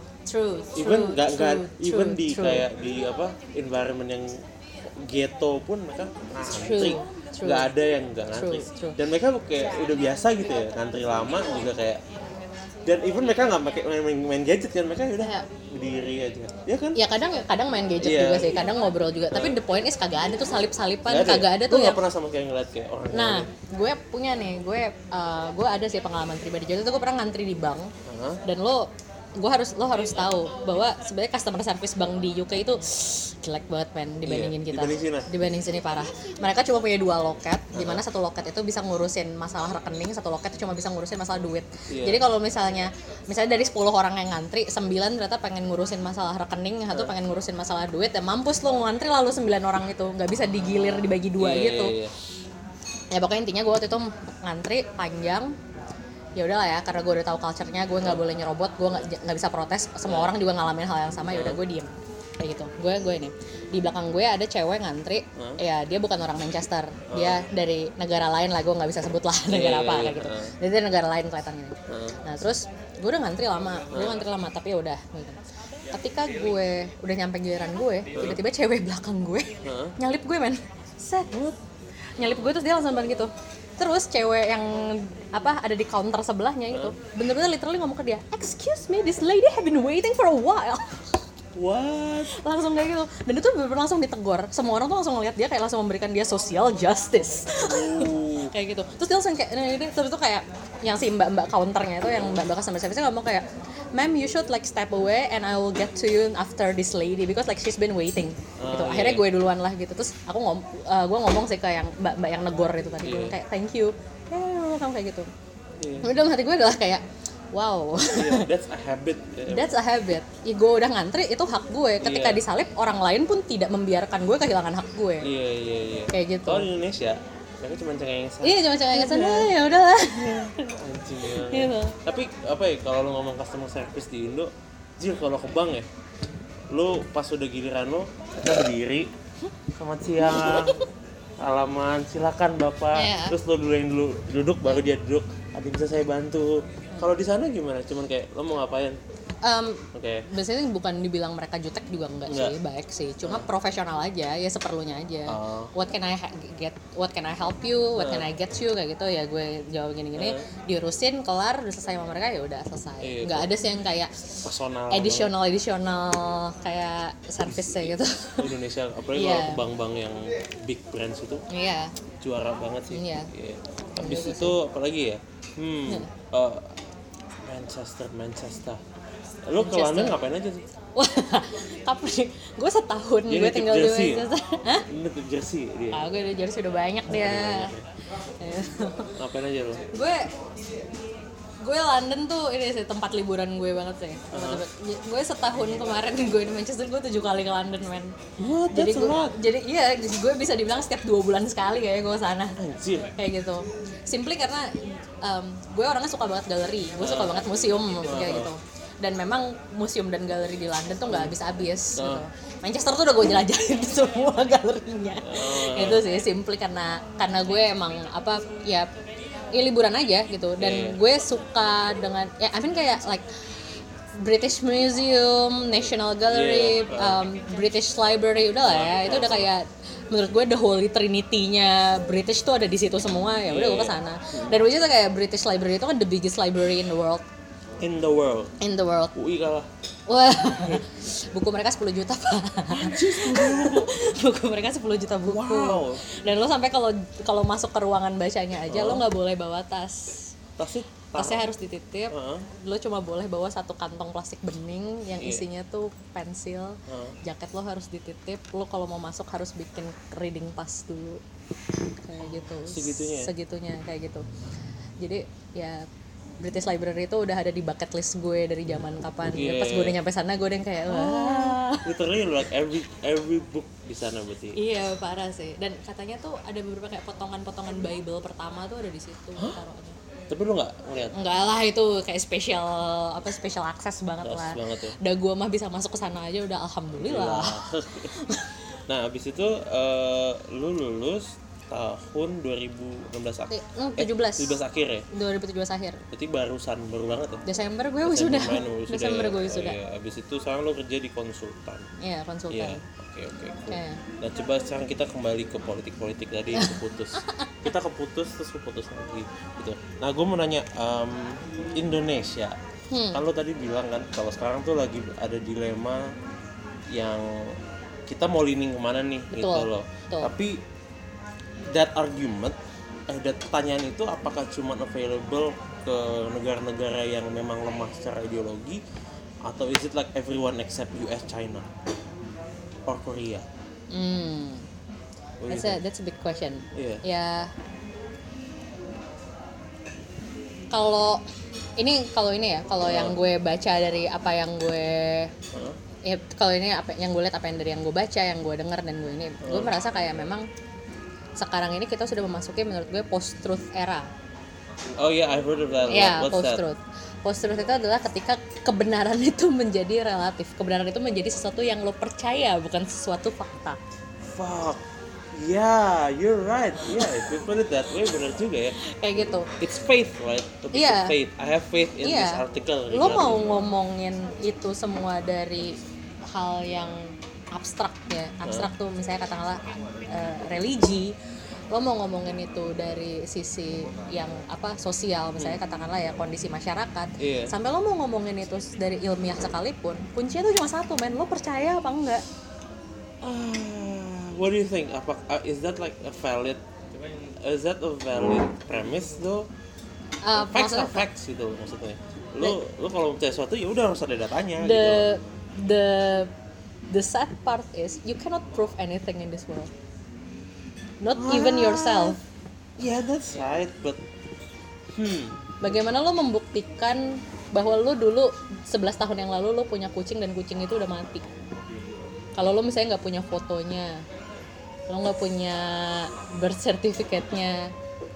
Even di kayak di environment yang ghetto pun mereka ngantri. Nggak ada yang nggak ngantri. Dan mereka kayak udah biasa gitu ya, ngantri lama juga kayak. Dan even mereka nggak pakai main gadget kan, mereka udah berdiri aja, ya kan? Ya kadang main gadget juga sih, kadang ngobrol juga. Tapi the point is kagak ada tuh salip-salipan, kagak ada tuh. Gue nggak pernah sama kayak ngeliat kayak orang. Nah, gue punya nih, gue ada sih pengalaman pribadi. Jadi tuh gue pernah ngantri di bank, dan lo lo harus tahu bahwa sebenarnya customer service bank di UK itu jelek banget men dibandingin kita. Dibanding sini parah. Mereka cuma punya 2 loket, di mana satu loket itu bisa ngurusin masalah rekening, satu loket itu cuma bisa ngurusin masalah duit. Jadi kalau misalnya dari 10 orang yang ngantri, 9 ternyata pengen ngurusin masalah rekening, satu pengen ngurusin masalah duit, ya mampus lo ngantri lalu 9 orang itu, nggak bisa digilir dibagi 2 gitu. Ya pokoknya intinya gue waktu itu ngantri panjang. Ya udahlah ya, karena gue udah tahu culture-nya, gue nggak boleh nyerobot, gue nggak bisa protes, semua orang juga ngalamin hal yang sama, ya udah gue diem kayak gitu. Gue ini di belakang gue ada cewek ngantri, ya dia bukan orang Manchester, dia dari negara lain lah, gue nggak bisa sebut lah negara apa kayak gitu, jadi dia negara lain kelihatannya. Nah terus gue udah ngantri lama, tapi ya udah gitu. Ketika gue udah nyampe giliran gue, tiba-tiba cewek belakang gue nyalip gue men, nyalip gue terus dia langsung banget gitu. Terus cewek yang ada di counter sebelahnya itu bener-bener literally ngomong ke dia, "Excuse me, this lady have been waiting for a while." What? Langsung kayak gitu. Dan itu bener-bener langsung ditegur. Semua orang tuh langsung ngeliat dia kayak langsung memberikan dia social justice. Kayak gitu. Terus dia langsung kayak terus itu kayak yang si mbak-mbak counternya itu, yang mbak-mbak customer service ngomong kayak, "Ma'am, you should like step away and I will get to you after this lady because like she's been waiting." Gitu. Akhirnya gue duluan lah gitu. Terus aku gue ngomong sih ke yang mbak-mbak yang negor itu tadi, gue kayak, "Thank you." Kamu kayak gitu. Dalam hati gue adalah kayak, wow. That's a habit. That's a habit. Ya, gue udah ngantri, itu hak gue. Ketika disalip, orang lain pun tidak membiarkan gue kehilangan hak gue. Iya. Kayak gitu. Kalau di Indonesia, mereka cuma cengeng sana. Iya, cuma cengeng sana, ya udahlah. Anjing ya. Gitu. Tapi apa ya, kalau lu ngomong customer service di Indo, kalau ke bank ya, lu pas udah giliran lu, kita berdiri, "Selamat siang, halaman, silakan Bapak." Terus lu dulu duduk, baru dia duduk. "Ada yang bisa saya bantu?" Kalau di sana gimana? Cuman kayak lo mau ngapain? Biasanya bukan dibilang mereka jutek juga enggak sih, baik sih. Cuma profesional aja, ya seperlunya aja. What can I help you? What can I get you? Kayak gitu ya, gue jawab gini-gini, diurusin, kelar, udah selesai sama mereka, ya udah selesai. Enggak ada sih yang kayak personal, additional kayak service gitu. Indonesia apalagi kalau bank-bank yang big brands itu. Juara banget sih. Habis itu apalagi ya? Manchester. Lu ke London ngapain aja tuh? Wah, kapan nih? Gue setahun gue tinggal di Manchester. Hah? Ini ke Jersey dia. Gue di Jersey udah banyak dia. Ngapain aja lu? Gue London tuh ini sih tempat liburan gue banget sih. Gue setahun kemarin gue di Manchester, gue 7 kali ke London men. Jadi gue bisa dibilang setiap 2 bulan sekali kayak gue sana. Anjir. Kayak gitu. Simply karena gue orangnya suka banget galeri, gue suka banget museum kayak gitu. Dan memang museum dan galeri di London tuh nggak habis-habis gitu. Manchester tuh udah gue jelajahin semua galerinya. Itu sih simply karena gue emang ya liburan aja gitu. Dan gue suka dengan kayak like British Museum, National Gallery, British Library, udah lah ya. Itu udah kayak menurut gue the holy trinity-nya British tuh ada di situ semua, ya udah gue kesana. Dan which is kayak British Library itu kan the biggest library in the world. In the world. UI kalah. Wah, buku mereka 10 juta pak. Buku mereka 10 juta buku. Wow. Dan lo sampai kalau masuk ke ruangan bacanya aja lo nggak boleh bawa tas. Tasnya harus dititip. Lo cuma boleh bawa 1 kantong plastik bening yang isinya tuh pensil. Jaket lo harus dititip. Lo kalau mau masuk harus bikin reading pass dulu. Kayak gitu. Segitunya kayak gitu. Jadi ya British Library itu udah ada di bucket list gue dari zaman kapan. Pas gue udah nyampe sana gue udah kayak wah. Literally like every book di sana berarti. Iya, parah sih. Dan katanya tuh ada beberapa kayak potongan-potongan Bible pertama tuh ada di situ taruhannya. Tapi lu nggak ngeliat? Enggak lah, itu kayak special access banget lah. Udah gue mah bisa masuk ke sana aja udah alhamdulillah. Nah, abis itu lu lulus tahun 2016 akhir. 17 akhir ya? 2017 akhir. Berarti baru banget ya? Desember gue wisuda. Desember gue wisuda. Abis itu sekarang lo kerja di konsultan. Iya, konsultan. Oke. Nah, coba sekarang kita kembali ke politik tadi yang keputus. Kita keputus lagi gitu. Nah, gue mau nanya Indonesia. Kan lo tadi bilang kan kalau sekarang tuh lagi ada dilema yang kita mau leaning kemana nih. Betul, gitu loh. Betul. Tapi that argument, pertanyaan itu apakah cuma available ke negara-negara yang memang lemah secara ideologi Atau is it like everyone except US, China, or Korea? What do you think? That's a big question. Iya. Ya, kalau yang gue baca dari apa yang gue kalau ini apa yang gue lihat, apa yang dari yang gue baca, yang gue dengar dan gue merasa kayak memang sekarang ini kita sudah memasuki menurut gue post-truth era. Oh yeah, I've heard of that. Ya, What's post-truth. Post-truth itu adalah ketika kebenaran itu menjadi relatif. Kebenaran itu menjadi sesuatu yang lo percaya, bukan sesuatu fakta. Fuck. Yeah, you're right. Yeah, if you put it that way, benar juga ya. Kayak gitu. It's faith, right? Iya. Faith. I have faith in this article. Lo mau ngomongin itu semua dari hal yang abstrak ya. Abstrak tuh misalnya katakanlah religi. Lo mau ngomongin itu dari sisi yang sosial, misalnya katakanlah ya kondisi masyarakat. Sampai lo mau ngomongin itu dari ilmiah sekalipun, kuncinya tuh cuma satu, men. Lo percaya apa enggak? What do you think? Is that like a valid premise though? Facts are facts gitu maksudnya. Lo kalau percaya sesuatu ya udah harus ada datanya gitu. The sad part is you cannot prove anything in this world. Not even yourself. Yeah, that's right, but bagaimana lo membuktikan bahwa lo dulu 11 tahun yang lalu lo punya kucing dan kucing itu udah mati? Kalau lo misalnya nggak punya fotonya, lo nggak punya birth certificate-nya,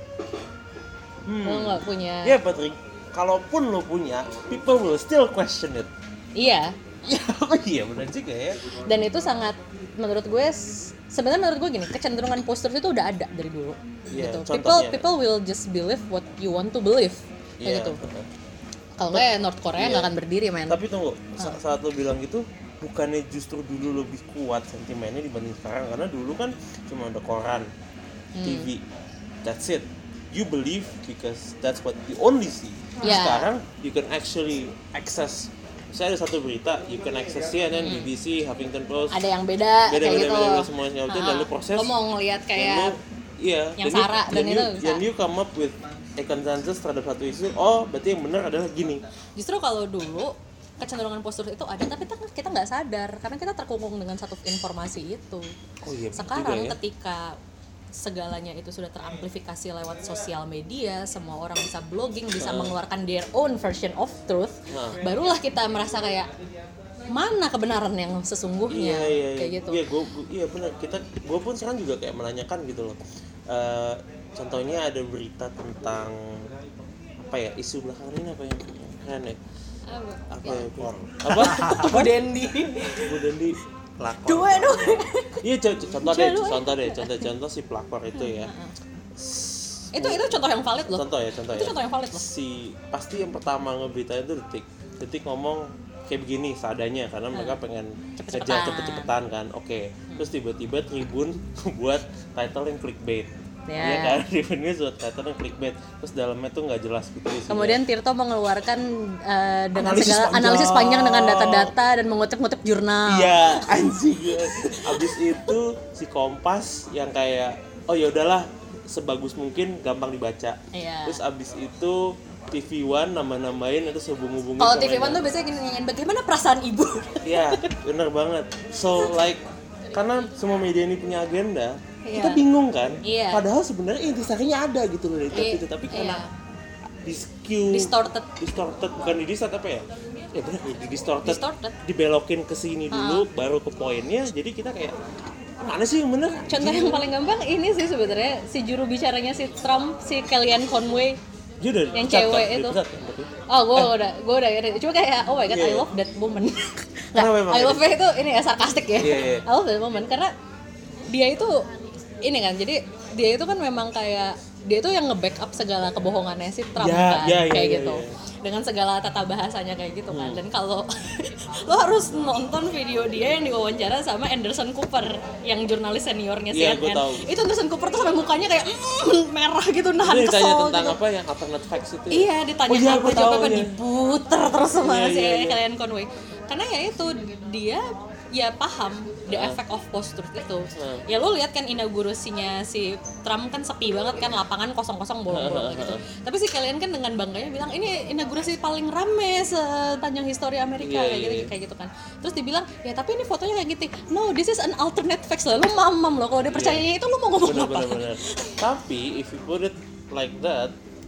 lo nggak punya. Yeah, but kalaupun lo punya, people will still question it. Iya. Iya benar juga ya. Dan itu sangat menurut gue gini, kecenderungan post-truth itu udah ada dari dulu. Gitu. People will just believe what you want to believe. Kayak gitu. Kalau nggak North Korea nggak akan berdiri, men. Tapi tunggu, saat lo bilang gitu, bukannya justru dulu lebih kuat sentimennya dibanding sekarang? Karena dulu kan cuma ada koran, TV, that's it. You believe because that's what you only see. Sekarang you can actually access. Saya ada satu berita, you can access CNN, BBC, Huffington Post. Ada yang beda kayak gitu. Beda semuanya itu dan lu proses. Lo mau ngelihat kayak yang Sarah dan itu bisa. Dan you come up with a consensus terhadap satu isu. Oh, berarti yang benar adalah gini. Justru kalau dulu kecenderungan post-truth itu ada, tapi kita nggak sadar karena kita terkungkung dengan satu informasi itu. Sekarang ketika segalanya itu sudah teramplifikasi lewat sosial media, semua orang bisa blogging, bisa mengeluarkan their own version of truth, barulah kita merasa kayak mana kebenaran yang sesungguhnya. Kayak gitu. Iya benar. Gue pun sekarang juga kayak menanyakan gitu loh. Contohnya ada berita tentang isu belakangan ini apa yang keren ya? Bu Dendi pelakor. Iya contoh si pelakor itu ya. Itu contoh yang valid loh. Contoh ya. Contoh yang valid loh. Pasti yang pertama ngeberitain itu Detik ngomong kayak begini seadanya karena mereka pengen kerja cepet-cepetan kan. Oke. Terus tiba-tiba Tribun buat title yang clickbait. Iya kan, revenue buat title yang clickbait. Terus dalamnya tuh nggak jelas gitu isinya. Kemudian Tirto mengeluarkan dengan analisis panjang dengan data-data dan mengutip-ngutip jurnal. Iya, anjing. Abis itu si Kompas yang kayak ya udahlah sebagus mungkin gampang dibaca. Terus abis itu TV One nambah-nambahin itu sehubung-hubungin. Kalau TV One tuh biasanya gini, bagaimana perasaan ibu? Iya, bener banget. So like karena semua media ini punya agenda. Kita bingung kan, padahal sebenarnya intisarinya ada gitu loh dari itu, tapi karena distorted bukan di-distort apa ya? Ya benar, distorted, dibelokin ke sini dulu, baru ke poinnya, jadi kita kayak mana sih yang bener? Contoh yang paling gampang ini sih sebenarnya si juru bicaranya si Trump, si Kellyanne Conway, yang cewek itu. Gue udah cuma kayak oh my god, I love that woman. I love itu ini ya sarkastik ya. I love that woman karena dia itu ini kan, jadi dia itu kan memang kayak dia itu yang nge-backup segala kebohongannya si Trump kayak gitu. Dengan segala tata bahasanya kayak gitu kan. Dan kalau lo harus nonton video dia yang diwawancara sama Anderson Cooper yang jurnalis seniornya CNN. Itu Anderson Cooper tuh sampai mukanya kayak merah gitu, nahan kesel. Ditanya tentang apa yang alternate facts itu. Iya, ditanya apa diputer terus sama si Kellyanne Conway. Karena ya itu dia paham the effect of post-truth itu. Ya lu lihat kan inaugurasinya si Trump kan sepi banget kan, lapangan kosong-kosong bolong-bolong gitu. Tapi si Kellyanne kan dengan bangganya bilang ini inaugurasi paling rame sepanjang histori Amerika kayak gitu kan. Terus dibilang ya tapi ini fotonya kayak gitu. No, this is an alternate facts lah. Lu mamam loh kalau dia percayanya itu lu mau ngomong apa? Bener. Tapi if you put it like that,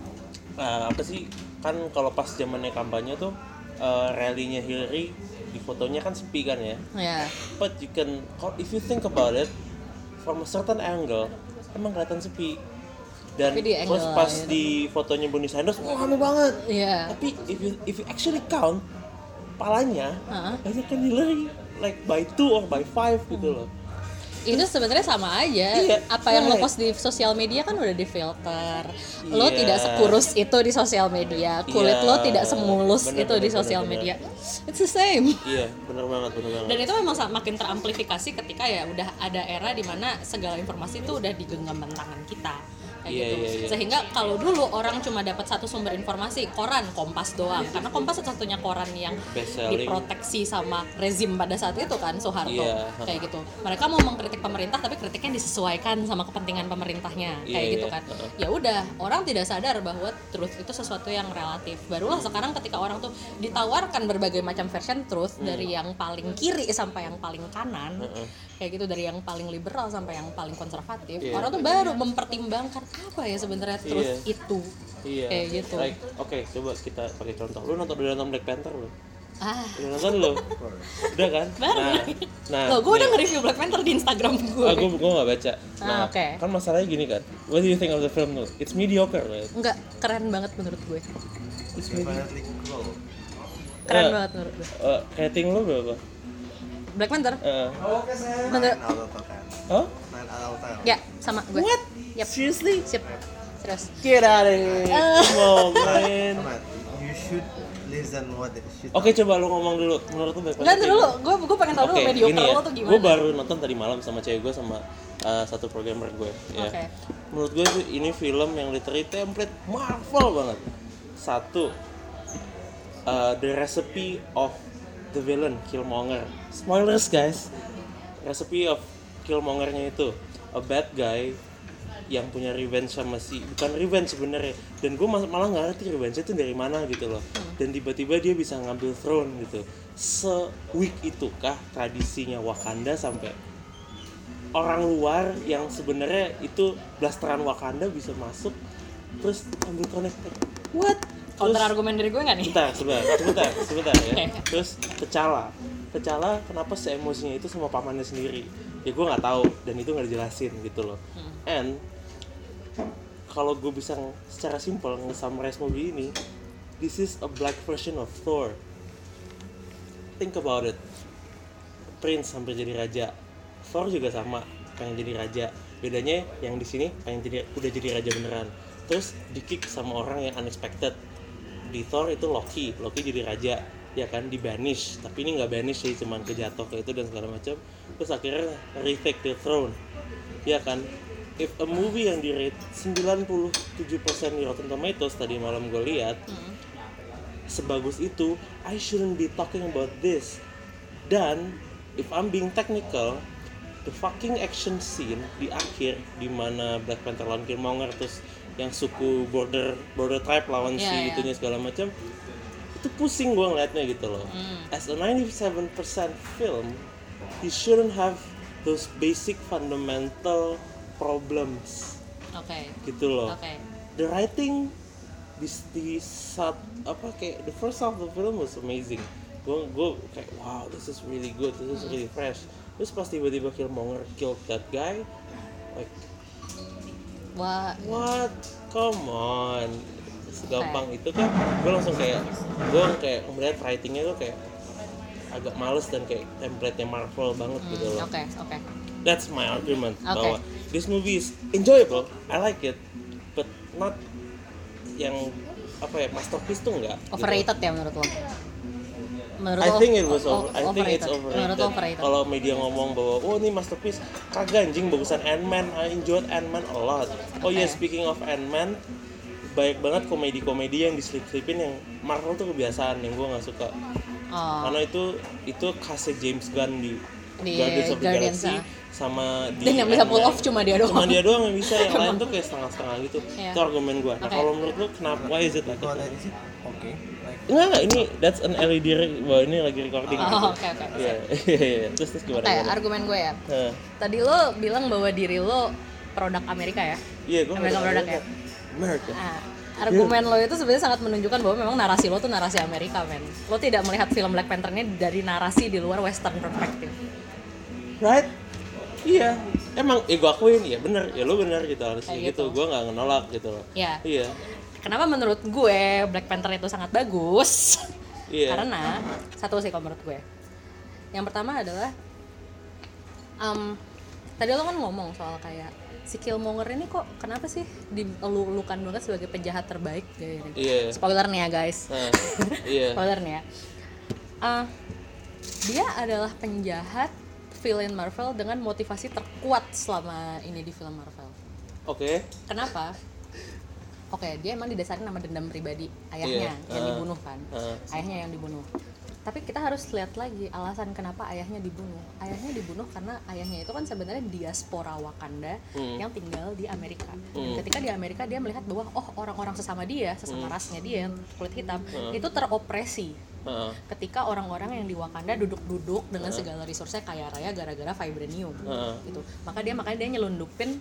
apa sih kan kalau pas zamannya kampanye tuh rally-nya Hillary di fotonya kan sepi kan ya. Yeah. But you can, if you think about it from a certain angle, emang kelihatan sepi. Dan terus pas di fotonya Bernie Sanders, rame banget. Yeah. Tapi if you actually count palanya, banyak kan Hillary like by 2 or by 5 gitu loh. Itu sebenarnya sama aja. Apa yang lo post di sosial media kan udah difilter. Lo tidak sekurus itu di sosial media. Kulit lo tidak semulus itu di sosial media. It's the same. Iya, benar banget. Dan itu memang makin teramplifikasi ketika ya udah ada era di mana segala informasi itu udah digenggam tangan kita. Gitu. Sehingga kalau dulu orang cuma dapat satu sumber informasi, koran Kompas doang, karena Kompas satu-satunya koran yang diproteksi sama rezim pada saat itu kan, Soeharto, kayak gitu. Mereka mau mengkritik pemerintah tapi kritiknya disesuaikan sama kepentingan pemerintahnya, kayak gitu kan. Ya udah, orang tidak sadar bahwa truth itu sesuatu yang relatif. Barulah sekarang ketika orang tuh ditawarkan berbagai macam version truth, dari yang paling kiri sampai yang paling kanan, kayak gitu, dari yang paling liberal sampai yang paling konservatif, orang tuh baru mempertimbangkan apa ya sebenarnya truth itu, kayak gitu. Like, oke, coba kita pakai contoh. Lu nonton Black Panther lu? Udah nonton lu? Udah kan? Nah, gue udah nge-review Black Panther di Instagram gue. Gue nggak baca. Nah, kan masalahnya gini kan. What do you think of the film tuh? It's mediocre, right? Enggak, keren banget menurut gue. It's mediocre. Keren banget menurut gue. Rating lu berapa? Black Panther? Menurut Ya, sama gue. What? Yep. Seriously? Sip. Serius. Get out of here. Come on, man. You should listen what it should. Oke, coba lu ngomong dulu. Menurut lu Black Panther? Enggak dulu, gue pengen tahu dulu mediocre lo tuh gimana. Gue baru nonton tadi malam sama cewek gue sama satu programmer gue. Ya. Menurut gue ini film yang literally template Marvel banget. Satu, the recipe of the villain Killmonger. Spoilers guys. Recipe of Killmongernya itu a bad guy yang punya revenge sama bukan revenge sebenarnya, dan gue malah nggak ngerti revenge itu dari mana gitu loh. Dan tiba-tiba dia bisa ngambil throne gitu. Se-weak itukah tradisinya Wakanda sampai orang luar yang sebenarnya itu blasteran Wakanda bisa masuk terus ambil throne? What? Counter argumen dari gue nggak nih? Sebentar ya. Terus T'Challa kenapa se-emosinya itu sama pamannya sendiri? Ya gue nggak tahu, dan itu nggak dijelasin gitu loh. And kalau gue bisa secara simpel nge-summarize movie ini, this is a black version of Thor. Think about it. Prince sampai jadi raja. Thor juga sama, pengen jadi raja. Bedanya yang di sini udah jadi raja beneran. Terus di-kick sama orang yang unexpected. Di Thor itu Loki jadi raja, ya kan, di-banish. Tapi ini nggak banish sih, cuman kejatuh kayak itu dan segala macam. Terus akhirnya retake the throne, ya kan. If a movie yang di-rate 97% di Rotten Tomatoes tadi malam gue lihat, sebagus itu, I shouldn't be talking about this. Dan if I'm being technical, the fucking action scene di akhir di mana Black Panther lawan Killmonger, terus yang suku border tribe lawan si itunya segala macam, itu pusing gue ngeliatnya gitu loh. As a 97% film, you shouldn't have those basic fundamental problems. Gitu loh. The writing di saat kayak the first half of the film was amazing. Gue kayak wow, this is really good, this is really fresh. Terus pas tiba-tiba Killmonger killed that guy, like what? Come on. Segampang itu kan. Gue langsung kayak melihat writingnya tuh kayak agak males dan kayak template-nya Marvel banget gitu loh. That's my argument bahwa this movie is enjoyable, I like it, but not yang masterpiece tuh enggak. Overrated gitu. Ya menurut lo? I think it's overrated. Overrated. Kalau media ngomong bahwa ini masterpiece, kagak anjing, bagusan Ant-Man. I enjoyed Ant-Man a lot. Speaking of Ant-Man, banyak banget komedi-komedi yang diselip-selipin yang Marvel tuh kebiasaan yang gue nggak suka. Karena itu khasnya James Gunn di Di Guardians of the Guardians, Galaxy sama di dan yang bisa pull Ant-Man. off cuma dia doang. Cuma dia doang yang bisa, yang lain tuh kayak setengah-setengah gitu. Iya. Itu argumen gue. Nah Oke. kalau menurut lu kenapa, why is it like What that? is it? Okay. Like Enggak, ini that's an LED bahwa ini lagi recording. Oh, oke. Iya, iya. Terus gimana? Kayak gimana? argumen gue ya. Nah, Tadi lo bilang bahwa diri lo produk Amerika ya. iya, gue Amerika produk ya. Amerika. Nah, argumen lo itu sebenarnya sangat menunjukkan bahwa memang narasi lo tuh narasi Amerika, men. Lo tidak melihat film Black Panther ini dari narasi di luar Western perspective. Right? Iya. Emang gue akuin, ya bener, ya lu bener gitu harusnya Kayak gitu. gitu. Gue nggak nolak gitu loh. Ya. Iya. Kenapa menurut gue Black Panther itu sangat bagus? Iya. Karena satu sih kalau menurut gue. Yang pertama adalah tadi lo kan ngomong soal kayak si Killmonger ini kok kenapa sih dilulukan banget sebagai penjahat terbaik kayak gini. Iya. Spoiler nih ya guys. Nah, iya. Spoiler nih ya. Dia adalah penjahat villain Marvel dengan motivasi terkuat selama ini di film Marvel. Oke. Kenapa? Oke, dia emang didasari nama dendam pribadi ayahnya yang dibunuh kan. Ayahnya yang dibunuh. Tapi kita harus lihat lagi alasan kenapa ayahnya dibunuh. Ayahnya dibunuh karena ayahnya itu kan sebenarnya diaspora Wakanda yang tinggal di Amerika. Dan ketika di Amerika dia melihat bahwa orang-orang sesama dia, sesama rasnya dia yang kulit hitam itu teropresi. Ketika orang-orang yang di Wakanda duduk-duduk dengan segala resource-nya kaya raya gara-gara vibranium gitu. Makanya dia nyelundupin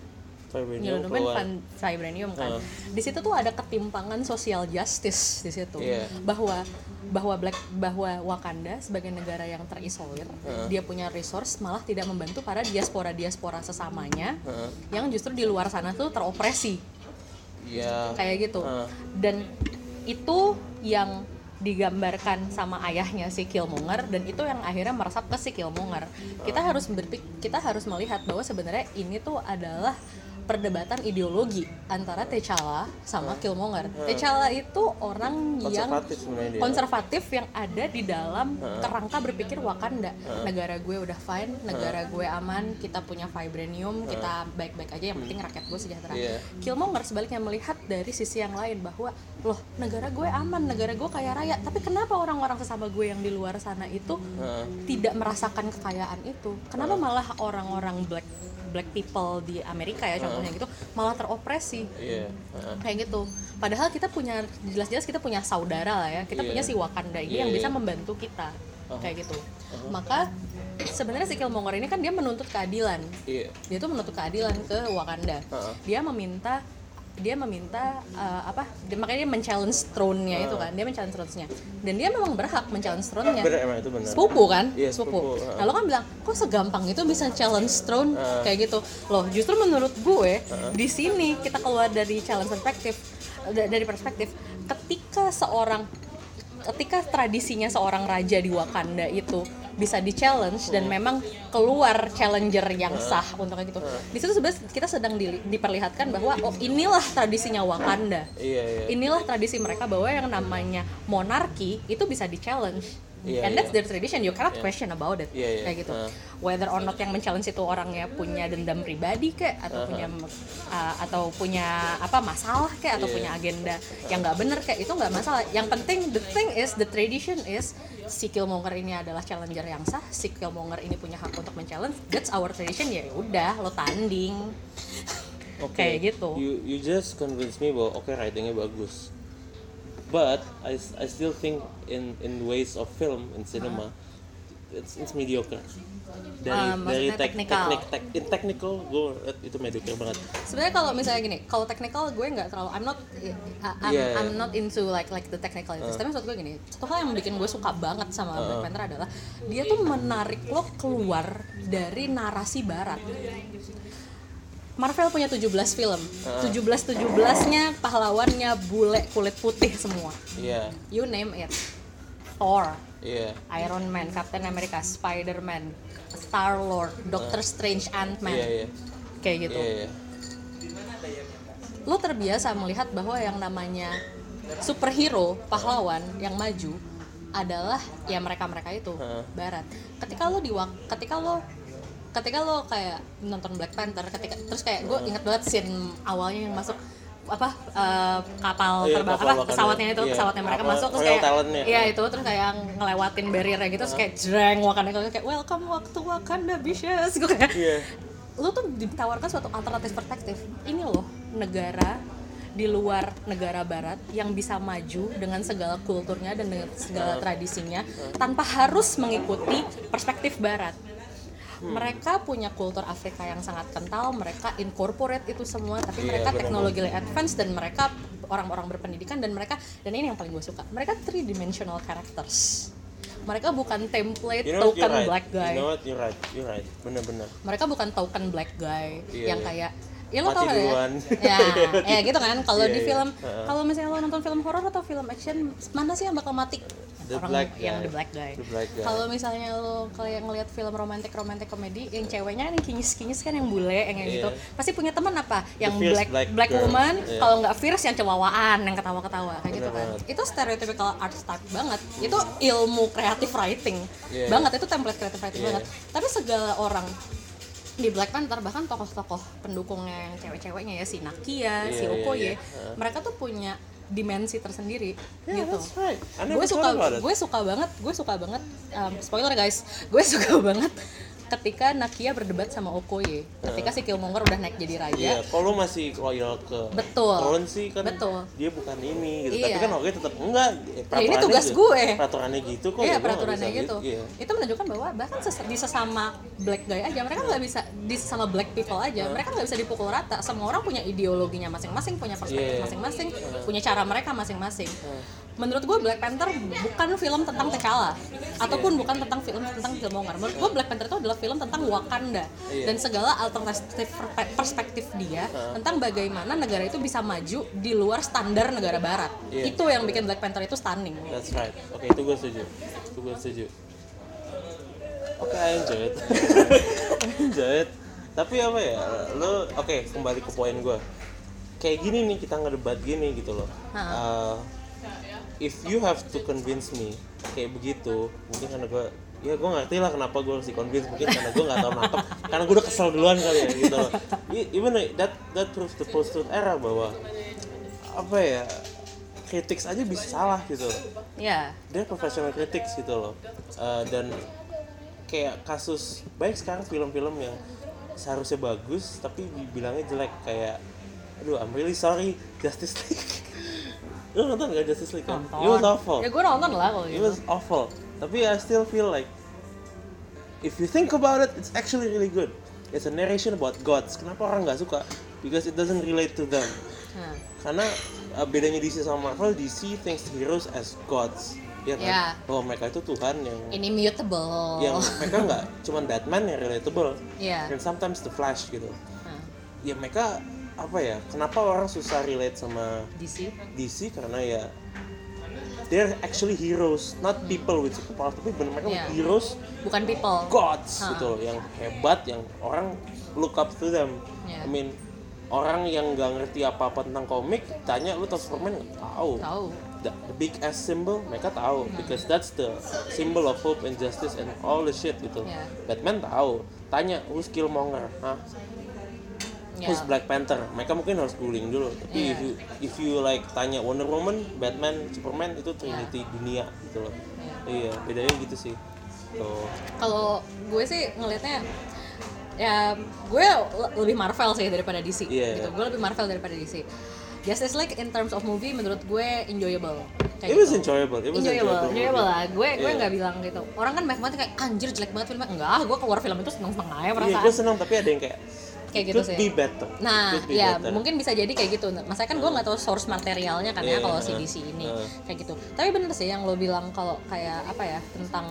vibranium kan. Di situ tuh ada ketimpangan social justice di situ. Bahwa Wakanda sebagai negara yang terisolir, dia punya resource malah tidak membantu para diaspora sesamanya yang justru di luar sana tuh teropresi. Kayak gitu. Dan itu yang digambarkan sama ayahnya si Killmonger, dan itu yang akhirnya meresap ke si Killmonger. Kita harus melihat bahwa sebenarnya ini tuh adalah perdebatan ideologi antara T'Challa sama Killmonger. T'Challa itu orang yang konservatif yang ada di dalam kerangka berpikir Wakanda. Negara gue udah fine, negara gue aman, kita punya vibranium, kita baik-baik aja, yang penting rakyat gue sejahtera. Killmonger sebaliknya melihat dari sisi yang lain bahwa loh, negara gue aman, negara gue kaya raya, tapi kenapa orang-orang sesama gue yang di luar sana itu tidak merasakan kekayaan itu? Kenapa malah orang-orang black people di Amerika ya contohnya gitu malah teropresi kayak gitu. Padahal kita punya jelas-jelas kita punya saudara lah ya, kita punya si Wakanda ini yang bisa membantu kita kayak gitu. Maka sebenarnya si Killmonger ini kan dia menuntut keadilan. Dia tuh menuntut keadilan ke Wakanda. Dia meminta makanya dia men-challenge throne-nya itu kan. Dia men-challenge throne-nya. Dan dia memang berhak men-challenge throne-nya. Bener, itu bener. Sepupu kan? Sepupu. Nah, lo kan bilang, kok segampang itu bisa challenge throne kayak gitu. Loh, justru menurut gue di sini kita keluar dari challenge perspektif ketika tradisinya seorang raja di Wakanda itu bisa di-challenge dan memang keluar challenger yang sah untuk kayak gitu. Di situ sebenarnya kita sedang diperlihatkan bahwa inilah tradisinya Wakanda. Inilah tradisi mereka bahwa yang namanya monarki itu bisa di-challenge. And that's their tradition, you cannot question about it. Kayak gitu. Whether or not yang men-challenge itu orangnya punya dendam pribadi kayak atau punya apa masalah kayak atau punya agenda yang nggak bener kayak, itu nggak masalah. Yang penting the tradition is si Killmonger ini adalah challenger yang sah, si Killmonger ini punya hak untuk men-challenge, that's our tradition, ya udah lo tanding. Kayak gitu. You just convince me bahwa writingnya bagus. But I still think in ways of film in cinema it's mediocre. Dari technical gue itu mediocre banget. Sebenarnya kalau misalnya gini, kalau technical gue nggak terlalu I'm not into like the technical itu. Tapi maksud gue gini, satu hal yang bikin gue suka banget sama Black Panther adalah dia tuh menarik lo keluar dari narasi barat. Marvel punya 17 film. 17-17-nya pahlawannya bule kulit putih semua. You name it. Thor, Iron Man, Captain America, Spider-Man, Star-Lord, Doctor Strange, Ant-Man. Kayak gitu. Lo terbiasa melihat bahwa yang namanya superhero, pahlawan yang maju adalah ya mereka-mereka itu barat. Ketika lo kayak nonton Black Panther, terus kayak gue ingat banget scene awalnya yang masuk kapal Iya, terbang kapal pesawatnya itu Wakanda. Iya. pesawatnya mereka Apa, masuk terus Royal kayak Talon-nya. iya itu terus kayak ngelewatin barrier-nya gitu terus kayak jreng Wakanda kayak welcome to Wakanda bitches gue kayak Iya. lu tuh ditawarkan suatu alternatif perspektif. Ini loh negara di luar negara barat yang bisa maju dengan segala kulturnya dan dengan segala tradisinya tanpa harus mengikuti perspektif barat. Mereka punya kultur Afrika yang sangat kental, mereka incorporate itu semua, tapi mereka teknologi advance dan mereka orang-orang berpendidikan dan ini yang paling gue suka, mereka 3-dimensional characters. Mereka bukan template token black guy. You know what? You're right. Bener-bener. Mereka bukan token black guy yang kayak ya lo mati tau kan duluan. ya gitu kan kalau di Iya. film kalau misalnya lo nonton film horor atau film action mana sih yang bakal mati The orang black yang guy. the black guy. The black guy. Kalau misalnya lo kayak ngelihat film romantic komedi yang ceweknya yang kinyis kan yang bule yang gitu pasti punya teman apa yang fierce black girl. woman Iya. kalau nggak fierce yang cewawaan yang ketawa-ketawa kayak gitu kan banget. itu stereotypical archetype banget itu ilmu creative writing Iya. banget itu template creative writing Iya. banget tapi segala orang di Black Panther bahkan tokoh-tokoh pendukungnya yang cewek-ceweknya ya si Nakia, si Okoye, mereka tuh punya dimensi tersendiri gitu. That's right. I never Gue thought about it. suka banget spoiler guys, gue suka banget ketika Nakia berdebat sama Okoye, ketika si Killmonger udah naik jadi raja. Iya, kalau masih loyal ke Betul. Throne sih kan Betul. dia bukan ini gitu. Iya. Tapi kan Okoye tetap enggak. ini tugas gue. Peraturannya gitu kok. Iya ya gua nggak peraturannya bisa gitu. Iya. Itu menunjukkan bahwa bahkan di sesama black guy aja mereka nggak bisa di sesama black people aja mereka nggak bisa dipukul rata. Semua orang punya ideologinya masing-masing, punya perspektif masing-masing, punya cara mereka masing-masing. Menurut gue Black Panther bukan film tentang T'Challa ataupun bukan tentang film tentang Killmonger. Menurut gue Black Panther itu adalah film tentang Wakanda dan segala alternatif perspektif dia tentang bagaimana negara itu bisa maju di luar standar negara barat. Itu yang bikin Black Panther itu stunning. That's right. Oke, itu gue setuju. Oke, I enjoy it. Tapi apa ya, oke, kembali ke poin gue. Kayak gini nih, kita ngedebat gini gitu loh. If you have to convince me kayak begitu, mungkin karena gue ngerti lah kenapa gue harus di-convince, mungkin karena gue nggak tahu nangkep, karena gue udah kesel duluan kali ya gitu loh. Even that proves the post-truth era bahwa apa ya, critics aja bisa salah gitu. Iya. Dia professional critics gitu loh. Dan kayak kasus baik sekarang film-film yang seharusnya bagus tapi dibilangnya jelek, kayak aduh I'm really sorry Justice League. Lu nonton gak Justice League kan? It was awful. Ya gue nonton lah kalau It gitu. was awful. Tapi I still feel like if you think about it, it's actually really good. It's a narration about gods. Kenapa orang nggak suka? Because it doesn't relate to them. Karena bedanya DC sama Marvel, DC thinks heroes as gods. Ya kan? Yeah. Bahwa mereka itu Tuhan yang Inimitable. mereka nggak cuma Batman yang relatable. Yeah. And sometimes the Flash gitu. Ya mereka apa ya? Kenapa orang susah relate sama DC karena ya they're actually heroes, not people with superpower, tapi benar mereka heroes, bukan people, gods gitu loh, yang hebat, yang orang look up to them. I mean, orang yang nggak ngerti apa-apa tentang komik, tanya lu tau Superman nggak tahu. The big S symbol mereka tahu, because that's the symbol of hope and justice and all the shit gitu. Batman tahu, tanya who's Killmonger, who's Black Panther, mereka mungkin harus googling dulu. Tapi if you like tanya Wonder Woman, Batman, Superman, itu trinity dunia gitu loh. Iya, bedanya gitu sih. Tuh. Kalau gue sih ngelihatnya ya gue lebih Marvel sih daripada DC gitu. Gue lebih Marvel daripada DC. Justice League in terms of movie menurut gue enjoyable. It was enjoyable lah. Gue nggak bilang gitu. Orang kan banyak banget kayak anjir jelek banget filmnya. Enggak, gue keluar film itu seneng-seneng aja perasaan. Iya, gue seneng, tapi ada yang kayak gitu could sih. Be better. Nah, ya mungkin bisa jadi kayak gitu. Maksudnya kan gue nggak tahu source materialnya kan ya kalau si DC ini kayak gitu. Tapi bener sih yang lo bilang kalau kayak apa ya tentang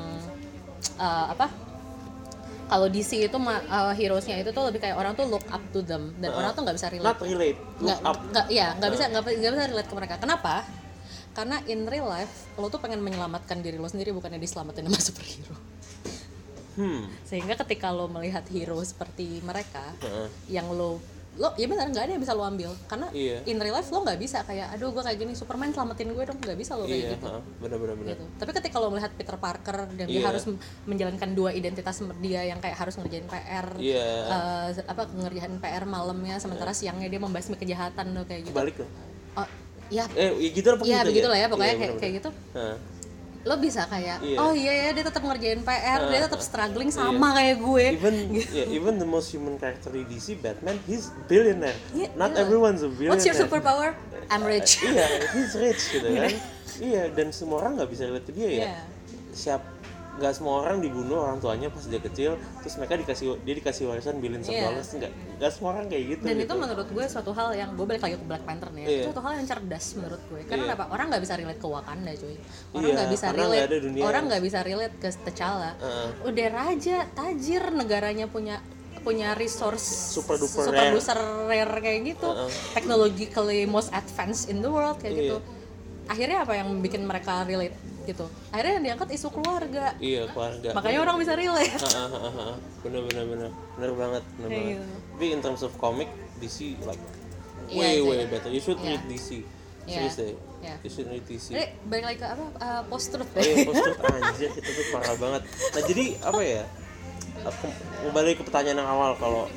kalau DC itu heroesnya itu tuh lebih kayak orang tuh look up to them dan orang tuh nggak bisa relate. Not relate. Nggak bisa relate ke mereka. Kenapa? Karena in real life lo tuh pengen menyelamatkan diri lo sendiri bukannya diselamatin sama superhero. Sehingga ketika lo melihat hero seperti mereka yang lo lo ya benar nggak ada yang bisa lo ambil karena Iya. in real life lo nggak bisa kayak aduh gue kayak gini Superman selamatin gue dong, nggak bisa lo kayak gitu. Benar. Gitu. Tapi ketika lo melihat Peter Parker dan dia Iya. harus menjalankan dua identitas dia yang kayak harus ngerjain PR, Iya. ngerjain PR malamnya sementara siangnya dia membasmi kejahatan lo kayak gitu. Balik loh. Oh, ya Gitu lah pokoknya. ya begitulah ya pokoknya Iya, kayak gitu. Heeh. Lo bisa kayak Iya. oh iya ya dia tetap ngerjain PR, dia tetap struggling sama kayak gue. Even the most human character di DC, Batman, he's billionaire. Yeah, Not yeah. everyone's a billionaire. What's your superpower? I'm rich. Iya, he's rich gitu kan. Iya, dan semua orang nggak bisa relate ke dia ya. Yeah. Nggak semua orang dibunuh orang tuanya pas dia kecil, terus dia dikasih warisan billions of Yeah. dollars, nggak semua orang kayak gitu. Dan gitu. itu menurut gue suatu hal yang gue balik lagi ke Black Panther nih ya. Iya. Itu suatu hal yang cerdas menurut gue. Karena Iya. kenapa? Orang nggak bisa relate ke Wakanda cuy. Orang Iya, nggak bisa karena nggak ada relate. dunia Orang yang- nggak bisa relate ke T'Challa. Udah raja, tajir, negaranya punya resource Super duper rare kayak gitu. Technologically most advanced in the world kayak Iya. gitu. Akhirnya apa yang bikin mereka relate gitu? Akhirnya yang diangkat isu keluarga. Iya, keluarga. Makanya orang bisa relate. Bener banget. Iya. Tapi in terms of comic, DC like Iya, way iya. better. You should Iya. read DC. Iya. Serius deh. Iya. You should read DC. Jadi balik lagi ke apa? Post-truth Oh iya, post-truth anjir, itu tuh parah banget. Nah jadi apa ya, aku kembali ke pertanyaan yang awal, kalau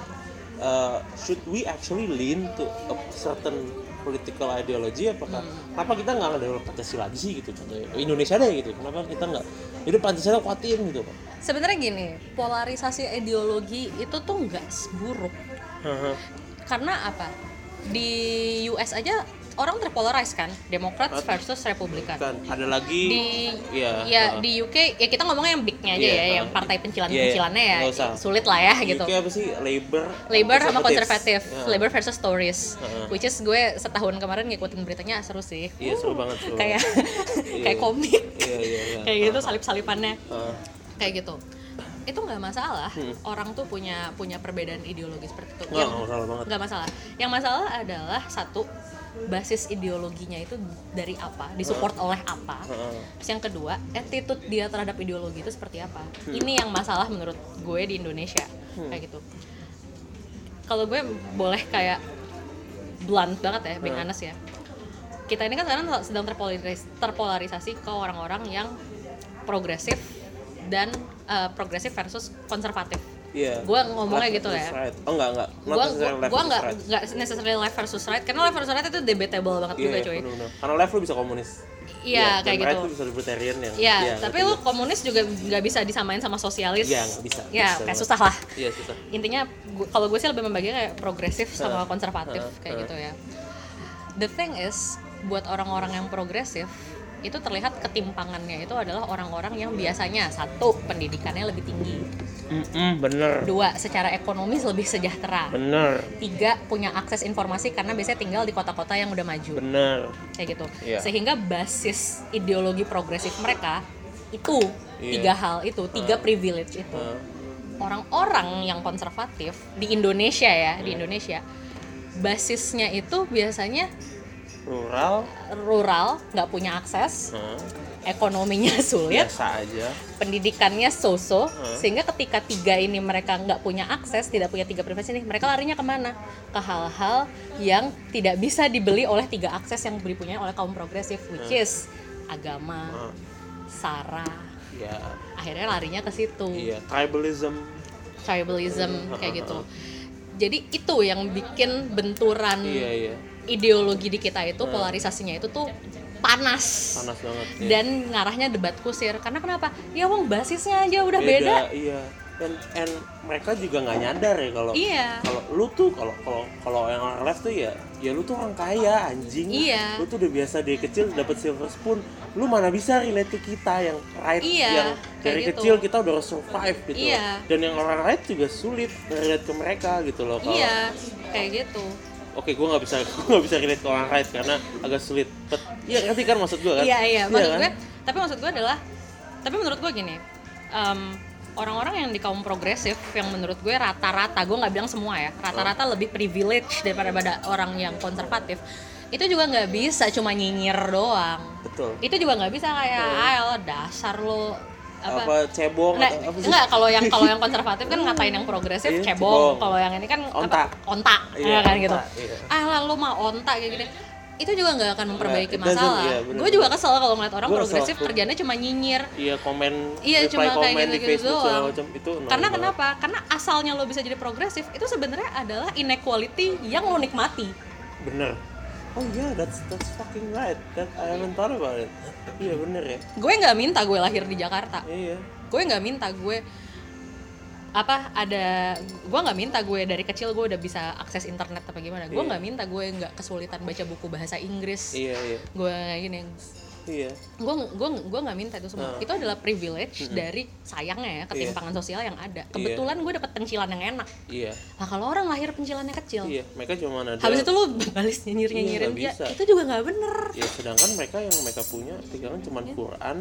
should we actually lean to a certain political ideology, apakah kenapa kita nggak ngedevelop Pancasila lagi sih gitu, contohnya Indonesia deh gitu, kenapa kita nggak jadi Pancasila kuatin gitu Pak? Sebenarnya gini, polarisasi ideologi itu tuh nggak buruk. Karena apa? Di US aja orang terpolarized kan, Democrats versus Republikan. Kan ada lagi Di UK ya kita ngomongnya yang bignya aja ya, yang partai pencilan-pencilannya ya nggak usah. sulit lah ya gitu. UK apa sih, Labor sama konservatif, Ya. Labor versus Tories, which is gue setahun kemarin ngikutin beritanya seru sih. Iya, seru banget. Kayak kayak komik, Iya. kayak gitu salip-salipannya, kayak gitu. Itu nggak masalah, orang tuh punya perbedaan ideologi seperti itu. Nggak masalah banget. Nggak masalah. Yang masalah adalah satu, basis ideologinya itu dari apa, disupport oleh apa. Terus yang kedua, attitude dia terhadap ideologi itu seperti apa. Ini yang masalah menurut gue di Indonesia, kayak gitu. Kalau gue boleh kayak blunt banget ya, being honest ya. Kita ini kan sekarang sedang terpolarisasi ke orang-orang yang progresif dan progresif versus konservatif. Iya. Gue ngomongnya gitu ya. Right. Oh enggak. Gue nggak necessarily left versus right, karena left versus right itu debatable banget juga cuy. Bener. Karena left lu bisa komunis. Iya, kayak dan gitu. Right lu bisa libertarian yang. Iya, tapi lu komunis juga nggak bisa disamain sama sosialis. Iya, nggak bisa. Ya, kayak susah lah. Iya, susah. Intinya kalau gue sih lebih membagi kayak progresif sama konservatif kayak gitu ya. The thing is, buat orang-orang yang progresif itu terlihat ketimpangannya itu adalah orang-orang yang biasanya satu, pendidikannya lebih tinggi, Bener. dua, secara ekonomis lebih sejahtera, Bener. tiga, punya akses informasi karena biasanya tinggal di kota-kota yang udah maju. Bener. Kayak gitu. Iya. Sehingga basis ideologi progresif mereka itu Iya. tiga hal itu, tiga privilege itu. Orang-orang yang konservatif di Indonesia ya, di Indonesia basisnya itu biasanya rural, nggak punya akses, ekonominya sulit, Biasa aja. pendidikannya so-so, sehingga ketika tiga ini mereka nggak punya akses, tidak punya tiga privilege ini, mereka larinya kemana? Ke hal-hal yang tidak bisa dibeli oleh tiga akses yang dipunyai oleh kaum progresif, which is agama, sara. Ya. Akhirnya larinya ke situ, Iya, tribalism. kayak gitu. Jadi itu yang bikin benturan Iya. ideologi di kita itu, polarisasinya itu tuh panas Banget. Iya. dan ngarahnya debat kusir. Karena kenapa? Ya wong basisnya aja udah beda. Iya. Dan mereka juga nggak nyadar ya kalau Iya. kalau lu tuh kalau yang orang left tuh ya lu tuh orang kaya anjing. Iya. Lu tuh udah biasa dari kecil dapat silver spoon. Lu mana bisa relate ke kita yang right, Iya, yang kayak dari gitu. kecil kita udah harus survive gitu. Iya. Dan yang orang right juga sulit relate ke mereka gitu loh. Kalau Iya, kayak gitu. Oke, gue nggak bisa relate ke orang right karena agak sulit. Iya, ngerti kan maksud gue kan? Iya. Maksud kan? gue, tapi menurut gue gini, orang-orang yang di kaum progresif yang menurut gue rata-rata, gue nggak bilang semua ya, rata-rata lebih privilege daripada orang yang konservatif. Itu juga nggak bisa cuma nyinyir doang. Betul. Itu juga nggak bisa kayak, ayo dasar lo cebong nah, atau apa sih? enggak, kalau yang konservatif kan ngatain yang progresif Iya, cebong. cebong. Kalau yang ini kan onta Iya, kan onta, gitu. iya. Lo mah onta kayak gini. Itu juga nggak akan memperbaiki Nah, masalah. iya, bener. Gue juga kesel kalau ngeliat orang Gua progresif kesel. kerjanya cuma nyinyir. Iya, Iya, cuma kayak komen di gitu-gitu Facebook segala doang. macam itu. Karena kenapa? Karena asalnya lo bisa jadi progresif itu sebenarnya adalah inequality yang lo nikmati. Bener. Oh iya, that's fucking right. That I haven't thought about it. Iya bener ya. Gue nggak minta gue lahir di Jakarta. Iya. Gue nggak minta gue gue nggak minta gue dari kecil gue udah bisa akses internet apa gimana. Gue nggak minta gue nggak kesulitan baca buku bahasa Inggris. Iya. Gue kayak gini. Iya. Gue nggak minta itu semua. Itu adalah privilege dari sayangnya ya ketimpangan sosial yang ada. Kebetulan gue dapet pencilan yang enak. Iya. Nah kalau orang lahir pencilannya kecil, Iya, mereka cuma ada. habis itu lu balis nyinyirin dia, bisa. itu juga nggak bener. Ya sedangkan mereka yang mereka punya pegangan cuma Quran,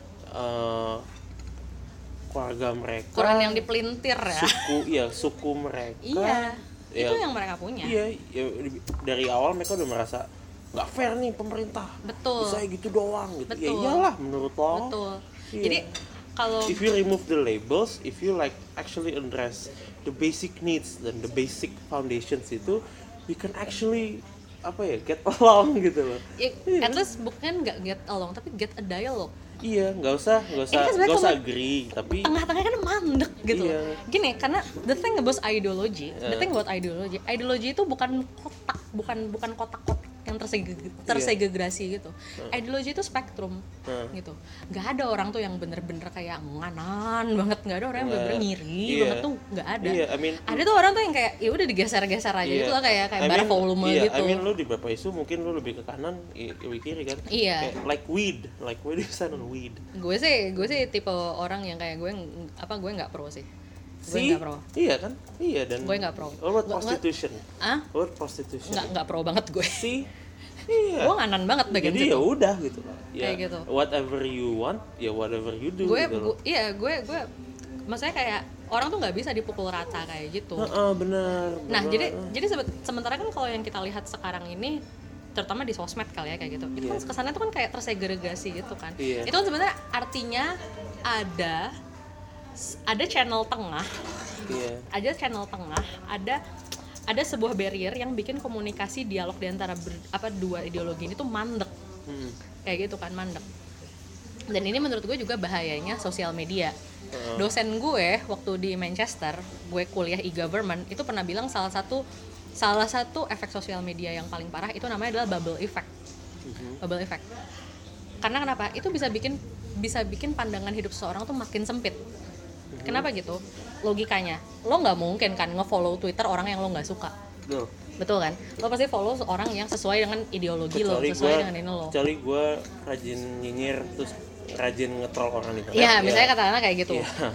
keluarga mereka. Quran yang dipelintir ya. Suku mereka. Iya. Ya, itu yang mereka punya. Iya, ya, dari awal mereka udah merasa nggak fair nih pemerintah. Betul. Bisa gitu doang gitu. Betul. Ya iyalah menurut lo. Betul. Iya. Jadi kalau if you remove the labels, if you like actually address the basic needs dan the basic foundations itu, you can actually get along gitu loh. at least bukan nggak get along tapi get a dialogue. Iya, nggak usah agree, tapi tengah-tengah kan mandek gitu. Iya. Gini, karena the thing about ideology itu bukan kotak-kotak yang tersegregasi gitu. Ideologi itu spektrum gitu. Nggak ada orang tuh yang bener-bener kayak nganan banget, nggak ada orang yang bener-bener ngiri banget tuh, nggak ada. Ada tuh orang tuh yang kayak ya udah digeser-geser aja gitu lah, kayak bar volume gitu. Lu di beberapa isu mungkin lu lebih ke kanan, lebih kiri kan? Iya. Kayak like weed design on weed. Gue sih tipe orang yang kayak gue nggak pro sih. Gue nggak pro. Iya kan? Iya, dan gue nggak pro. What prostitution? What prostitution? Nggak pro banget gue. Iya. Gue nganan banget bagian situ. Jadi ya udah gitu. Ya, kayak gitu. Whatever you want, ya whatever you do. Gue maksudnya kayak orang tuh nggak bisa dipukul rata kayak gitu. Benar. Nah, jadi sementara kan kalau yang kita lihat sekarang ini, terutama di sosmed kali ya kayak gitu, itu kan kesannya tuh kan kayak tersegregasi gitu kan. Itu kan sebenarnya artinya ada channel tengah, ada sebuah barrier yang bikin komunikasi dialog di antara dua ideologi ini tuh mandek, kayak gitu kan, mandek. Dan ini menurut gue juga bahayanya sosial media. Dosen gue waktu di Manchester, gue kuliah e-government, itu pernah bilang salah satu efek sosial media yang paling parah itu namanya adalah bubble effect. Bubble effect. Karena kenapa? Itu bisa bikin pandangan hidup seseorang tuh makin sempit. Kenapa gitu? Logikanya, lo nggak mungkin kan nge-follow Twitter orang yang lo nggak suka. Betul kan? Lo pasti follow orang yang sesuai dengan ideologi dengan ini lo. Kecuali gue rajin nyinyir terus rajin nge-troll orang di internet. Iya, misalnya katakanlah kayak gitu.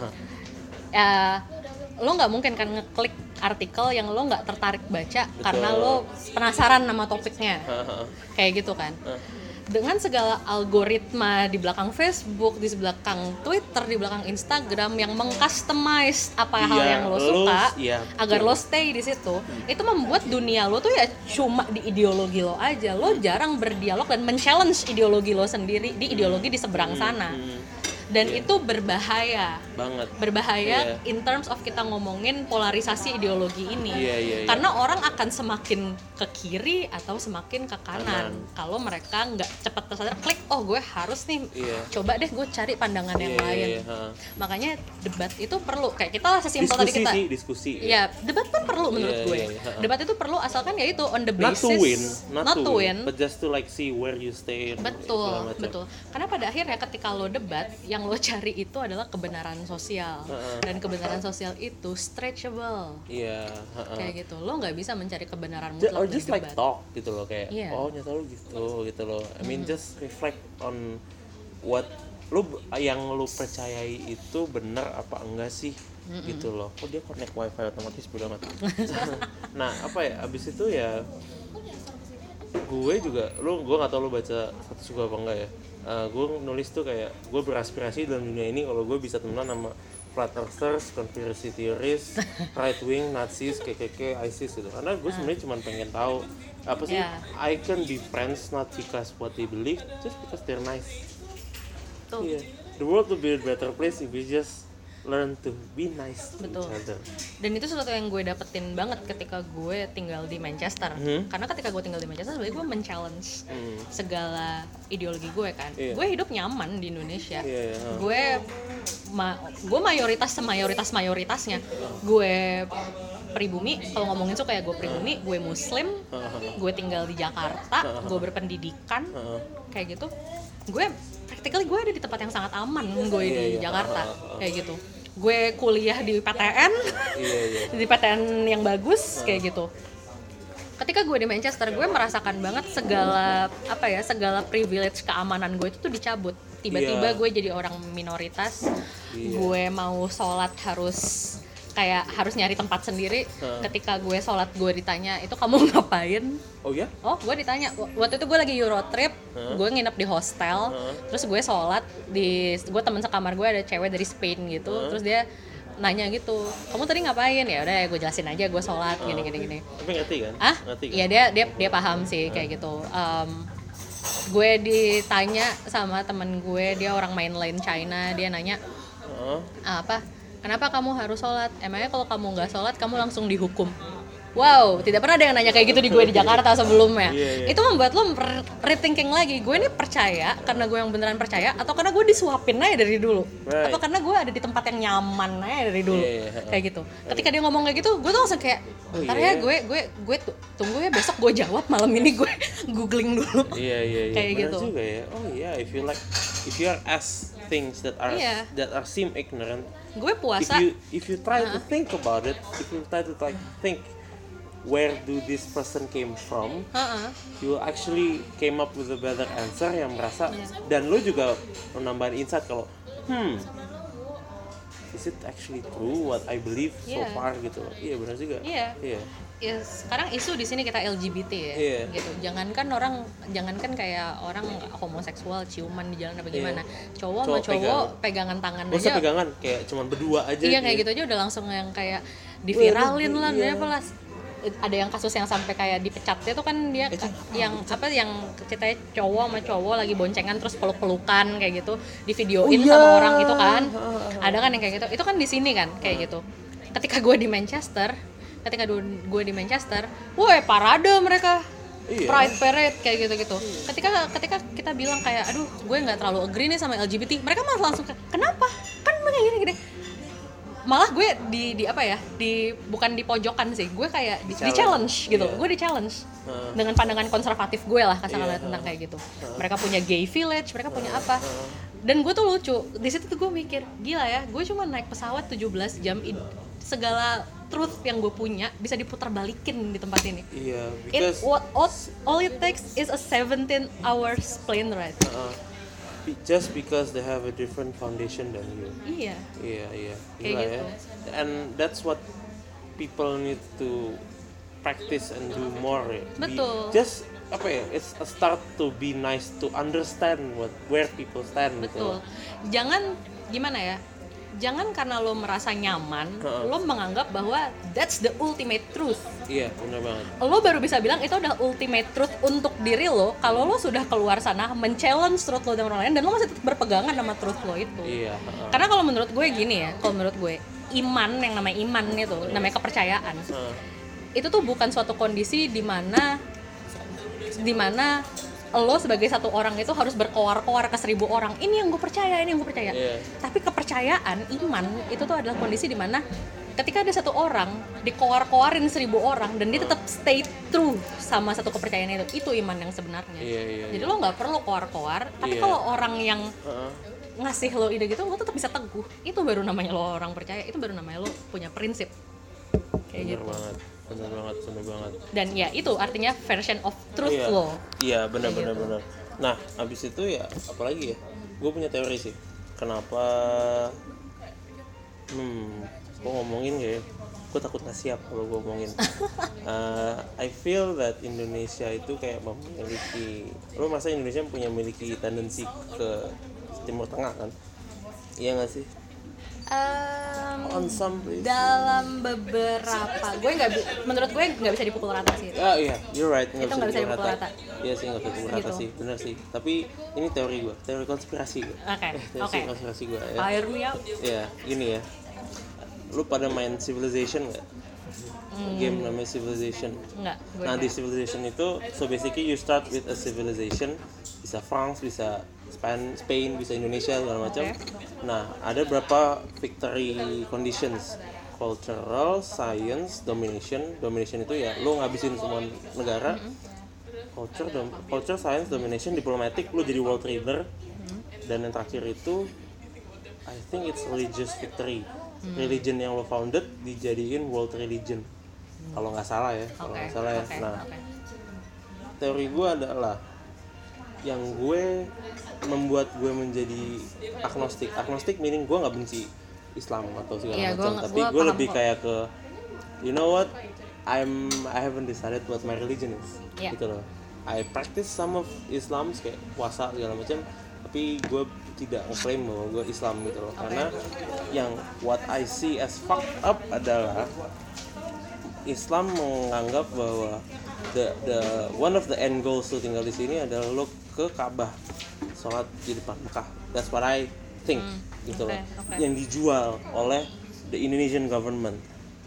Lo nggak mungkin kan ngeklik artikel yang lo nggak tertarik baca. Betul. Karena lo penasaran sama topiknya. Kayak gitu kan. Dengan segala algoritma di belakang Facebook, di belakang Twitter, di belakang Instagram yang mengcustomize hal yang lo suka agar lo stay di situ, itu membuat dunia lo tuh ya cuma di ideologi lo aja. Lo jarang berdialog dan men-challenge ideologi lo sendiri di ideologi di seberang sana. Dan itu berbahaya banget. In terms of kita ngomongin polarisasi ideologi ini. Karena orang akan semakin ke kiri atau semakin ke kanan. Kalau mereka nggak cepat tersadar, klik, gue harus nih coba deh gue cari pandangan yang lain. Makanya debat itu perlu, kayak kita lah sesimpel tadi kita diskusi. Ya, debat pun perlu menurut gue. Debat itu perlu asalkan ya itu on the basis not to win, but just to like see where you stay. Betul. Karena pada akhirnya ketika lo debat, yang lo cari itu adalah kebenaran sosial. Dan kebenaran sosial itu stretchable. Kayak gitu. Lo nggak bisa mencari kebenaran mutlak or just dari like debat. talk gitu loh, kayak nyata lo gitu loh. I mean just reflect on what yang lo percayai itu benar apa enggak sih gitu loh. Dia connect wifi otomatis bodo amat. Nah abis itu ya gue juga, gue nggak tahu lo baca status gue apa enggak ya. Gue nulis tuh kayak gue beraspirasi dalam dunia ini kalau gue bisa temenan sama flat earthers, conspiracy theories, right wing, Nazis, KKK, ISIS gitu. Karena gue sebenarnya cuma pengen tahu apa sih, I can be friends not because what they believe, just because they're nice. Tuh. the world will be a better place if we just learn to be nice to Betul. each other. Dan itu sesuatu yang gue dapetin banget ketika gue tinggal di Manchester. Karena ketika gue tinggal di Manchester sebenarnya gue men-challenge segala ideologi gue kan. Gue hidup nyaman di Indonesia. Gue mayoritasnya. Gue pribumi, kalau ngomongin tuh kayak gue pribumi, gue muslim, gue tinggal di Jakarta, gue berpendidikan, kayak gitu. Gue practically gue ada di tempat yang sangat aman, gue di Jakarta, kayak gitu. Gue kuliah di PTN, di PTN yang bagus, kayak gitu. Ketika gue di Manchester, gue merasakan banget segala privilege keamanan gue itu tuh dicabut. Tiba-tiba gue jadi orang minoritas, gue mau sholat harus nyari tempat sendiri. Ketika gue sholat gue ditanya, itu kamu ngapain? Oh ya? Oh, gue ditanya. Waktu itu gue lagi Euro trip, gue nginep di hostel, terus gue sholat gue temen sekamar gue ada cewek dari Spain gitu, terus dia nanya gitu, kamu tadi ngapain? Ya udah, gue jelasin aja gue sholat gini. Tapi ngerti kan? Ngerti kan? Iya, dia paham sih kayak gitu. Gue ditanya sama temen gue, dia orang mainland China, dia nanya kenapa kamu harus sholat? Emangnya kalau kamu nggak sholat kamu langsung dihukum? Wow, tidak pernah ada yang nanya kayak gitu di gue di Jakarta sebelumnya. Itu membuat lo rethinking lagi, gue ini percaya karena gue yang beneran percaya, atau karena gue disuapin aja dari dulu, atau karena gue ada di tempat yang nyaman aja dari dulu, kayak gitu. Ketika dia ngomong kayak gitu, gue tuh langsung kayak, ntar ya gue tunggu ya, besok gue jawab, malam ini gue googling dulu. Kayak benar gitu. Juga ya. Oh iya, if you are asked things that are seem ignorant, gue puasa. If you try to think about it, if you try to think where do this person came from, you actually came up with a better answer yang merasa, dan lu juga menambahin insight kalau is it actually true what I believe so far gitu. Iya benar juga. Ya, sekarang isu di sini kita LGBT ya, gitu. Jangankan kayak orang homoseksual ciuman di jalan apa gimana, cowok sama cowok pegangan tangan aja. Usah pegangan, kayak cuman berdua aja. Iya kayak gitu aja udah langsung yang kayak diviralin lah, apalah. Ada yang kasus yang sampai kayak dipecatnya tuh kan dia yang ceritanya cowok sama cowok lagi boncengan terus peluk-pelukan kayak gitu, divideoin sama orang itu kan. Ada kan yang kayak gitu. Itu kan di sini kan kayak gitu. Ketika gue di Manchester, woi parade mereka. Pride parade kayak gitu-gitu. Ketika kita bilang kayak aduh, gue enggak terlalu agree nih sama LGBT, mereka malah langsung kenapa? Kan mereka gini. Malah gue bukan di pojokan sih, gue kayak di challenge gitu. Gue di challenge dengan pandangan konservatif gue lah kasarnya tentang kayak gitu. Mereka punya gay village, mereka punya apa. Dan gue tuh lucu, di situ tuh gue mikir, gila ya, gue cuma naik pesawat 17 jam, segala truth yang gue punya bisa diputar balikin di tempat ini. Iya, because all it takes is a 17 hours plane ride. Just because they have a different foundation than you. Iya. Gila gitu. And that's what people need to practice and do more. Betul. It's a start to be nice, to understand where people stand. Betul. Gitu. Jangan karena lo merasa nyaman, lo menganggap bahwa that's the ultimate truth. Iya, benar banget. Lo baru bisa bilang itu adalah ultimate truth untuk diri lo kalau lo sudah keluar sana men-challenge truth lo dan orang lain, dan lo masih tetap berpegangan sama truth lo itu. Iya. Karena kalau menurut gue gini ya, iman, yang namanya iman itu, namanya kepercayaan. Itu tuh bukan suatu kondisi di mana lo sebagai satu orang itu harus berkoar-koar ke 1000 orang. Ini yang gue percaya. Tapi kepercayaan, iman itu tuh adalah kondisi di mana ketika ada satu orang dikoar-koarin 1000 orang dan dia tetap stay true sama satu kepercayaan itu iman yang sebenarnya. Jadi lo nggak perlu koar-koar. Tapi kalau orang yang ngasih lo ide gitu, lo tetap bisa teguh. Itu baru namanya lo orang percaya. Itu baru namanya lo punya prinsip. Kayak gitu. Bener banget. Dan ya itu artinya version of truth lo. Iya, benar. Nah, abis itu ya apalagi ya? Gue punya teori sih. Kenapa? Gue ngomongin ya. Gue takut nggak siap kalau gue ngomongin. I feel that Indonesia itu kayak memiliki. Lo masa Indonesia memiliki tendensi ke Timur Tengah kan? Iya nggak sih? On some places. Dalam beberapa, menurut gue nggak bisa dipukul rata sih. Iya, you're right. Itu nggak bisa dipukul rata. Iya sih, nggak bisa dipukul rata Gitu. sih, benar sih. Tapi ini teori konspirasi gue. Oke. Konspirasi gue ya. Fire me up. Iya, gini ya. Lu pada main Civilization nggak? Game namanya Civilization. Enggak, gue Nah di enggak. Civilization itu, so basically you start with a civilization, bisa France, bisa Spain, bisa Indonesia segala macam. Nah ada berapa victory conditions, cultural, science, domination. Domination itu ya lu ngabisin semua negara. Culture, science, domination, diplomatic, lu jadi world leader. Dan yang terakhir itu, I think it's religious victory. Religion yang lo founded dijadiin world religion. Kalau nggak salah ya, Nah, teori gue adalah yang gue membuat gue menjadi agnostik. Agnostik meaning gue nggak benci Islam atau segala macam, tapi gue lebih kayak ke, you know what, I haven't decided what my religion is, gitu loh. I practice some of Islam kayak puasa segala macam, tapi gue tidak ngeklaim bahwa gue Islam gitu loh. Karena yang what I see as fucked up adalah Islam menganggap bahwa the one of the end goals lu tinggal di sini adalah lo ke Ka'bah, sholat di depan Mekah. That's what I think, gitu loh. Yang dijual oleh the Indonesian government,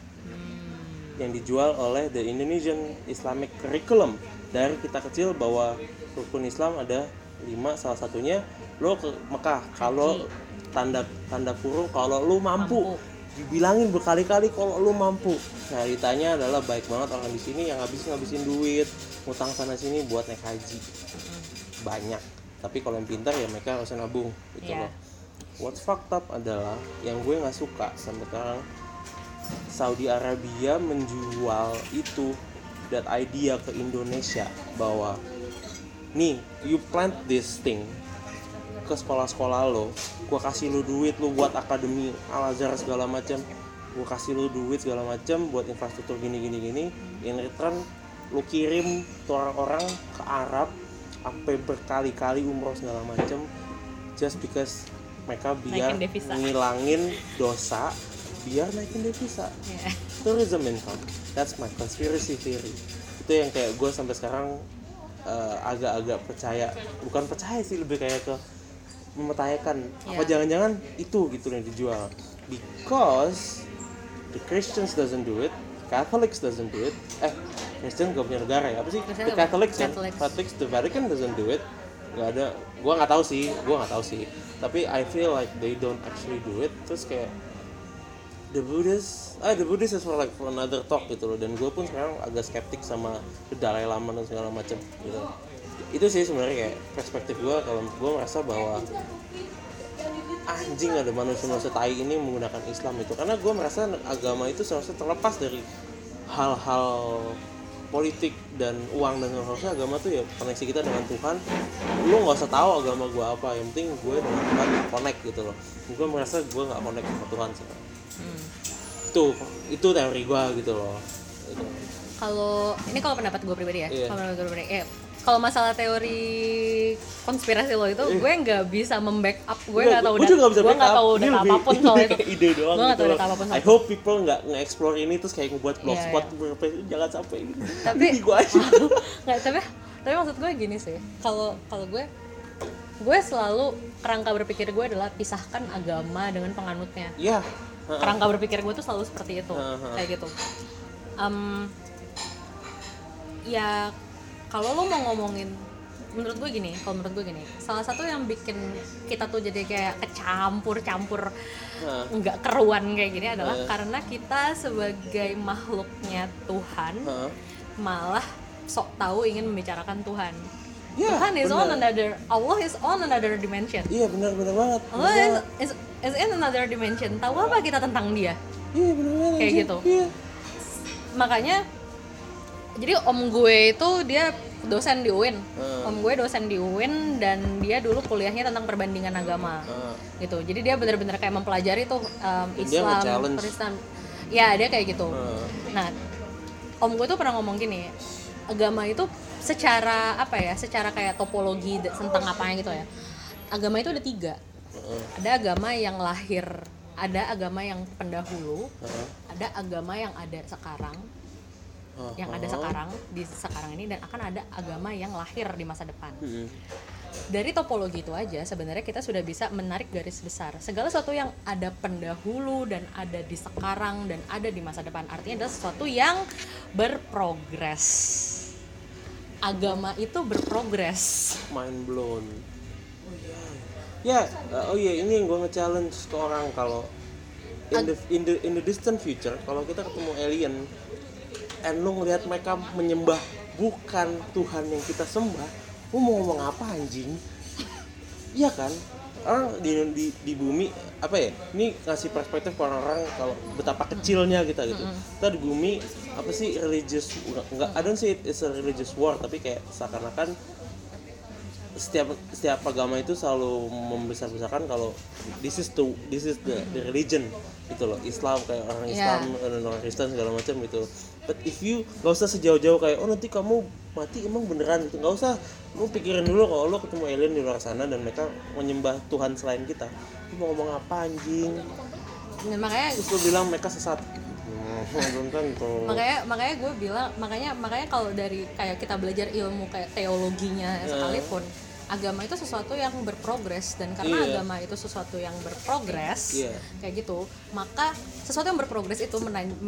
yang dijual oleh the Indonesian Islamic curriculum dari kita kecil bahwa rukun Islam ada 5, salah satunya lo ke Mekah kalau tanda kurung kalau lo mampu. Dibilangin berkali-kali kalau lu mampu. Nah, ditanya adalah baik banget orang di sini yang ngabisin duit, ngutang sana sini buat naik haji. Banyak. Tapi kalau yang pintar ya mereka harus nabung gitu loh. What's fucked up adalah yang gue nggak suka sampai sekarang, Saudi Arabia menjual itu, that idea ke Indonesia bahwa nih, you plant this thing ke sekolah-sekolah lo, gue kasih lo duit lo buat akademi Al-Azhar segala macam, gue kasih lo duit segala macam buat infrastruktur gini, in return lo kirim tuh orang-orang ke Arab sampai berkali-kali umroh segala macam, just because mereka biar ngilangin dosa, biar naikin devisa. Tourism income, that's my conspiracy theory. Itu yang kayak gue sampai sekarang agak-agak percaya, bukan percaya sih, lebih kayak ke memetayakan apa jangan-jangan itu gitu yang dijual, because the Christians doesn't do it, Catholics doesn't do it. Christian gak punya negara ya, apa sih? The Catholics, the Vatican doesn't do it. Gak ada, gue nggak tahu sih. Tapi I feel like they don't actually do it. Terus kayak the Buddhist is for another talk gitu loh. Dan gue pun sekarang agak skeptik sama Dalai Lama dan segala macam gitu. Itu sih sebenarnya kayak perspektif gue, kalau gue merasa bahwa anjing ada manusia-manusia tai ini menggunakan Islam itu, karena gue merasa agama itu seharusnya terlepas dari hal-hal politik dan uang, dan harusnya agama tuh ya koneksi kita dengan Tuhan. Lu nggak usah tahu agama gue apa, yang penting gue dengan Tuhan connect gitu loh. Gue merasa gue nggak connect sama Tuhan sih. Itu teori gue gitu loh. Kalau pendapat gue pribadi ya, kalau masalah teori konspirasi lo itu, gue nggak bisa membackup, gue nggak tahu data apapun soal itu. Ide doang. Gue nggak tahu data apapun soal I hope people nggak nge-explore ini terus kayak ngebuat blogspot, jangan sampai gitu. Tapi gue aja. Nggak, tapi maksud gue gini sih, kalau gue selalu kerangka berpikir gue adalah pisahkan agama dengan penganutnya. Iya. Kerangka berpikir gue tuh selalu seperti itu, kayak gitu. Ya kalau lo mau ngomongin, menurut gue gini, salah satu yang bikin kita tuh jadi kayak kecampur-campur nggak keruan kayak gini adalah karena kita sebagai makhluknya Tuhan malah sok tahu ingin membicarakan Tuhan. Tuhan is Allah is on another dimension. Iya, benar banget. Allah is in another dimension. Tahu apa kita tentang dia? Iya, benar. Kayak gitu. Iya. Makanya jadi om gue itu dia dosen di UIN. Om gue dosen di UIN dan dia dulu kuliahnya tentang perbandingan agama. Gitu. Jadi dia benar-benar kayak mempelajari tuh Islam, Kristen. Ya, dia kayak gitu. Nah, om gue tuh pernah ngomong gini, agama itu secara kayak topologi tentang apanya gitu ya. Agama itu ada 3. Ada agama yang lahir ada agama yang pendahulu, ada agama yang ada sekarang, yang ada sekarang di sekarang ini, dan akan ada agama yang lahir di masa depan. Dari topologi itu aja sebenarnya kita sudah bisa menarik garis besar segala sesuatu yang ada pendahulu dan ada di sekarang dan ada di masa depan, artinya adalah sesuatu yang berprogres. Agama itu berprogres. Mind blown. Ini yang gue nge-challenge ke orang, kalau in the distant future kalau kita ketemu alien and lu ngelihat mereka menyembah bukan Tuhan yang kita sembah, lu mau ngomong apa anjing? Iya kan? Orang di bumi apa ya? Ini ngasih perspektif ke orang-orang kalau betapa kecilnya kita gitu. Kita di bumi apa sih religious? Enggak, I don't say it's a religious war, tapi kayak seakan-akan setiap agama itu selalu membesar-besarkan kalau this is the religion gitu loh. Islam kayak orang Islam dan orang Kristen segala macam gitu. But if you gak usah sejauh-jauh kayak nanti kamu mati emang beneran gitu, gak usah. Lu pikirin dulu kalau lu ketemu alien di luar sana dan mereka menyembah Tuhan selain kita, lu mau ngomong apa anjing? Nah, makanya terus lu bilang mereka sesat. Belum tentu. Makanya gue bilang, makanya kalau dari kayak kita belajar ilmu kayak teologinya sekalipun, agama itu sesuatu yang berprogres, dan karena agama itu sesuatu yang berprogres kayak gitu, maka sesuatu yang berprogres itu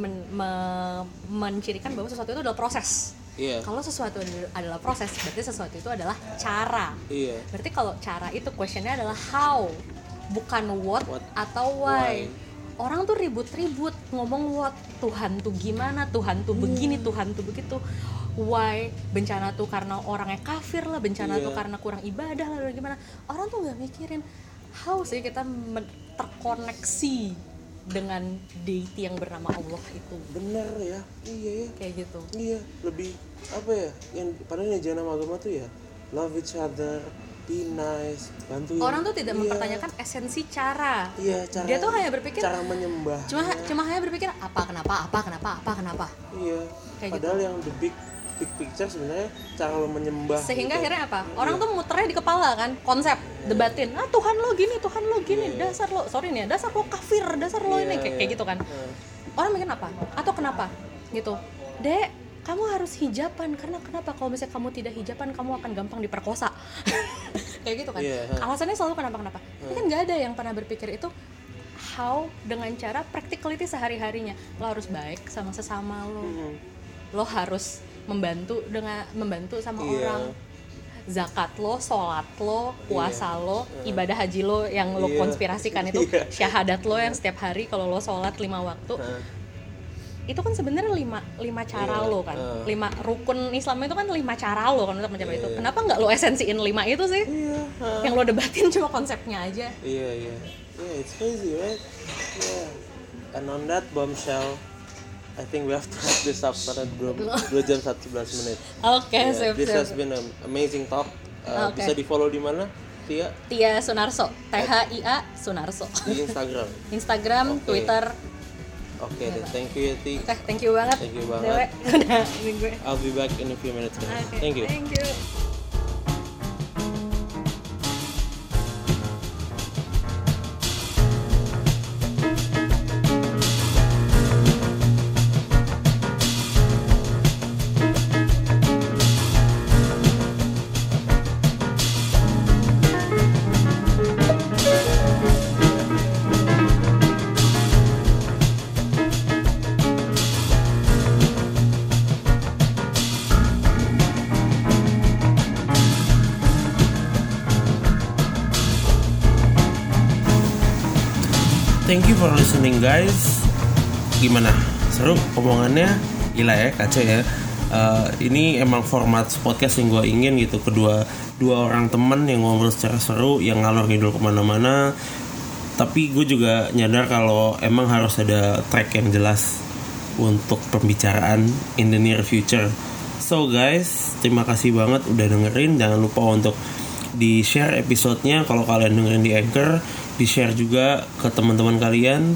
mencirikan bahwa sesuatu itu adalah proses. Kalau sesuatu adalah proses, berarti sesuatu itu adalah cara. Berarti kalau cara itu questionnya adalah how, bukan what atau why. Orang tuh ribut-ribut ngomong what, Tuhan tuh gimana, Tuhan tuh begini, Tuhan tuh begitu. Why, bencana tuh karena orangnya kafir lah, bencana tuh karena kurang ibadah lah, gimana. Orang tuh nggak mikirin how sih kita terkoneksi dengan deity yang bernama Allah itu. Bener ya, iya ya. Kayak gitu. Iya, lebih apa ya? Yang padahal ajaran agama tuh ya love each other, be nice, bantu. Orang tuh tidak mempertanyakan esensi cara. Cara. Dia tuh hanya berpikir cara menyembah. Cuma hanya berpikir apa kenapa. Iya. Kayak padahal gitu. Yang the big picture sebenarnya cara lo menyembah. Sehingga gitu. Akhirnya apa? Orang tuh muternya di kepala kan, konsep, debatin. Tuhan lo gini, dasar lo kafir, dasar lo ini kayak gitu kan. Orang mikir apa? Atau kenapa? Gitu. Dek, kamu harus hijaban karena kenapa? Kalau misalnya kamu tidak hijaban, kamu akan gampang diperkosa. Kayak gitu kan. Alasannya selalu kenapa. Tapi kan nggak ada yang pernah berpikir itu how, dengan cara practicality sehari-harinya. Lo harus baik sama sesama lo. Lo harus membantu sama orang. Zakat lo, sholat lo, puasa lo, ibadah haji lo yang lo konspirasikan itu, syahadat lo yang setiap hari kalau lo sholat 5 waktu. Itu kan sebenarnya 5 cara lo kan. 5 rukun Islam itu kan 5 cara lo kan untuk mencapai itu. Kenapa nggak lo esensiin 5 itu sih? Yang lo debatin cuma konsepnya aja. It's crazy, right? And on that bombshell, I think we have to wrap this up karena 2 jam 11 menit. Sip. This has been an amazing talk. Bisa di follow di mana? Tia Sunarso, THIA Sunarso. Di Instagram, Twitter. Oke, thank you ya Ti. Thank you banget. Dewe. Udah gue. I'll be back in a few minutes. Thank you. Thank you for listening guys. Gimana? Seru omongannya? Gila ya, kacau ya. Ini emang format podcast yang gue ingin gitu. Dua orang teman yang ngobrol secara seru, yang ngalor ngidul kemana-mana. Tapi gue juga nyadar kalau emang harus ada track yang jelas untuk pembicaraan in the near future. So guys, terima kasih banget udah dengerin. Jangan lupa untuk di-share episodenya kalau kalian dengerin di Anchor. Di-share juga ke teman-teman kalian.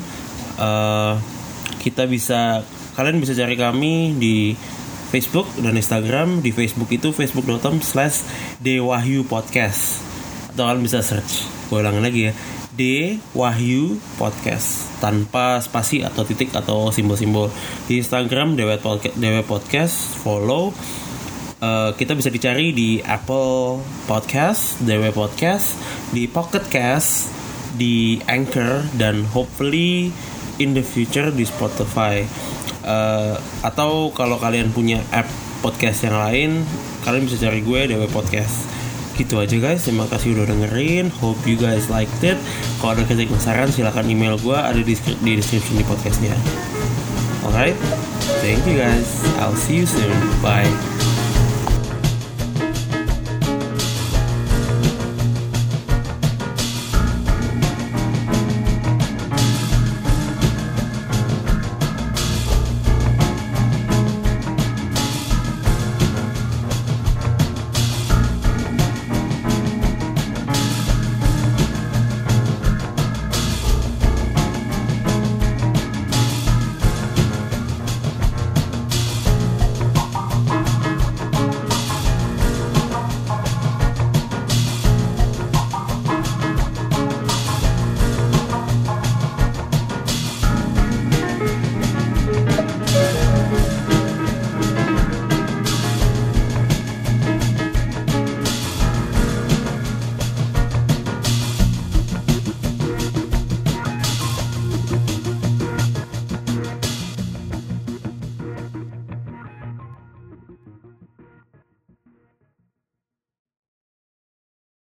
Kalian bisa cari kami di Facebook dan Instagram. Di Facebook itu facebook.com/dewahyupodcast. Atau kalian bisa search, gue ulangin lagi ya, D Wahyu Podcast tanpa spasi atau titik atau simbol-simbol. Di Instagram DW Podcast, follow. Kita bisa dicari di Apple Podcast, DW Podcast, di Pocket Cast, di Anchor, dan hopefully in the future di Spotify. Atau kalau kalian punya app podcast yang lain, kalian bisa cari gue DW Podcast. Gitu aja guys, terima kasih udah dengerin. Hope you guys liked it. Kalau ada kritik dan saran silahkan email gue, ada di description di podcastnya. Alright, thank you guys, I'll see you soon, bye.